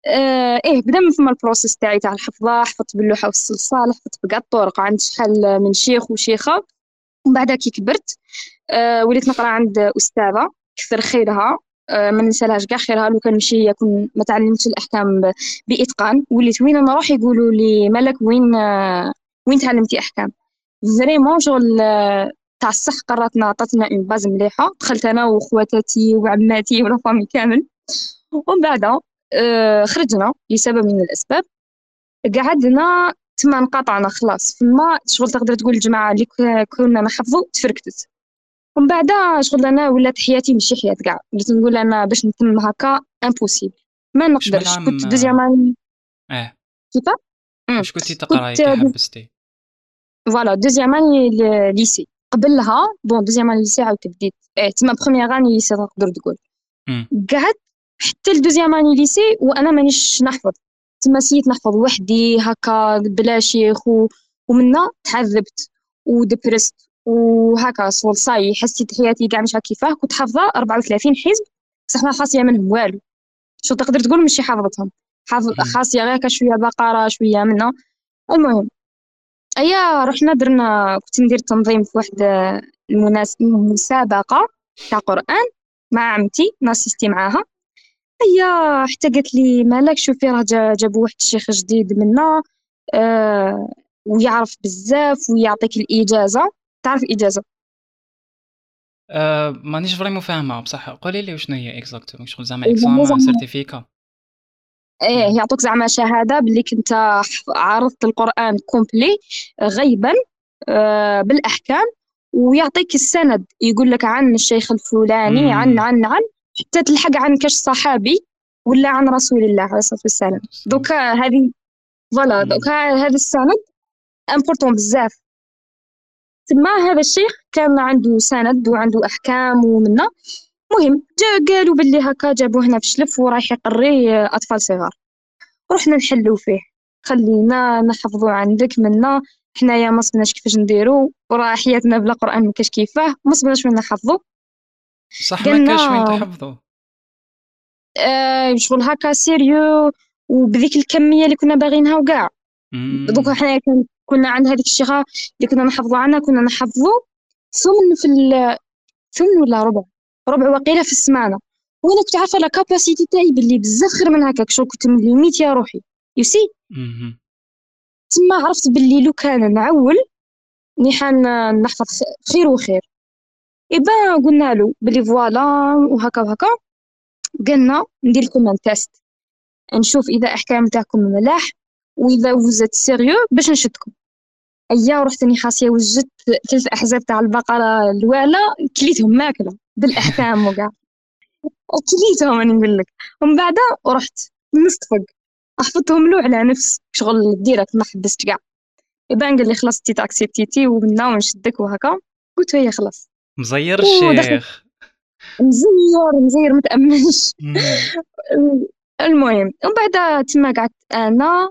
آه ايه بدا من ثم البروسيس تاعي تاع الحفظه. حفظت باللوحه والصلصال، حفظت بكاع الطرق عند شحال من شيخ وشيخه. ومن بعد كي كبرت آه وليت نقرا عند استاذه كثر خيرها. آه ما ننسالهاش كاع خيرها. لو كان نمشي هي كون ما تعلمتش الاحكام ب- باتقان، وليت وين نروح يقولوا لي مالك وين آه وين تعلمتي احكام. فريمون شغل آه، تاع الصح قراتنا عطاتنا اون باز مليحه. دخلت انا وخواتاتي وعماتي ولا فامي كامل. ومن بعد آه خرجنا لسبب من الاسباب. قعدنا تما انقطعنا خلاص. فما شغل تقدر تقول الجماعه اللي ك- كنا نحفظوا تفركتت. ومن بعد شغل انا ولات حياتي ماشي حياة كاع. وليت نقول انا باش نتم هكا امبوسيبل، ما واش من نقدرش. عام كنت دوزيام اني اه كيفا. أمم. واش كنتي تقراي كنت كي حبستي؟ فوالا دوزيام اني ليسي. قبلها بون دوزيام اني ليسي عاود بديت اه تما بروميير اني ليسي تقدر تقول. امم قعدت حتى الدوزيام اني ليسي وانا مانيش نحفظ. تما سيت نحفظ وحدي هكا بلا شيخ و... ومنا تعذبت ودبرست وهكا صول صاي. حسيت حياتي كاع مش هكا كيفاه. كنت حافظه أربعة وثلاثين حزب بصح ما خاصيه منهم والو. شو تقدر تقول ماشي حافظتهم. حافظ امم خاصيه غير هكا شويه بقره شويه منا. المهم ايا رحنا درنا كنت ندير تنظيم في واحد المناس... المسابقه تاع قران مع عمتي ناسيستي معاها. هي حتى قالت لي مالك شوفي راه جا- جابوا واحد الشيخ جديد منا آه ويعرف بزاف ويعطيك الإجازة. تعرف الإجازة؟ آه مانيش فريمون فاهمه بصح، قولي لي وشنو هي اكزاكتومون، شغل زعما إذا اكزامان زعما سيرتيفيكا ايه ولا؟ يعطوك زعما شهادة باللي كنت ح- عرضت القرآن كومبلي غيبا آه بالأحكام. ويعطيك السند يقول لك عن الشيخ الفلاني عن امم عن عن حتى تلحق عن كاش صحابي ولا عن رسول الله عليه الصلاة والسلام. دوكا هذه فوالا امم دوكا هذا السند امبورطون بزاف. تما هذا الشيخ كان عنده سند وعنده احكام ومنا. مهم جا قالوا باللي هكا جابوه هنا في شلف ورايح يقري اطفال صغار. رحنا نحلو فيه. خلينا نحفظوا عندك منا. حنايا ما صبناش كيفاش نديرو وراه حياتنا بلا قران ما كاش كيفاه. ما صبناش وين نحفظوا. صح، ما كاش وين قالنا تحفظوا. آه شغل هكا سيريو وبذيك الكميه اللي كنا باغينها وكاع. دوكا امم حنا كن- كنا عند هذيك الشيخه اللي كنا نحفظوا عنها كنا نحفظوا ثمن في ال- ثمن ولا ربع. ربع وقيله في السمانه. وانا كنت عارفه لا كاباسيتي تاعي باللي بزاف خير من هكاك. شغل كنت من ليميت يا روحي يوسي. امم تما عرفت باللي لو كان نعول نيحان نحفظ خ- خير وخير. إبا قلنا له باللي فوالا وهكا وهكا. قلنا ندير لكم ان تيست نشوف اذا احكام تاعكم ملاح واذا وزت سيريو باش نشدكم. ايا ورحت اني خاصيه وجدت ثلاث احزاب تاع البقره الوالا كليتهم ماكله بالاحكام وكاع. كليتهم انا نقول لك. ومن بعد ورحت نصطفق حفظتهم له على نفس شغل ديريكت ما حبست كاع. يبان قال لي خلاص تي اكسبتيتي ومنا ونشدك وهكا. قلت هي خلاص. مزير ودخلت الشيخ. مزير مزير متأمنش. امم المهم ومن بعد تما قعدت انا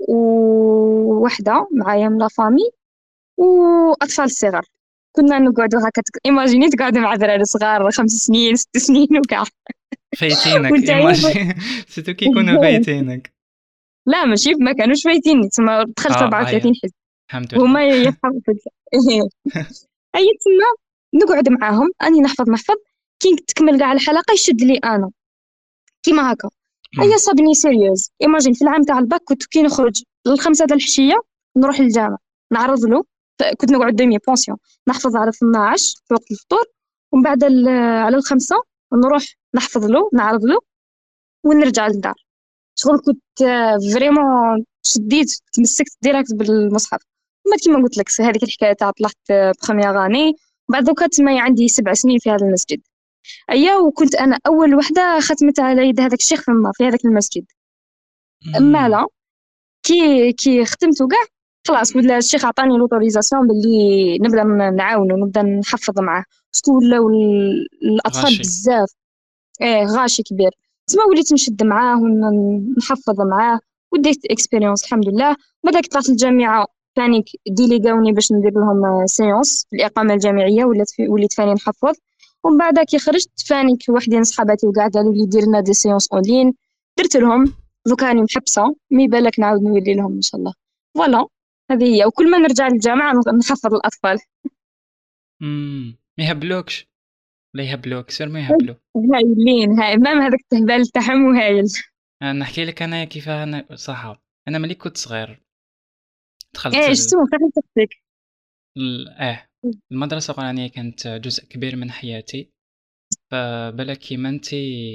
ووحده معايا من لا فامي واطفال صغار. كنا نقعدوا هكا ايماجيني تقعدوا مع دراري صغار خمس سنين ست سنين وكاع. فايتينك وانتايا ايماجي سيتو كي يكونوا فايتينك. لا ماشي ما كانوش فايتين. تما دخلت اه هيا، أربعة وثلاثين حزب الحمد لله. وهما يفهموا في الك- اي تما نقعد معاهم اني نحفظ نحفظ. كي تكمل كاع الحلقه يشد لي انا كيما هكا. امم هيا صابني سيريوز. ايماجين في العام تاع الباك كنت كي نخرج للخمسة تاع الحشيه نروح للجامع نعرض له. ف- كنت نقعد دومي بونسيون نحفظ على اثناعش في وقت الفطور. ومن بعد ال- على الخمسة نروح نحفظ له نعرض له ونرجع للدار. شغل كنت فريمون شديت تمسكت ديريكت بالمصحف. ما كيما قلت لك هذيك الحكايه تاع طلعت بخمية غاني. بعد دوكا تما عندي سبع سنين في هذا المسجد. ايا وكنت انا اول وحده ختمت على يد هذاك الشيخ فما في هذاك المسجد. اما امم لا كي كي ختمت وكاع خلاص ولا الشيخ عطاني لوتوريزاسيون باللي نبدا ن- نعاونه ونبدا نحفظ معاه. شكون ولاو ال- الاطفال غاشي. بزاف. ايه غاشي كبير. تما وليت نشد معاه ونحفظ معاه وديت اكسبيريونس الحمد لله. بعد طلعت الجامعه ثاني ديليغاوني باش ندير لهم سيونس في الاقامه الجامعيه ولات في وليت ثاني نحفظ. ومن بعد كي خرجت فاني وحدين صحاباتي وقاع قالوا لي دير لنا دي سيونس اون لين. درت لهم دوكا راني محبسة، مي بالك نعاود نولي لهم إن شاء الله. فوالا، هذه هي. وكل ما نرجع للجامعة نحفظ الأطفال. إمم، ما يهبلوكش، لا يهبلوك، سير ما يهبلوا. هايلين، هاي مام هذاك التهبال تاعهم وهايل. أنا نحكي لك أنا كيفاه أنا صح. أنا ملي كنت صغير دخلت ايه ال شتو فاهم تختك. ال آه، المدرسة القرآنية كانت جزء كبير من حياتي، فبالك كيما أنتِ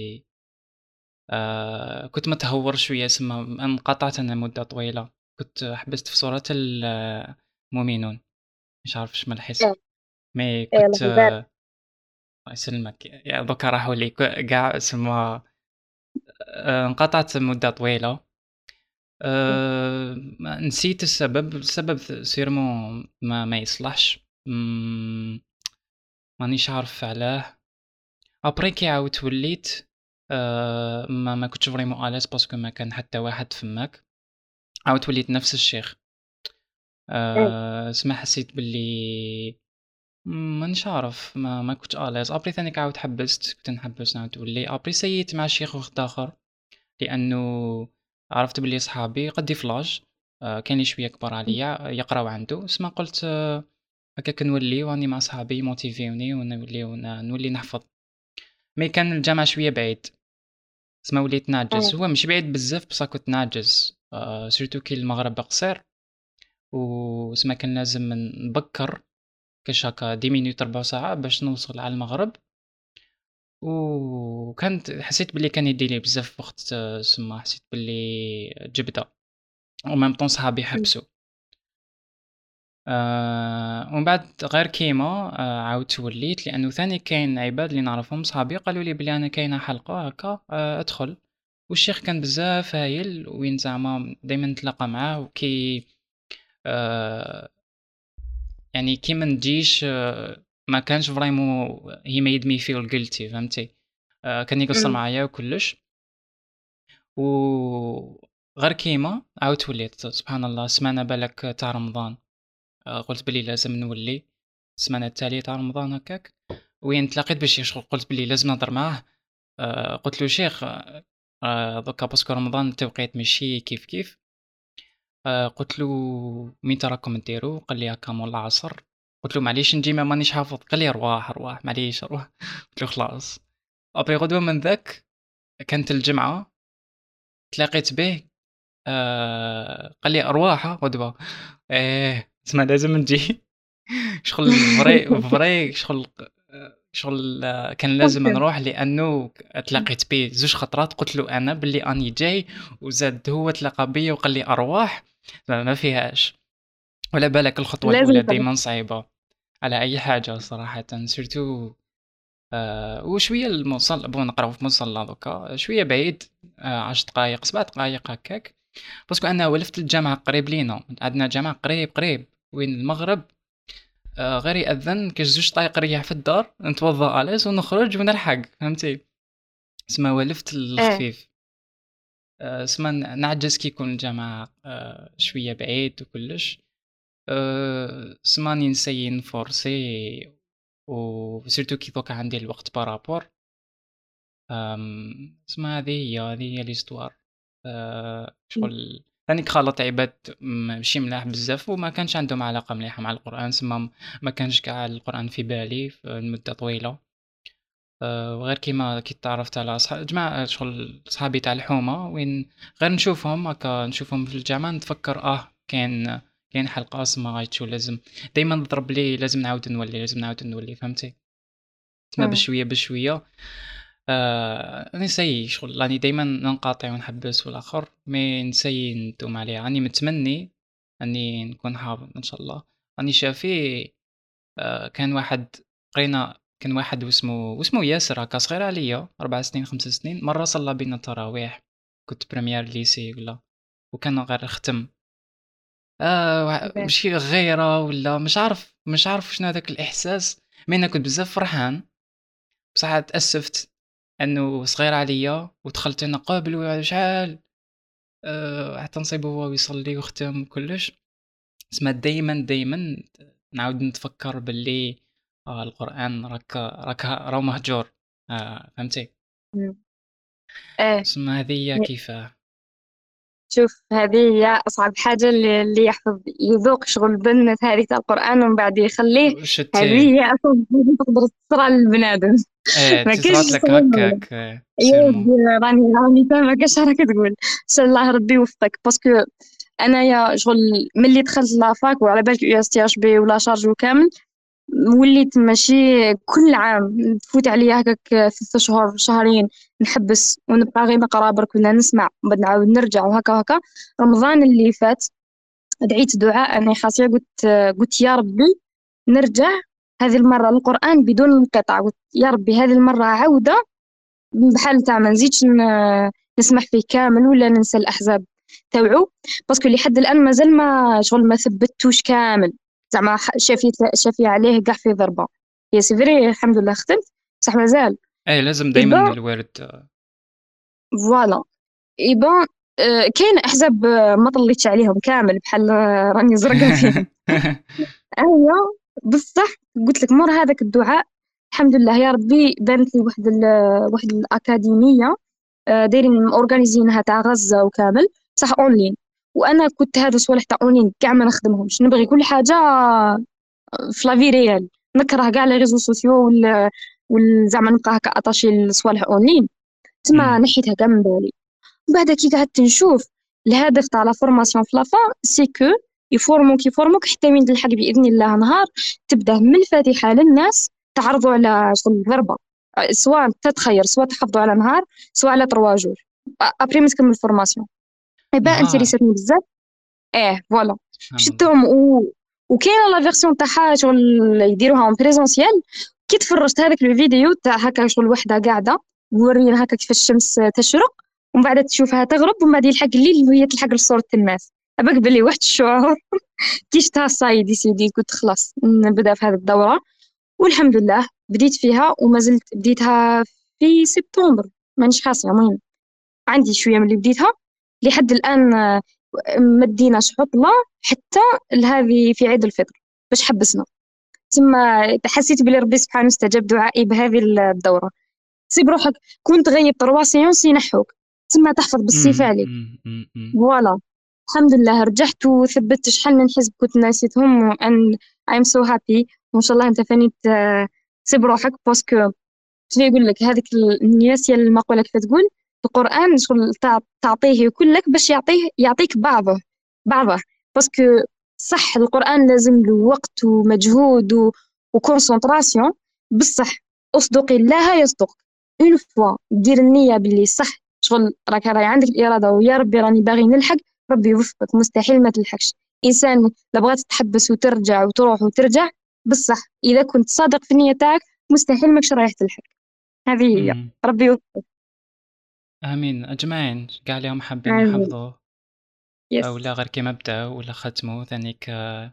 آآ، كنت متهور شوية سما انقطعت أنا مدة طويلة، كنت حبست في سورة ال المؤمنون، مش عارف واش من الحصة، ايه مي ايه كنت الله يبارك. الله يسلمك، يا دوكا راحوا لي ك كاع سما آآ، انقطعت مدة طويلة. آآ ما نسيت السبب، السبب سيرمون ما ما يصلحش، إمم، مانيش عارف علاه. أبري كي عاودت وليت آآ ما ما كنتش فريمون à l'aise باسكو ما كان حتى واحد فماك، عاودت وليت نفس الشيخ. ايه آآ سما حسيت باللي مانيش عارف ما ما كنتش à l'aise. أبري ثانيك عاود حبست، كنت نحبس نعاود نولي، أبري سييت مع شيخ وحداخر. لأنه عرفت بلي صحابي قدي في لاج آه، كاين اللي شويه كبار عليا يقراو عنده سما قلت آه، هكاك نولي واني مع صحابي موتيفيوني ونولي ون- نولي نحفظ. مي كان الجامع شويه بعيد سما وليت نعجز، ايه هو مش بعيد بزاف بصح كنت نعجز آه، سيرتو كي المغرب قصير وسما كان لازم نبكر كاش هكا دي مينوت ربع ساعة باش نوصل على المغرب. وكانت حسيت بلي كان يديلي بزاف وقت آه، سما حسيت بلي جبدة وميم طون صحابي حبسوا. آآ ومن بعد غير كيما آآ عاودت وليت لأنه ثاني كاين عباد اللي نعرفهم صحابي قالوا لي بلي أنا كاينة حلقة هاكا آآ ادخل، والشيخ كان بزاف هايل وين زعما دايمًا نتلاقى معاه وكي آآ يعني كي ما نجيش آه، ما كانش فريمون he made me feel guilty فهمتي، آآ كان يقصر أمم. معايا وكلش. وغير كيما عاودت وليت سبحان الله السمانة بالاك تاع رمضان. آه، قلت بلي لازم نولي السمانة التالية تاع رمضان هكاك، وين تلاقيت بالشيخ قلت بلي لازم نهضر معاه. آه، قلت له شيخ آه، دوكا باسكو رمضان التوقيت ماشي كيف كيف. آه، قلت له مين تراكم ديرو؟ قال لي هكا مول العصر. قلت له معليش نجي ما مانيش حافظ، قال لي ارواح ارواح معليش ارواح. قلت له خلاص. ابري غدوه من ذاك كانت الجمعه تلاقيت به آه، قال لي ارواح غدوه. ايه تسمى لازم نجي. شغل فري فري شغل شغل آه، كان لازم اوكي. نروح لانه تلاقيت بيه زوج خطرات قلت له انا باللي اني جاي، وزاد هو تلاقى بيا وقال لي ارواح ما ما فيهاش. ولا بالك الخطوه لازم الاولى تروح. دائما صعيبه على اي حاجه صراحه سيرتو. آه وشويه المصلى بون نقراو في مصلى دوكا شويه بعيد آه عشر دقائق سبع دقائق هكاك، باسكو انا ولفت الجامعه قريب لينا عندنا جامعه قريب قريب وين المغرب. آه، غير يأذن كاش زوج دقايق نريح في الدار نتوضا أليس ونخرج ونلحق فهمتي. سما ولفت ايه الخفيف. آه، سما ن- نعجز كي يكون الجامعة آه، شوية بعيد وكلش. آه، سما راني نسيي نفورسي وسيرتو كي دوكا عندي الوقت بارابور. آم، سما هذه هي هذه هي ليستوار. آه، شغل ثاني خلط عباد م- ماشي ملاح بزاف وما كانش عندهم علاقة مليحة مع القرآن سما ما كانش كاع القرآن في بالي في المدة طويلة. آه، وغير كيما كي تعرفت على صح... جماعة شغل صحابي تاع الحومة وين غير نشوفهم هكا نشوفهم في الجامعة نتفكر اه كاين كاين حلقة اسمها غايتشو لازم دايما نضرب لي لازم نعاود نولي لازم نعاود نولي فهمتي. تسمى أمم. بشوية بشوية آه نسيي شغل راني دايما ننقاطع ونحبس في الاخر مي نسيي ندوم عليها راني متمني اني نكون حافظ ان شاء الله. راني شافي آه كان واحد قرينا كان واحد واسمه واسمه ياسر هكا صغير عليا أربع سنين خمس سنين مرة صلى بينا التراويح كنت بريمير ليسي ولا وكان غير ختم. آه وع- إيه. ماشي غيرة ولا مش عارف مش عارف شنو هذاك الإحساس. مي أنا كنت بزاف فرحان بصح تأسفت أنه صغير عليا ودخلت أنا قابل شحال آه حتى نصيبو هو يصلي ويختم وكلش. تسمى دايما دايما نعاود نتفكر باللي آه القرآن راك راك راهو مهجور آه فهمتي. أمم. ايه تسمى هذه هي كيفاه. شوف هذه هي أصعب حاجة اللي, اللي يحفظ يذوق شغل البنت هذه تاع القرآن ومن بعد يخليه. هذه شتي هي أصعب حاجة تقدر تصرى للبنادم. ايه ما كاينش تصرات لك صعوبة. هكاك إيه، يا سيرمون. راني راني فاهمة كاش راك تقول. إن شاء الله ربي يوفقك باسكو أنايا شغل ملي دخلت لافاك وعلى بالك يو اس تي اش بي ولا شارج وكامل، وليت ماشي كل عام تفوت عليا هكاك ثلاثة شهور شهرين نحبس ونبقى غير نقرا برك ولا نسمع ومن بعد نعاود نرجع وهكا هكا. رمضان اللي فات دعيت دعاء أنا خاصية، قلت قلت يا ربي نرجع هذه المرة للقرآن بدون انقطاع. قلت يا ربي هذه المرة عودة بحال تاع ما نزيدش ن- نسمح فيه كامل ولا ننسى الأحزاب تاوعو. باسكو لحد الآن مازال ما شغل ما ثبتوش كامل، زعما ح- شافي شافي عليه كاع في ضربة. يا سيفري الحمد لله ختمت بصح مازال. ايه لازم دايما إيبا الورد. فوالا. إيبا آه، كاين أحزاب آه، ما طليتش عليهم كامل بحال آه، راني زرقا فيهم. أيوة بصح قلت لك مر هذاك الدعاء الحمد لله يا ربي بانت لي واحد ال- واحد الأكاديمية آه، دايرين اورغانيزينها تاع غزة وكامل بصح اونلاين. وانا كنت هذا الصوالح تاع اونلاين كاع ما نخدمهمش، نبغي كل حاجه في لافي ريال. نكره كاع لي ريزو سوسيو وال وال- زعما نبقى هكا اتاشي لصوالح اونلاين. تما أمم. نحيتها كاع من بالي. بعد كي قعدت نشوف الهدف تاع لا فورماسيون في لافا سي كو يفورموك يفورموك حتى وين تلحق باذن الله نهار تبدا من الفاتحه للناس تعرضوا على شغل الضربه، سواء تتخير سواء تحفظوا على نهار سواء على تروا جور ابري ما تكمل الفورماسيون. ايبا نهار. انتريساتني بزاف. اه فوالا سبحان الله. شفتهم و... وكاينه لا فيرسيون تاعها شغل يديروها اون بريزونسيال. كي تفرجت هذاك الفيديو تاع هكا شغل وحده قاعده مورينا هكا كيفاش الشمس تشرق ومن بعد تشوفها تغرب ومن بعد يلحق الليل وهي تلحق لصورة الناس. أباك بلي واحد الشعور كي شفتها صايد سيدي قلت خلاص نبدا في هذه الدورة. والحمد لله بديت فيها وما زلت بديتها في سبتمبر مانيش خاصة. المهم عندي شوية من اللي بديتها لحد الآن آه، ما ديناش عطلة حتى لهذه في عيد الفطر باش حبسنا. ثم حسيت بلي ربي سبحانه استجاب دعائي بهذه الدورة. سيب روحك كنت غيب تروا سيونس ينحوك ثم تحفظ بالسيف أمم، عليك. أمم، أمم، أمم. فوالا الحمد لله رجعت وثبت شحال من حزب كنت ناسيتهم and I'm so happy. وإن شاء الله أنت ثاني ت- سيب روحك باسكو شنو يقول لك هذيك الناس المقولة كيف تقول القرآن شغل تع- تعطيه كلك باش يعطيه يعطيك بعضه بعضه. باسكو صح القرآن لازم له وقت ومجهود و... وكونسنتراسيون بصح اصدقي الله يصدق. اون فوا دير النية باللي صح شغل راك راهي عندك الإرادة ويا ربي راني باغي نلحق ربي يوفقك مستحيل ما تلحقش. إنسان لا بغات تحبس وترجع وتروح وترجع بصح إذا كنت صادق في النية تاعك مستحيل ماكش رايح تلحق. هذه هي أمم. ربي يوفقك. امين اجمعين كاع اليوم حابين آمين. يحفظوا او يس. لا غير كيما بداو ولا ختموا ثانيك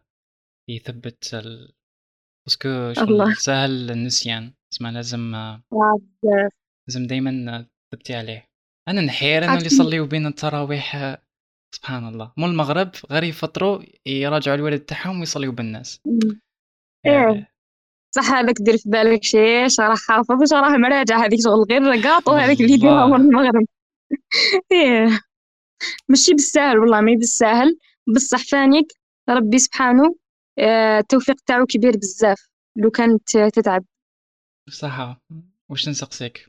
يثبت ال... باسكو الله. شغل سهل النسيان اسمع لازم عاد لازم دايما تثبتي عليه. انا نحير انه اللي عاد يصليوا بين التراويح سبحان الله مو المغرب غير يفطروا يراجعوا الوالد تاعهم ويصليوا بالناس. ايه آه، صح هذاك دير في بالك شي شي راه حافظ وش راه مراجع هذيك شغل غير قاطو هذاك اللي يديرها مور والله المغرب. ايه ماشي بالساهل والله ما بالساهل بصح فانيك ربي سبحانه آه، التوفيق تاعو كبير بزاف لو كانت تتعب. صح. واش نسقسيك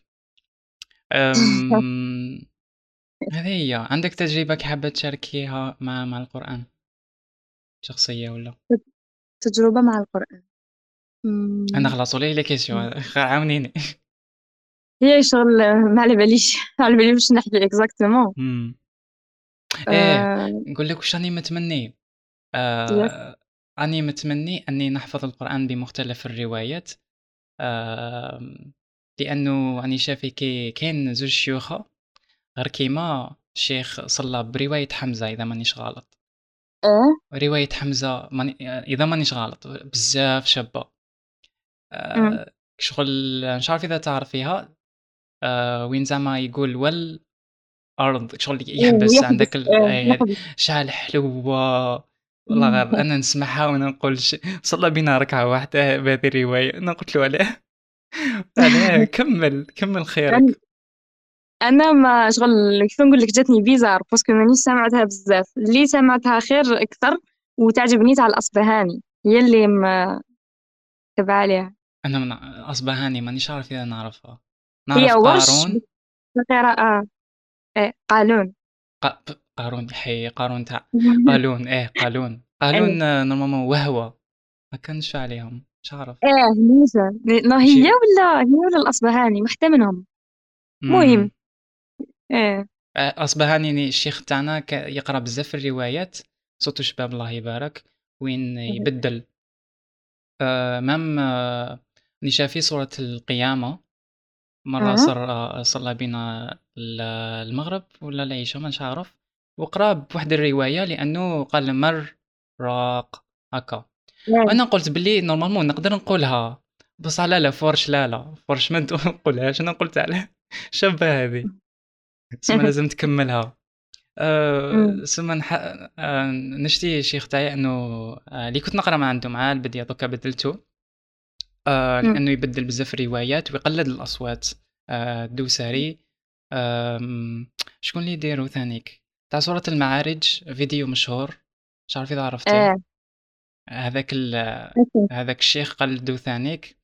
أم... هذه هي عندك تجربة كي حابة تشاركيها مع مع القرآن شخصية ولا؟ تجربة مع القرآن. أنا مم. خلاص ولا لي كيسيون عاونيني. هي شغل ما على باليش ما على باليش باش نحكي اكزاكتومون. إمم. إيه آه نقول لك واش راني متمني. يس. آآ راني متمني أني نحفظ القرآن بمختلف الروايات. آمم لأنه راني شايف كي كاين زوج شيوخة غير كيما الشيخ صلى برواية حمزة إذا مانيش غلط. اه. رواية حمزة ماني إذا مانيش غلط بزاف شابة. أمم. آآ شغل مش عارف إذا تعرفيها. آآ وين زعما يقول والأرض شغل يحبس عندك ويحبس ال اه أي هذ يحبس. شحال حلوة. والله غير أنا نسمعها وأنا نقول ش صلى بينا ركعة واحدة بهذه الرواية، أنا قلت له علاه. علاه كمّل، كمّل راني خيرك. انا ما شغل كيف نقول لك جاتني بيزار باسكو مانيش سمعتها بزاف، اللي سمعتها خير اكثر وتعجبني تاع الاصبهاني، هي اللي تبع عليها. أنا من أصبهاني مانيش عارف إذا نعرفها. هي نعرف ورش قارون. بقراءة. ايه قالون. ق... ب- قارون حي قارون تاع قالون، إيه قالون ايه قالون آه، نورمالمون وهوة. ما كانش عليهم مش عارف. ايه موسى. ما هي شي. ولا هي ولا الاصبهاني واحدة منهم. امم مهم. ايه. آه، أصبهاني ني الشيخ تاعنا ك- يقرأ بزاف الروايات. صوتو شباب الله يبارك. وين يبدل. آه، مام آه، ني شافي سورة القيامة. مرة أه. صار آه، صلى بينا ال- المغرب ولا العشاء مانيش عارف. وقرا بواحد الرواية لأنه قال مر راق هكا. ايه. وأنا قلت بلي نورمالمون نقدر نقولها. بصح لا لا فورش لا لا فورش ما نقولهاش. أنا قلت عليه شابة هذه. تسمى لازم تكملها. أمم. أه ثم نح... أه نشتي شيخ تاعي انه أه اللي كنت نقرا ما عنده مع البديه دوكا بدلته. أه أمم. لانه يبدل بزاف الروايات ويقلد الاصوات. أه الدوسري. أم، شكون اللي يديرو ثانيك تاع سورة المعارج فيديو مشهور. مش عارف اذا عرفتيه. ايه. هذاك ال... أوكي. هذاك الشيخ قلدو ثانيك.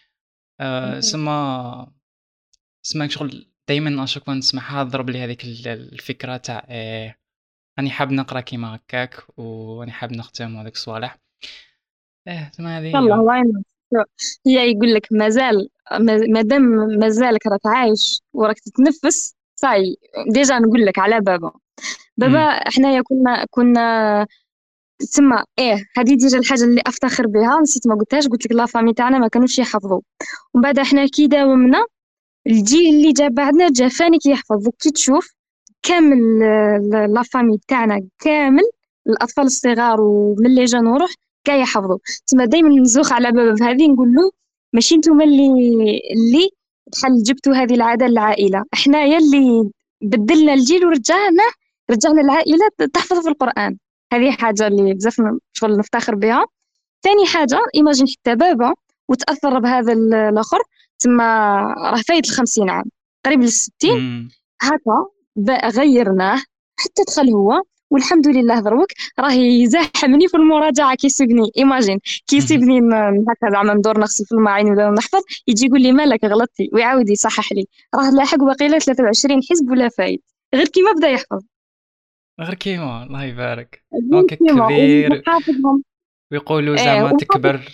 أه سما سما شغل دايما اشوف نسمعها ضرب لي هذيك ال- الفكره تاع إيه، راني حاب نقرا كيما هكاك وراني حاب نختم هذاك الصوالح. ايه تما هذه يلا هي. واي نوت. هي يقول لك مازال، ما- مادام مازالك راك عايش وراك تتنفس صاي. ديجا نقول لك على بابا. بابا امم احنايا كنا كنا تسمى ايه. هذه ديجا الحاجه اللي افتخر بها، نسيت ما قلتهاش، قلت لك لا فامي تاعنا ما كانوش يحفظوا. ومن بعد احنا كي داومنا الجيل اللي جا بعدنا جا فاني كي يحفظ. كي تشوف كامل آه، لا فامي تاعنا كامل، الاطفال الصغار ومن اللي جا نروح كاع يحفظوا. تما دائما نزوخ على بابا بهذه نقول له ماشي نتوما اللي اللي بحال جبتوا هذه العاده للعائله، احنايا اللي بدلنا الجيل ورجعنا رجعنا العائله تحفظ في القران. هذه حاجه اللي بزاف ن- شغل نفتخر بها. ثاني حاجه ايماجين حتى بابا وتاثر بهذا ال- الاخر. تما راه فايت الخمسين عام، قريب للستين امم هكا. ب- غيرناه حتى دخل هو، والحمد لله دروك راه يزاحمني في المراجعه كيسيبني. ايماجين كيسيبني ن- هكا زعما ندور نغسل في الماعين ولا نحفظ، يجي يقول لي مالك غلطتي ويعاود يصحح لي. راه لاحق باقي له ثلاثة وعشرين حزب ولا فايت غير كيما بدا يحفظ. غير كيما الله يبارك. غير هاكا كيما كبير. وحافظهم. ويقولوا ايه زعما وحافظ تكبر.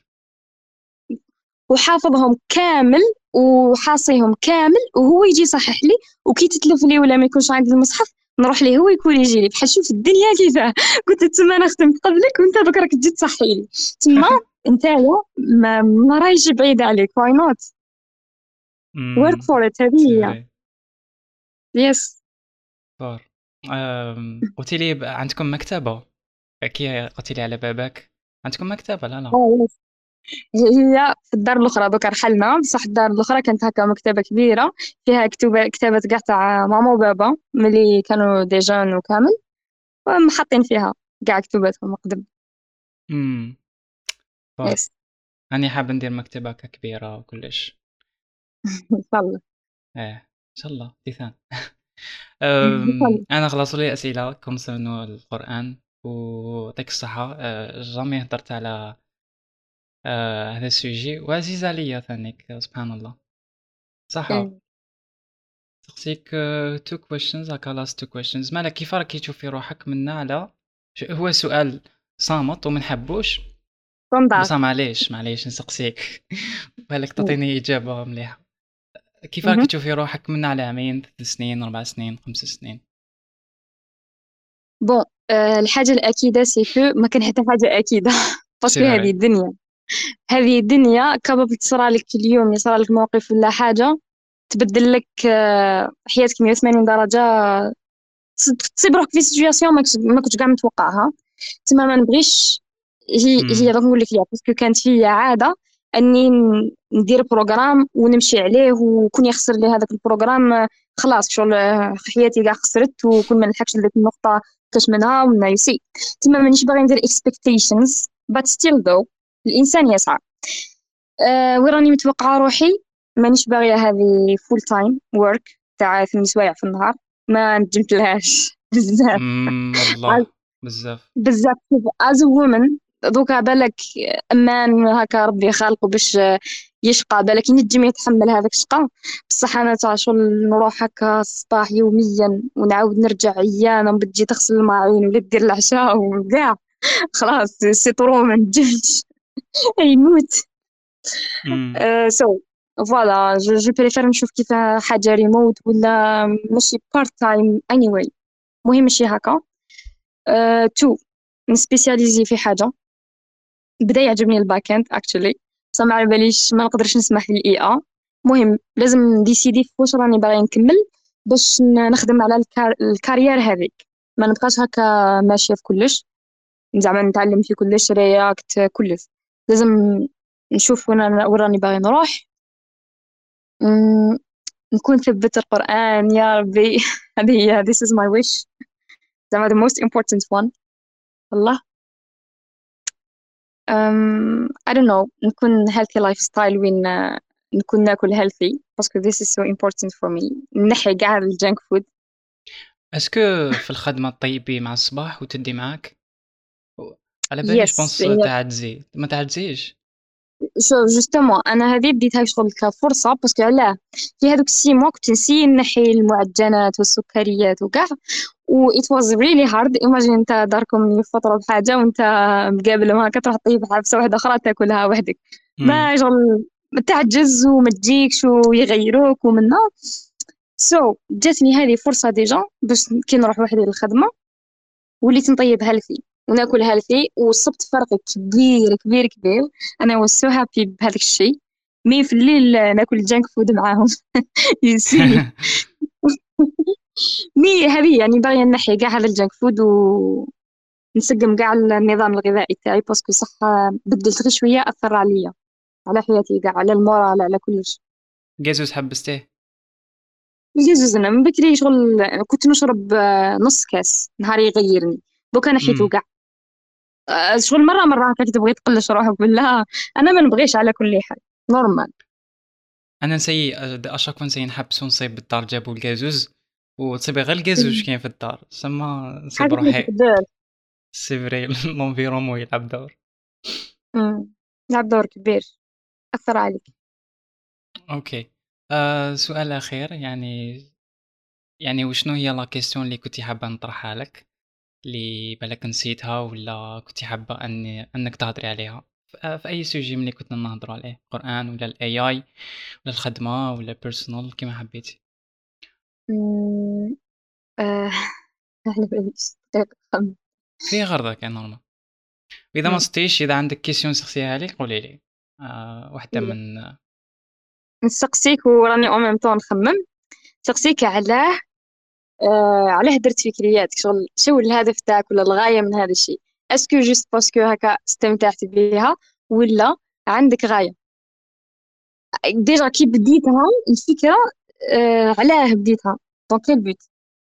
وحافظهم كامل وحاصيهم كامل، وهو يجي يصحح لي. وكي تتلف لي ولا ما يكونش عندي المصحف نروح ليه هو يكون يجي لي بحال شوف الدنيا كيفاه. كنت تما انا خدمت قبلك وانت دوك راك تجي تصحي لي. تما نتايا ما, ما رايش بعيد عليك. واي نوت ورك امم فور ات. هذه سي هي. فري. يس. فور. أم... قلتي لي ب- عندكم مكتبة. كي قلتي لي على باباك عندكم مكتبة لا لا. اه يس. هي في الدار الاخرى دوك رحلنا، بصح الدار الاخرى كانت هكا مكتبه كبيره فيها كتب كتابات كاع تاع ماما وبابا ملي كانوا دي جون وكامل، ومحطين فيها كاع كتباتهم قدم. امم فور. يس. راني حاب ندير مكتبة هكا كبيرة وكلش. ان شاء الله. ايه ان شاء الله تيثان. ان شاء أم، الله. انا خلصوا لي اسئله كونسيرنو القران ويعطيك الصحه. أه، جامي هضرت على أه، هذا السوجي وعزيز عليا ثانيك سبحان الله. صحه. إيه. سقسيك تو كويشنز هكا لاست تو كويشنز مالك كيف راكي تشوفي روحك منا على ش- هو سؤال صامت وما نحبوش. كونداك. بصح معليش معليش نسقسيك. بالك إيه. تعطيني اجابه مليحه. كيف راكي مهم. تشوفي روحك منا على عامين ثلاث سنين اربع سنين خمس سنين. بون آه، الحاجة الأكيدة سي كو ما كان حتى حاجة أكيدة. سي باسكو هذه فري. الدنيا، هذه الدنيا كابابل تصرالك اليوم، يصرالك موقف ولا حاجة تبدل لك آه، حياتك مية وثمانين درجة. تص- تصيب روحك في سيتوياسيون ما كنتش ما كنتش كاع متوقعها. تما ما نبغيش. هي هي امم دوك نقول لك ليها باسكو كانت فيا عادة اني ن- ندير بروغرام ونمشي عليه، وكون يخسر لي هذاك البروغرام آه، خلاص شغل آه، حياتي كاع خسرت وكون ما نلحقش لذيك النقطة كاش منها ومن يسي. تما مانيش باغي ندير expectations but still though الانسان يسعى. أه وراني متوقعة روحي مانيش باغية هذه full time work. تاع ثماني سوايع في النهار ما نجمت لهاش بزاف. امم والله بزاف. بزاف as a woman. دوكا بالك امان هكا ربي خالقه باش يشقى، بالك ينجم يتحمل هذاك الشقا. بصح انا تاع شغل نروح هكا الصباح يوميا ونعاود نرجع عيانه بدي تغسل الماعون ولا دير العشاء وكاع. خلاص سي طرو ما نجمش. يموت. امم سو فوالا جو جو بريفير نشوف كيف حاجه ريموت ولا ماشي بارت تايم اني واي. مهم ماشي هكا. تو نسبيسياليزي في حاجه. بدا يعجبني الباك اند اكشلي، بصح ما على باليش ما نقدرش نسمح للاي اي. مهم لازم نديسيدي في واش راني باغي نكمل باش ن- نخدم على الكار... الكارير هذيك. ما نبقاش هكا ماشيه في كلش، زعما نتعلم في كلش رياكت كلش. لازم نشوف وين أنا- وين راني باغي نروح. مم، نكون ثبت القرآن يا ربي. هذه هي this is my wish. زعما the most important one. والله. um, I don't know. نكون healthy lifestyle وين آه، نكون ناكل healthy باسكو this is so important for me. نحي كاع الجانك فود. اسكو في الخدمه طيبي مع الصباح وتدي معاك؟ على بالي yes جبونس yes. تعدزي ما تعدزيش. شو جوستومون انا هذه بديتها شغل كفرصه باسكو علاه في هذوك السي موا كنت نسي نحي المعجنات والسكريات وكاع و it was really hard. imagine انت داركم يفطروا بحاجه وانت مقابل ما كتروح تطيب حبسه واحده اخرى تاكلها وحدك. امم ما شغل تعجز وما تجيكش ويغيروك ومنا. سو so, جاتني هذه فرصه ديجا باش كي نروح وحدي للخدمه وليت نطيب هيلثي وناكل هيلثي وصبت فرق كبير كبير كبير. انا was so happy بهذاك الشيء. مي في الليل ناكل جانك فود معاهم. يسي. مي هذه يعني باغيه نحي كاع هذا الجانك فود ونسقم كاع النظام الغذائي تاعي باسكو صح بدلت غير شويه اثر عليا على حياتي كاع على المورال على كلش. جازوز حبستيه؟ الجزوز انا من بكري شغل كنت نشرب آه، نص كاس نهار يغيرني. دوكا نحيتو امم كاع. آه، شغل مرة مرة هكاك تبغي تقلش روحك بالله. أنا ما نبغيش على كل حال نورمال. انا نسي اشاك فوا نسي نحبس ونصيب بالدار جابوا الجازوز وتصيبي غير الجازوز كاين في الدار سما نصيب حاجة ما روحي. تقدر. سي فري لونفيرومون يلعب دور. أمم. لعب دور كبير أثر عليك. اوكي. آه سؤال اخير يعني يعني وشنو هي لا كيستيون اللي كنتي حابه نطرحها لك اللي بالك نسيتها ولا كنتي حابه ان انك تهضري عليها في في اي سوجي ملي كنا نهضروا عليه قرآن ولا الاي اي ولا الخدمه ولا بيرسونال كيما حبيتي. أمم. آه. على باليش دقيقة خمس. في غرضك يا نورمال. واذا ما أمم. صدتيش اذا عندك كيسيون سقسيها لي قولي لي. آه واحده إيه. من. نسقسيك وراني أو ميم طون نخمم. نسقسيك علاه آه علاه درت فكريات شغل شو الهدف تاعك ولا الغاية من هذا الشيء. اسكو جوست باسكو هكا استمتعت بيها ولا عندك غاية. ديجا كي بديتها الفكرة آه علاه بديتها دونك كيل بوت.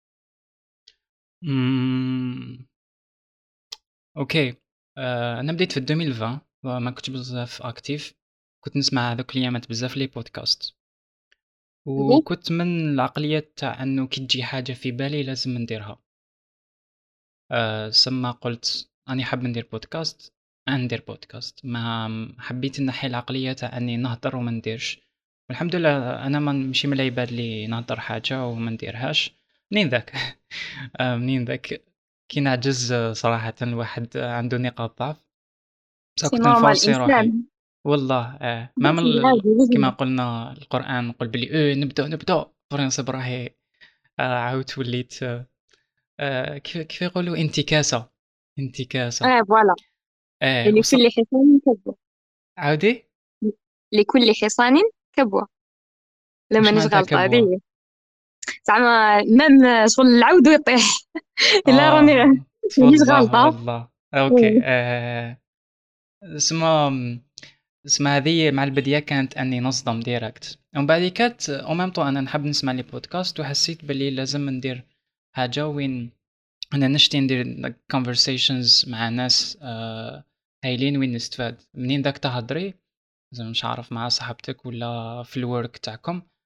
مم. اوكي. آه انا بديت في ألفين وعشرين وما كنتش بزاف اكتيف. كنت نسمع هذوك الايامات بزاف لي بودكاست وكنت من العقلية تاع انه كي تجي حاجة في بالي لازم نديرها. آه سما قلت اني حاب ندير بودكاست ندير بودكاست ما حبيت نحي العقلية تاع اني نهضر وما نديرش. والحمد لله انا ما مشي من العباد اللي نهضر حاجة وما نديرهاش. منين ذاك؟ آه منين ذاك كي نعجز آه، صراحة الواحد آه، عنده نقاط ضعف. بصح سي كنت نورمال نفورسي روحي. إنسان. والله آه ما من ال- عادي كما لازم. قلنا القرآن نقول بلي ايه نبدأ نبدأ فرنسا براهي. آه عاودت وليت آه آه، كيف كيف يقولوا انتكاسة. انتكاسة. اه فوالا. آه وص... لكل حصان كبوة. عاودي. لكل حصان كبوة. لما مش معناتها نشغل كبوة. هذه زعما مام شغل العود ويطيح. لا راني اه مانيش والله غلطة. والله اوكي. آه اسمها اسمها هذه مع البداية كانت اني نصدم ديريكت ومن بعد كانت او ميم طو انا نحب نسمع لي بودكاست وحسيت بلي لازم ندير حاجة وين انا نشتي ندير conversations مع ناس آه هايلين وين نستفاد منين داك تهضري. زعما مش عارف مع صاحبتك ولا في الورك تاعكم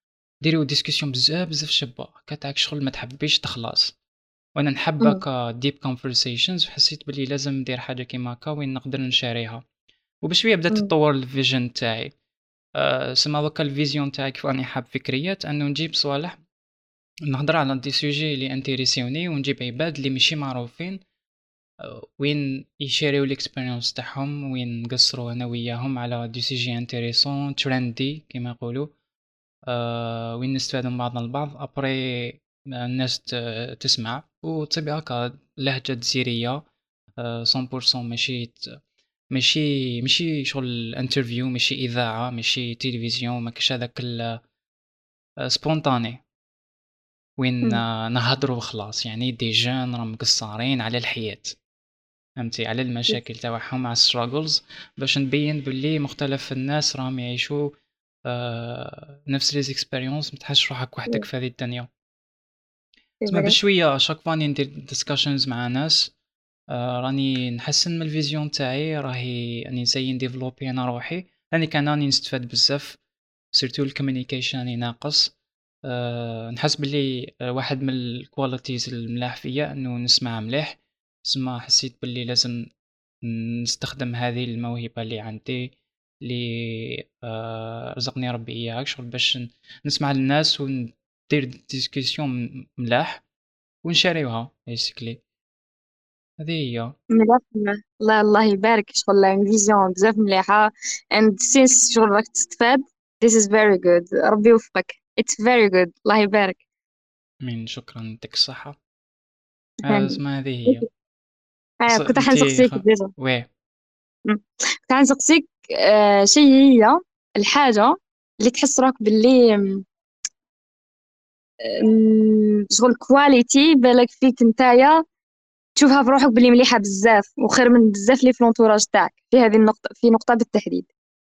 ديروا ديسكسيون بزاف بزاف شابه كتاعك شغل ما تحبيش تخلص. وانا نحب مم. هكا ديب كونفرسيشنز وحسيت بلي لازم ندير حاجه كيما هكا وين نقدر نشاريها. وبشويه بدات مم. تطور الفيجن تاعي. أه سما هكا الفيزيون تاعي كيف راني حاب فكريات انه نجيب صوالح نهضر على دي سوجي اللي انتريسيوني ونجيب عباد اللي ماشي معروفين أه وين يشاريو الاكسبيريونس تاعهم وين نقصروا انا وياهم على دي سوجي انتريسون ترندي كيما يقولوا. أه وين نستفادوا من بعضنا البعض ابري الناس ت- تسمع وتصيب هكا لهجة جزيرية. أه مية بالمية ماشي ت- ماشي ماشي شغل انترفيو ماشي اذاعة ماشي تلفزيون ما كاش هذاك سبونتاني وين مم. آه، نهضروا وخلاص يعني دي جان راهم مقصرين على الحياة فهمتي على المشاكل تاعهم على الستراغلز باش نبين باللي مختلف الناس راهم يعيشوا آه نفس لي زيكسبيريونس ما تحسش روحك وحدك في هذه الدنيا. سي تسمع فري. بشويه شاك فاني ندير ديسكشنز مع ناس آه راني نحسن من الفيزيون تاعي راهي راني نسيي نديفلوبي انا روحي راني كان راني نستفاد بزاف سيرتو الكوميونيكيشن راني ناقص. أه نحس باللي آه، واحد من الكواليتيز الملاح فيا انه نسمع مليح. تسمى حسيت باللي لازم نستخدم هذه الموهبة اللي عندي اللي آه رزقني ربي اياها شغل باش ن- نسمع للناس وندير ديسكسيون ملاح ونشاريوها بيسكلي هذه هي. مليح. الله الله يبارك شغل فيزيون بزاف مليحة and since شغل راك تستفاد this is very good. ربي يوفقك. it's very good. الله يبارك. من شكرا يعطيك الصحة. آه هاني. اسمها هذه هي. آه ص- كنت انتي حنسقسيك خ... ديجا. ويه مم. كنت حنسقسيك آه شي هي الحاجة اللي تحس راك باللي مم، شغل كواليتي بالك فيك نتايا تشوفها في روحك باللي مليحة بزاف وخير من بزاف اللي في الانتوراج تاعك في هذه النقطة في نقطة بالتحديد.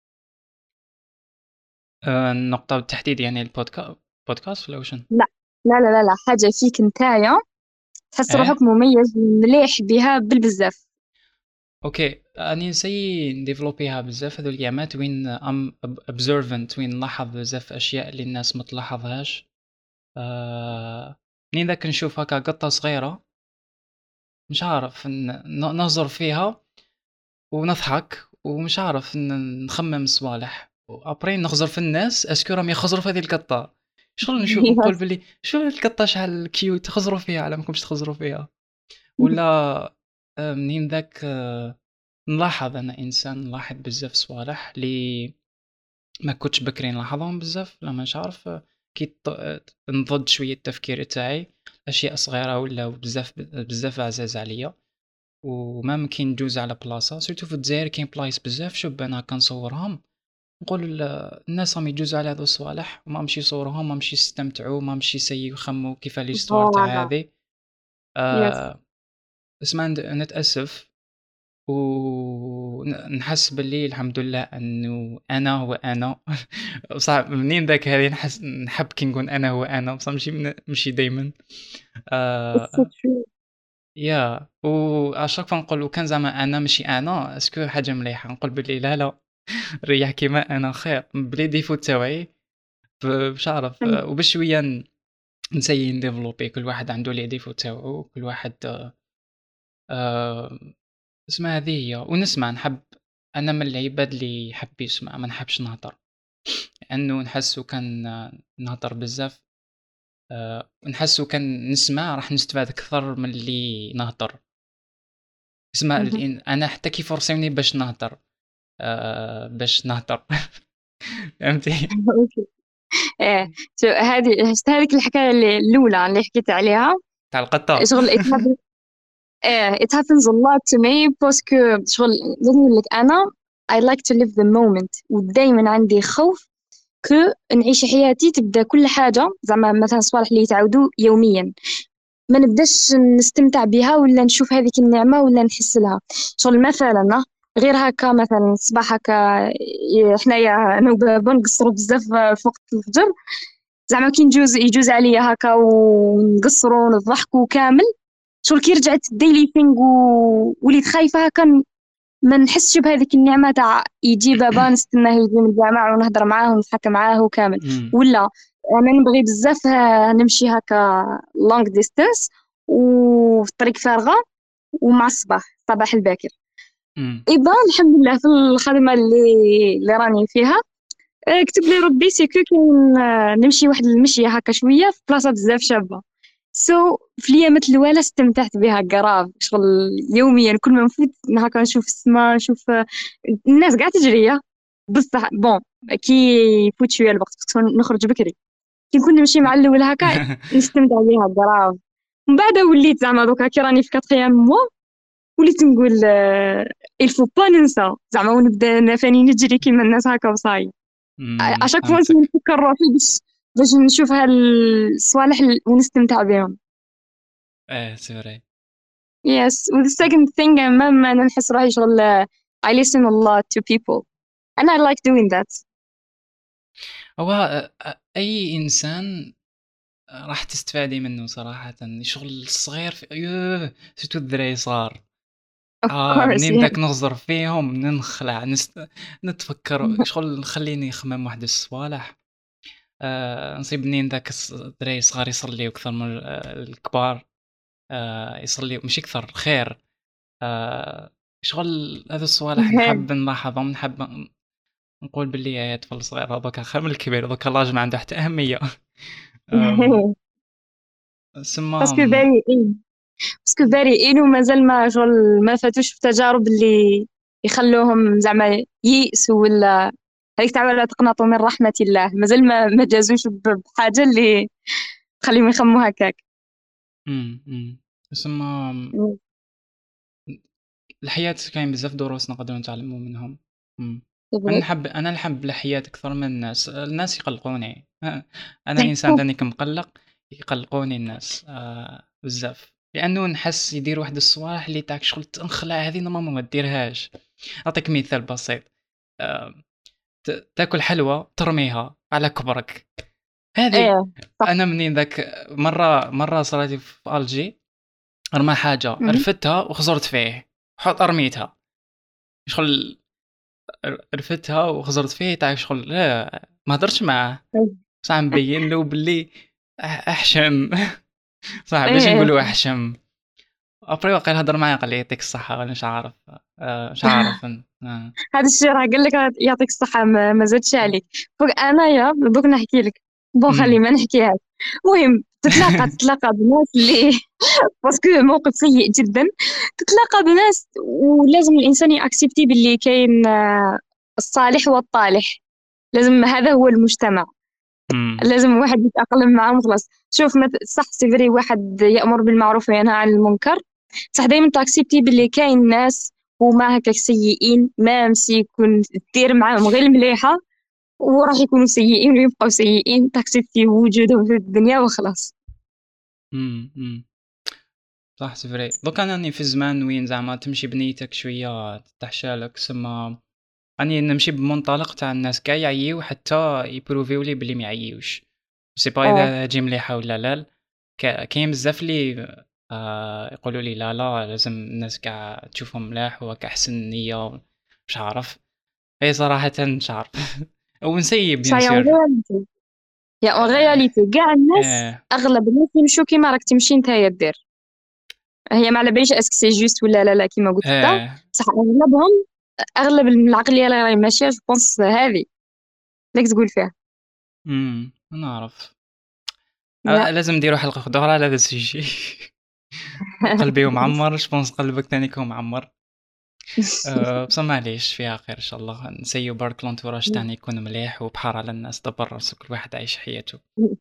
آه النقطة بالتحديد يعني البودكاست بودكاست ولا وشن؟ لا لا لا لا لا حاجة فيك نتايا تحس روحك اه مميز مليح بها بالبزاف. اوكي اني نسيي نديفلوبيها بزاف هذو الايامات وين ام observant وين نلاحظ بزاف اشياء اللي الناس ما تلاحظهاش. آه... منين ذاك نشوف هكا قطة صغيرة مش عارف ن... ن- نهزر فيها ونضحك ومش عارف ن... نخمم صوالح وابرين نخزر في الناس اسكو راهم يخزروا في هذه القطة شغل نشوف نقول بلي شو القطة شحال كيوت تخزروا فيها على ماكمش تخزروا فيها ولا آه، منين ذاك آه، نلاحظ انا انسان نلاحظ بزاف صوالح لي ما كنتش بكري نلاحظهم بزاف لا مش عارف آه، كي ط- نضد شويه التفكير تاعي اشياء صغيره ولا بزاف بزاف عزاز عليا. وما ممكن ندوز على بلاصه سيرتو في الجزائر كاين بلايص بزاف شوف انا كنصورهم نقول ال- الناس راهم يجوزوا على هذو الصوالح وما مشي يصوروهم ما مشي يستمتعوا ما مشي يسيو يخموا كيف ليستوار تاع فوالا. هذه. يس. أه اسمع ند- نتاسف ونحس باللي الحمد لله انه انا هو انا صعب منين ذاك هذه نحس نحب كي نقول انا هو انا بصح ماشي من- ماشي دائما. It's so آه true. يا واشاك فنقول كان زعما انا ماشي انا اسكو حاجه مليحه نقول باللي لا لا ريح كيما انا خير بلي ديفو تاعي ب- باش عارف Mm. آه، وبشويه ن- نسيي نديفلوبي كل واحد عنده لي ديفو تاعو كل واحد آه اسمها هذه هي ونسمع نحب انا من العباد اللي يحب يسمع ما نحبش نهضر لانه نحسو كان نهضر بزاف آه، نحسو كان نسمع راح نستفاد اكثر من اللي نهضر. اسمع Mhm. الإن- انا حتى كي فرسوني باش نهضر آه، باش نهضر فهمتي اوكي. ايه شو هذه شفت هذيك الحكايه اللي الاولى اللي حكيت عليها تاع القطه. شغل it happens. ايه it happens a lot to me باسكو شغل نقول لك انا I like to live the moment ودايما عندي خوف كو نعيش حياتي تبدا كل حاجه زعما مثلا صوالح اللي يتعاودوا يوميا ما نبداش نستمتع بها ولا نشوف هذيك النعمة ولا نحس لها. شغل مثلا غير هكا مثلا الصباح هكا ي- حنايا انا وبابا نقصروا بزاف في وقت الفجر زعما كي نجوز يجوز عليا هكا ونقصروا ونضحكوا كامل. شغل كي رجعت ديلي ثينغ و... وليت خايفة هكا ما نحسش بهذيك النعمة تاع يجي بابا نستناه يجي من الجامع ونهضر معاه ونضحك معاه وكامل أمم. ولا انا نبغي بزاف آه، نمشي هكا لونغ ديستانس وفي الطريق فارغه ومع الصباح الصباح الباكر. إمم. ايضا الحمد لله في الخدمه اللي اللي راني فيها، آه، كتب لي ربي سيكو كاين آه، نمشي واحد المشيه هكا شويه في بلاصه بزاف شابه. سو so, في الايامات الاولى استمتعت بها كراف شغل يوميا كل ما نفوت هكا نشوف السماء نشوف آه، الناس قاعده تجري. بصح بون كي يفوت شويه الوقت كنت نخرج بكري، كي نكون نمشي مع الاول هكا نستمتع بها كراف. من بعد وليت زعما دوكا كي راني في كاتريام موا وليت نقول آه، الفو با ننسى زعما ونبدا أنا فاني نجري كيما الناس هكا وصاي. إمم، اشاك فوا فهمتك. نفكر روحي باش باش نشوف هالصوالح ال- ونستمتع بهم. إيه c'est vrai. Yes, with the second thing ما ما أنا نحس روحي شغل آه، I listen a lot to people and I like doing that. هو أ أ أي إنسان راح تستفادي منه صراحةً، الشغل الصغير ف يوه! سيرتو الدراري الصغار. Of آه، course, منين yeah. داك نغزر فيهم ننخلع نست نتفكر شغل نخليني نخمم واحد الصوالح. آآ، نصيب منين داك الص الدراري الصغار يصليو أكثر من ال الكبار. آآ، يصليو ماشي أكثر خير. آآ، شغل هادو الصوالح نحب نلاحظهم، نحب ن نقول باللي هاد الطفل الصغير هذاك خير من الكبير، دوكا لاج ما عنده حتى أهمية. آمم، باسكو سما بارئين باسكو بارئين ومازال ما شغل ما فاتوش في تجارب اللي يخلوهم زعما ييأسوا ولا هذيك تاع ولا تقنطوا من رحمة الله، مازال ما ما جازوش ب- بحاجة اللي تخليهم يخموا هكاك. إمم، إمم، سما Mm, الحياة كاين بزاف دروس نقدروا نتعلموا منهم. إمم. c'est أنا vrai. نحب أنا نحب الحياة أكثر من الناس، الناس يقلقوني. أ أنا إنسان تاني كمقلّق، يقلقوني الناس آآ بزاف، لأنه نحس يديروا واحد الصوالح اللي تاعك شغل تنخلع هذه نورمالمون ما ديرهاش. نعطيك مثال بسيط. آآ ت تاكل حلوى ترميها على كبرك، هذه ايه صح. أنا منين ذاك مرة مرة صراتلي في ألجي، رمى حاجة مهم. رفدتها وخزرت فيه، حط رميتها، شغل ر رفدتها وخزرت فيه تاع شغل لا ما هدرتش معاه، بصح نبين له باللي أح أحشم. صح باش ايه نقولوا أحشم. أبري واقيلا هضر معايا قال لي يعطيك الصحة ولا مش عارف. آآ مش عارف ن آه. هذا الشيء راه قال لك يعطيك الصحة ما, ما زادش عليك. فوق انايا دوك نحكي لك بون خلي إمم. ما نحكيهاش. المهم تتلاقى تتلاقى بناس اللي باسكو موقف سيء جدا. تتلاقى بناس ولازم الانسان يأكسبتي باللي كاين آه، الصالح والطالح. لازم هذا هو المجتمع. إمم. لازم واحد يتأقلم معاهم خلاص. شوف مث... صح سيفري واحد يأمر بالمعروف وينهى عن المنكر. صح دايما تاكسبتي باللي كاين ناس وما هكاك سيئين ما مشي يكون دير معاهم غير المليحة وراح يكونوا سيئين ويبقوا سيئين تاكسبتي وجودهم في الدنيا وخلاص. إمم، إمم. صح c'est vrai. دوكا أنا راني في زمان وين زعما تمشي بنيتك شوية تحشالك، سما راني نمشي بمنطلق تاع الناس كاع يعييو حتى يبروفيو لي بلي ما يعييوش. سي با اه إذا هادي مليحة ولا لا. ك كاين بزاف لي آآ يقولوا لي لا، لا لازم الناس كاع تشوفهم ملاح وراك أحسن نية مش عارف. هي صراحةً مش عارف. ونسيي bien شاي اون sûr. رياليتي. يا اون آآ رياليتي كاع الناس آه، اغلب الناس يمشوا كيما راك تمشي نتايا دير. هي ما على باليش اسك سي جوست ولا لا لا كيما قلت انت. آه، صح اغلبهم اغلب العقليه اللي راهي ماشيه جو بونس هذه ليك تقول فيها. إمم، نعرف. يا آآ لازم نديروا حلقة وحدة أخرى على هذا السوجي. قلبي معمّر je pense قلبك تاني يكون معمّر. آآ بصح معليش فيها خير إن شاء الله، نسيّو برك l'entourage تاعنا يكون مليح وبحار على الناس دبّر راسك كل واحد عايش حياته.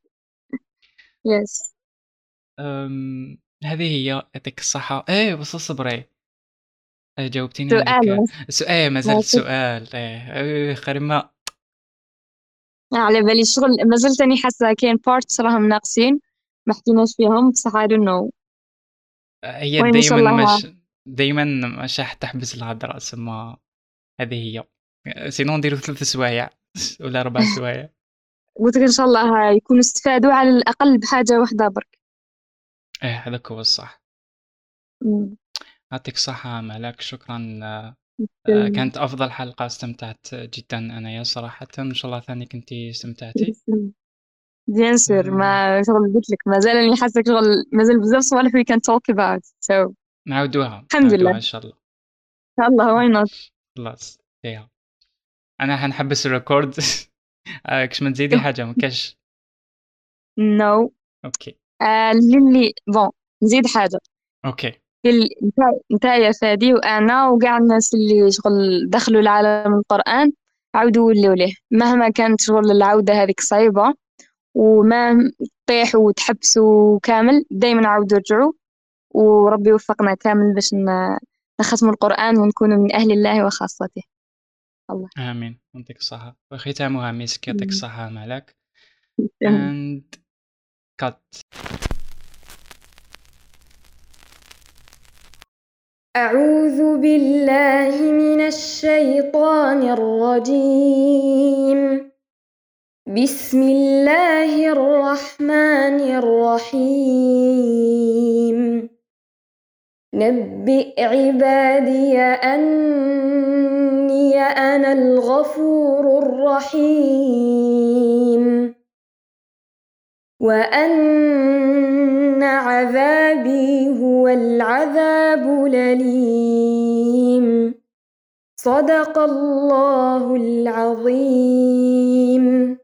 يس. آمم هذه هي يعطيك الصحة. إيه بس اصبري. آآ جاوبتيني على سؤال ديك بس. السؤال مازال ماشي. السؤال إيه. آآ خريمة. على بالي شغل مازلت راني حاسه كاين بارتس راهم ناقصين ما حكيناش فيهم بصح I don't know. هي المهم ان شاء دايمًا الله. مش دايمًا مش راح تحبس الهضرة تسمى هذه هي. sinon نديرو ثلاث سوايع والّا أربع سوايع. قلت لك ان شاء الله يكونوا استفادوا على الاقل بحاجه واحده برك. إيه هذاك هو الصح. أمم. يعطيك الصحة ملاك شكرًا. آآ تسلم. كانت أفضل حلقة استمتعت جدًا أنايا صراحةً، إن شاء الله ثاني كنتِ استمتعتِ. تسلم. بيان سور، آه، ما شغل قلت لك مازال راني حاسك شغل مازال بزاف صوالح we can talk about so نعاودوها الحمد لله نعاودوها إن إن شاء الله. شاء الله why not. خلاص فيها. أنا حنحبس الريكورد. آه، كش ما تزيدي حاجة ما كاش. no أوكي آه للي بون نزيد حاجة أوكي لل- نتا- نتايا فادي وانا وكاع الناس اللي شغل دخلوا لعالم القرآن عاودوا ولاو ليه مهما كانت شغل العودة هذيك صعيبة وما تطيحوا وتحبسوا كامل دايما عاودوا رجعوا وربي يوفقنا كامل باش ن- نختموا القرآن ونكونوا من أهل الله وخاصته. الله آمين يعطيك الصحة وختامها مسك يعطيك مم. الصحة مالك. تمام. and cut. أعوذ بالله من الشيطان الرجيم. بسم الله الرحمن الرحيم. نبئ عبادي أني أنا الغفور الرحيم وأن عذابي هو العذاب الأليم. صدق الله العظيم.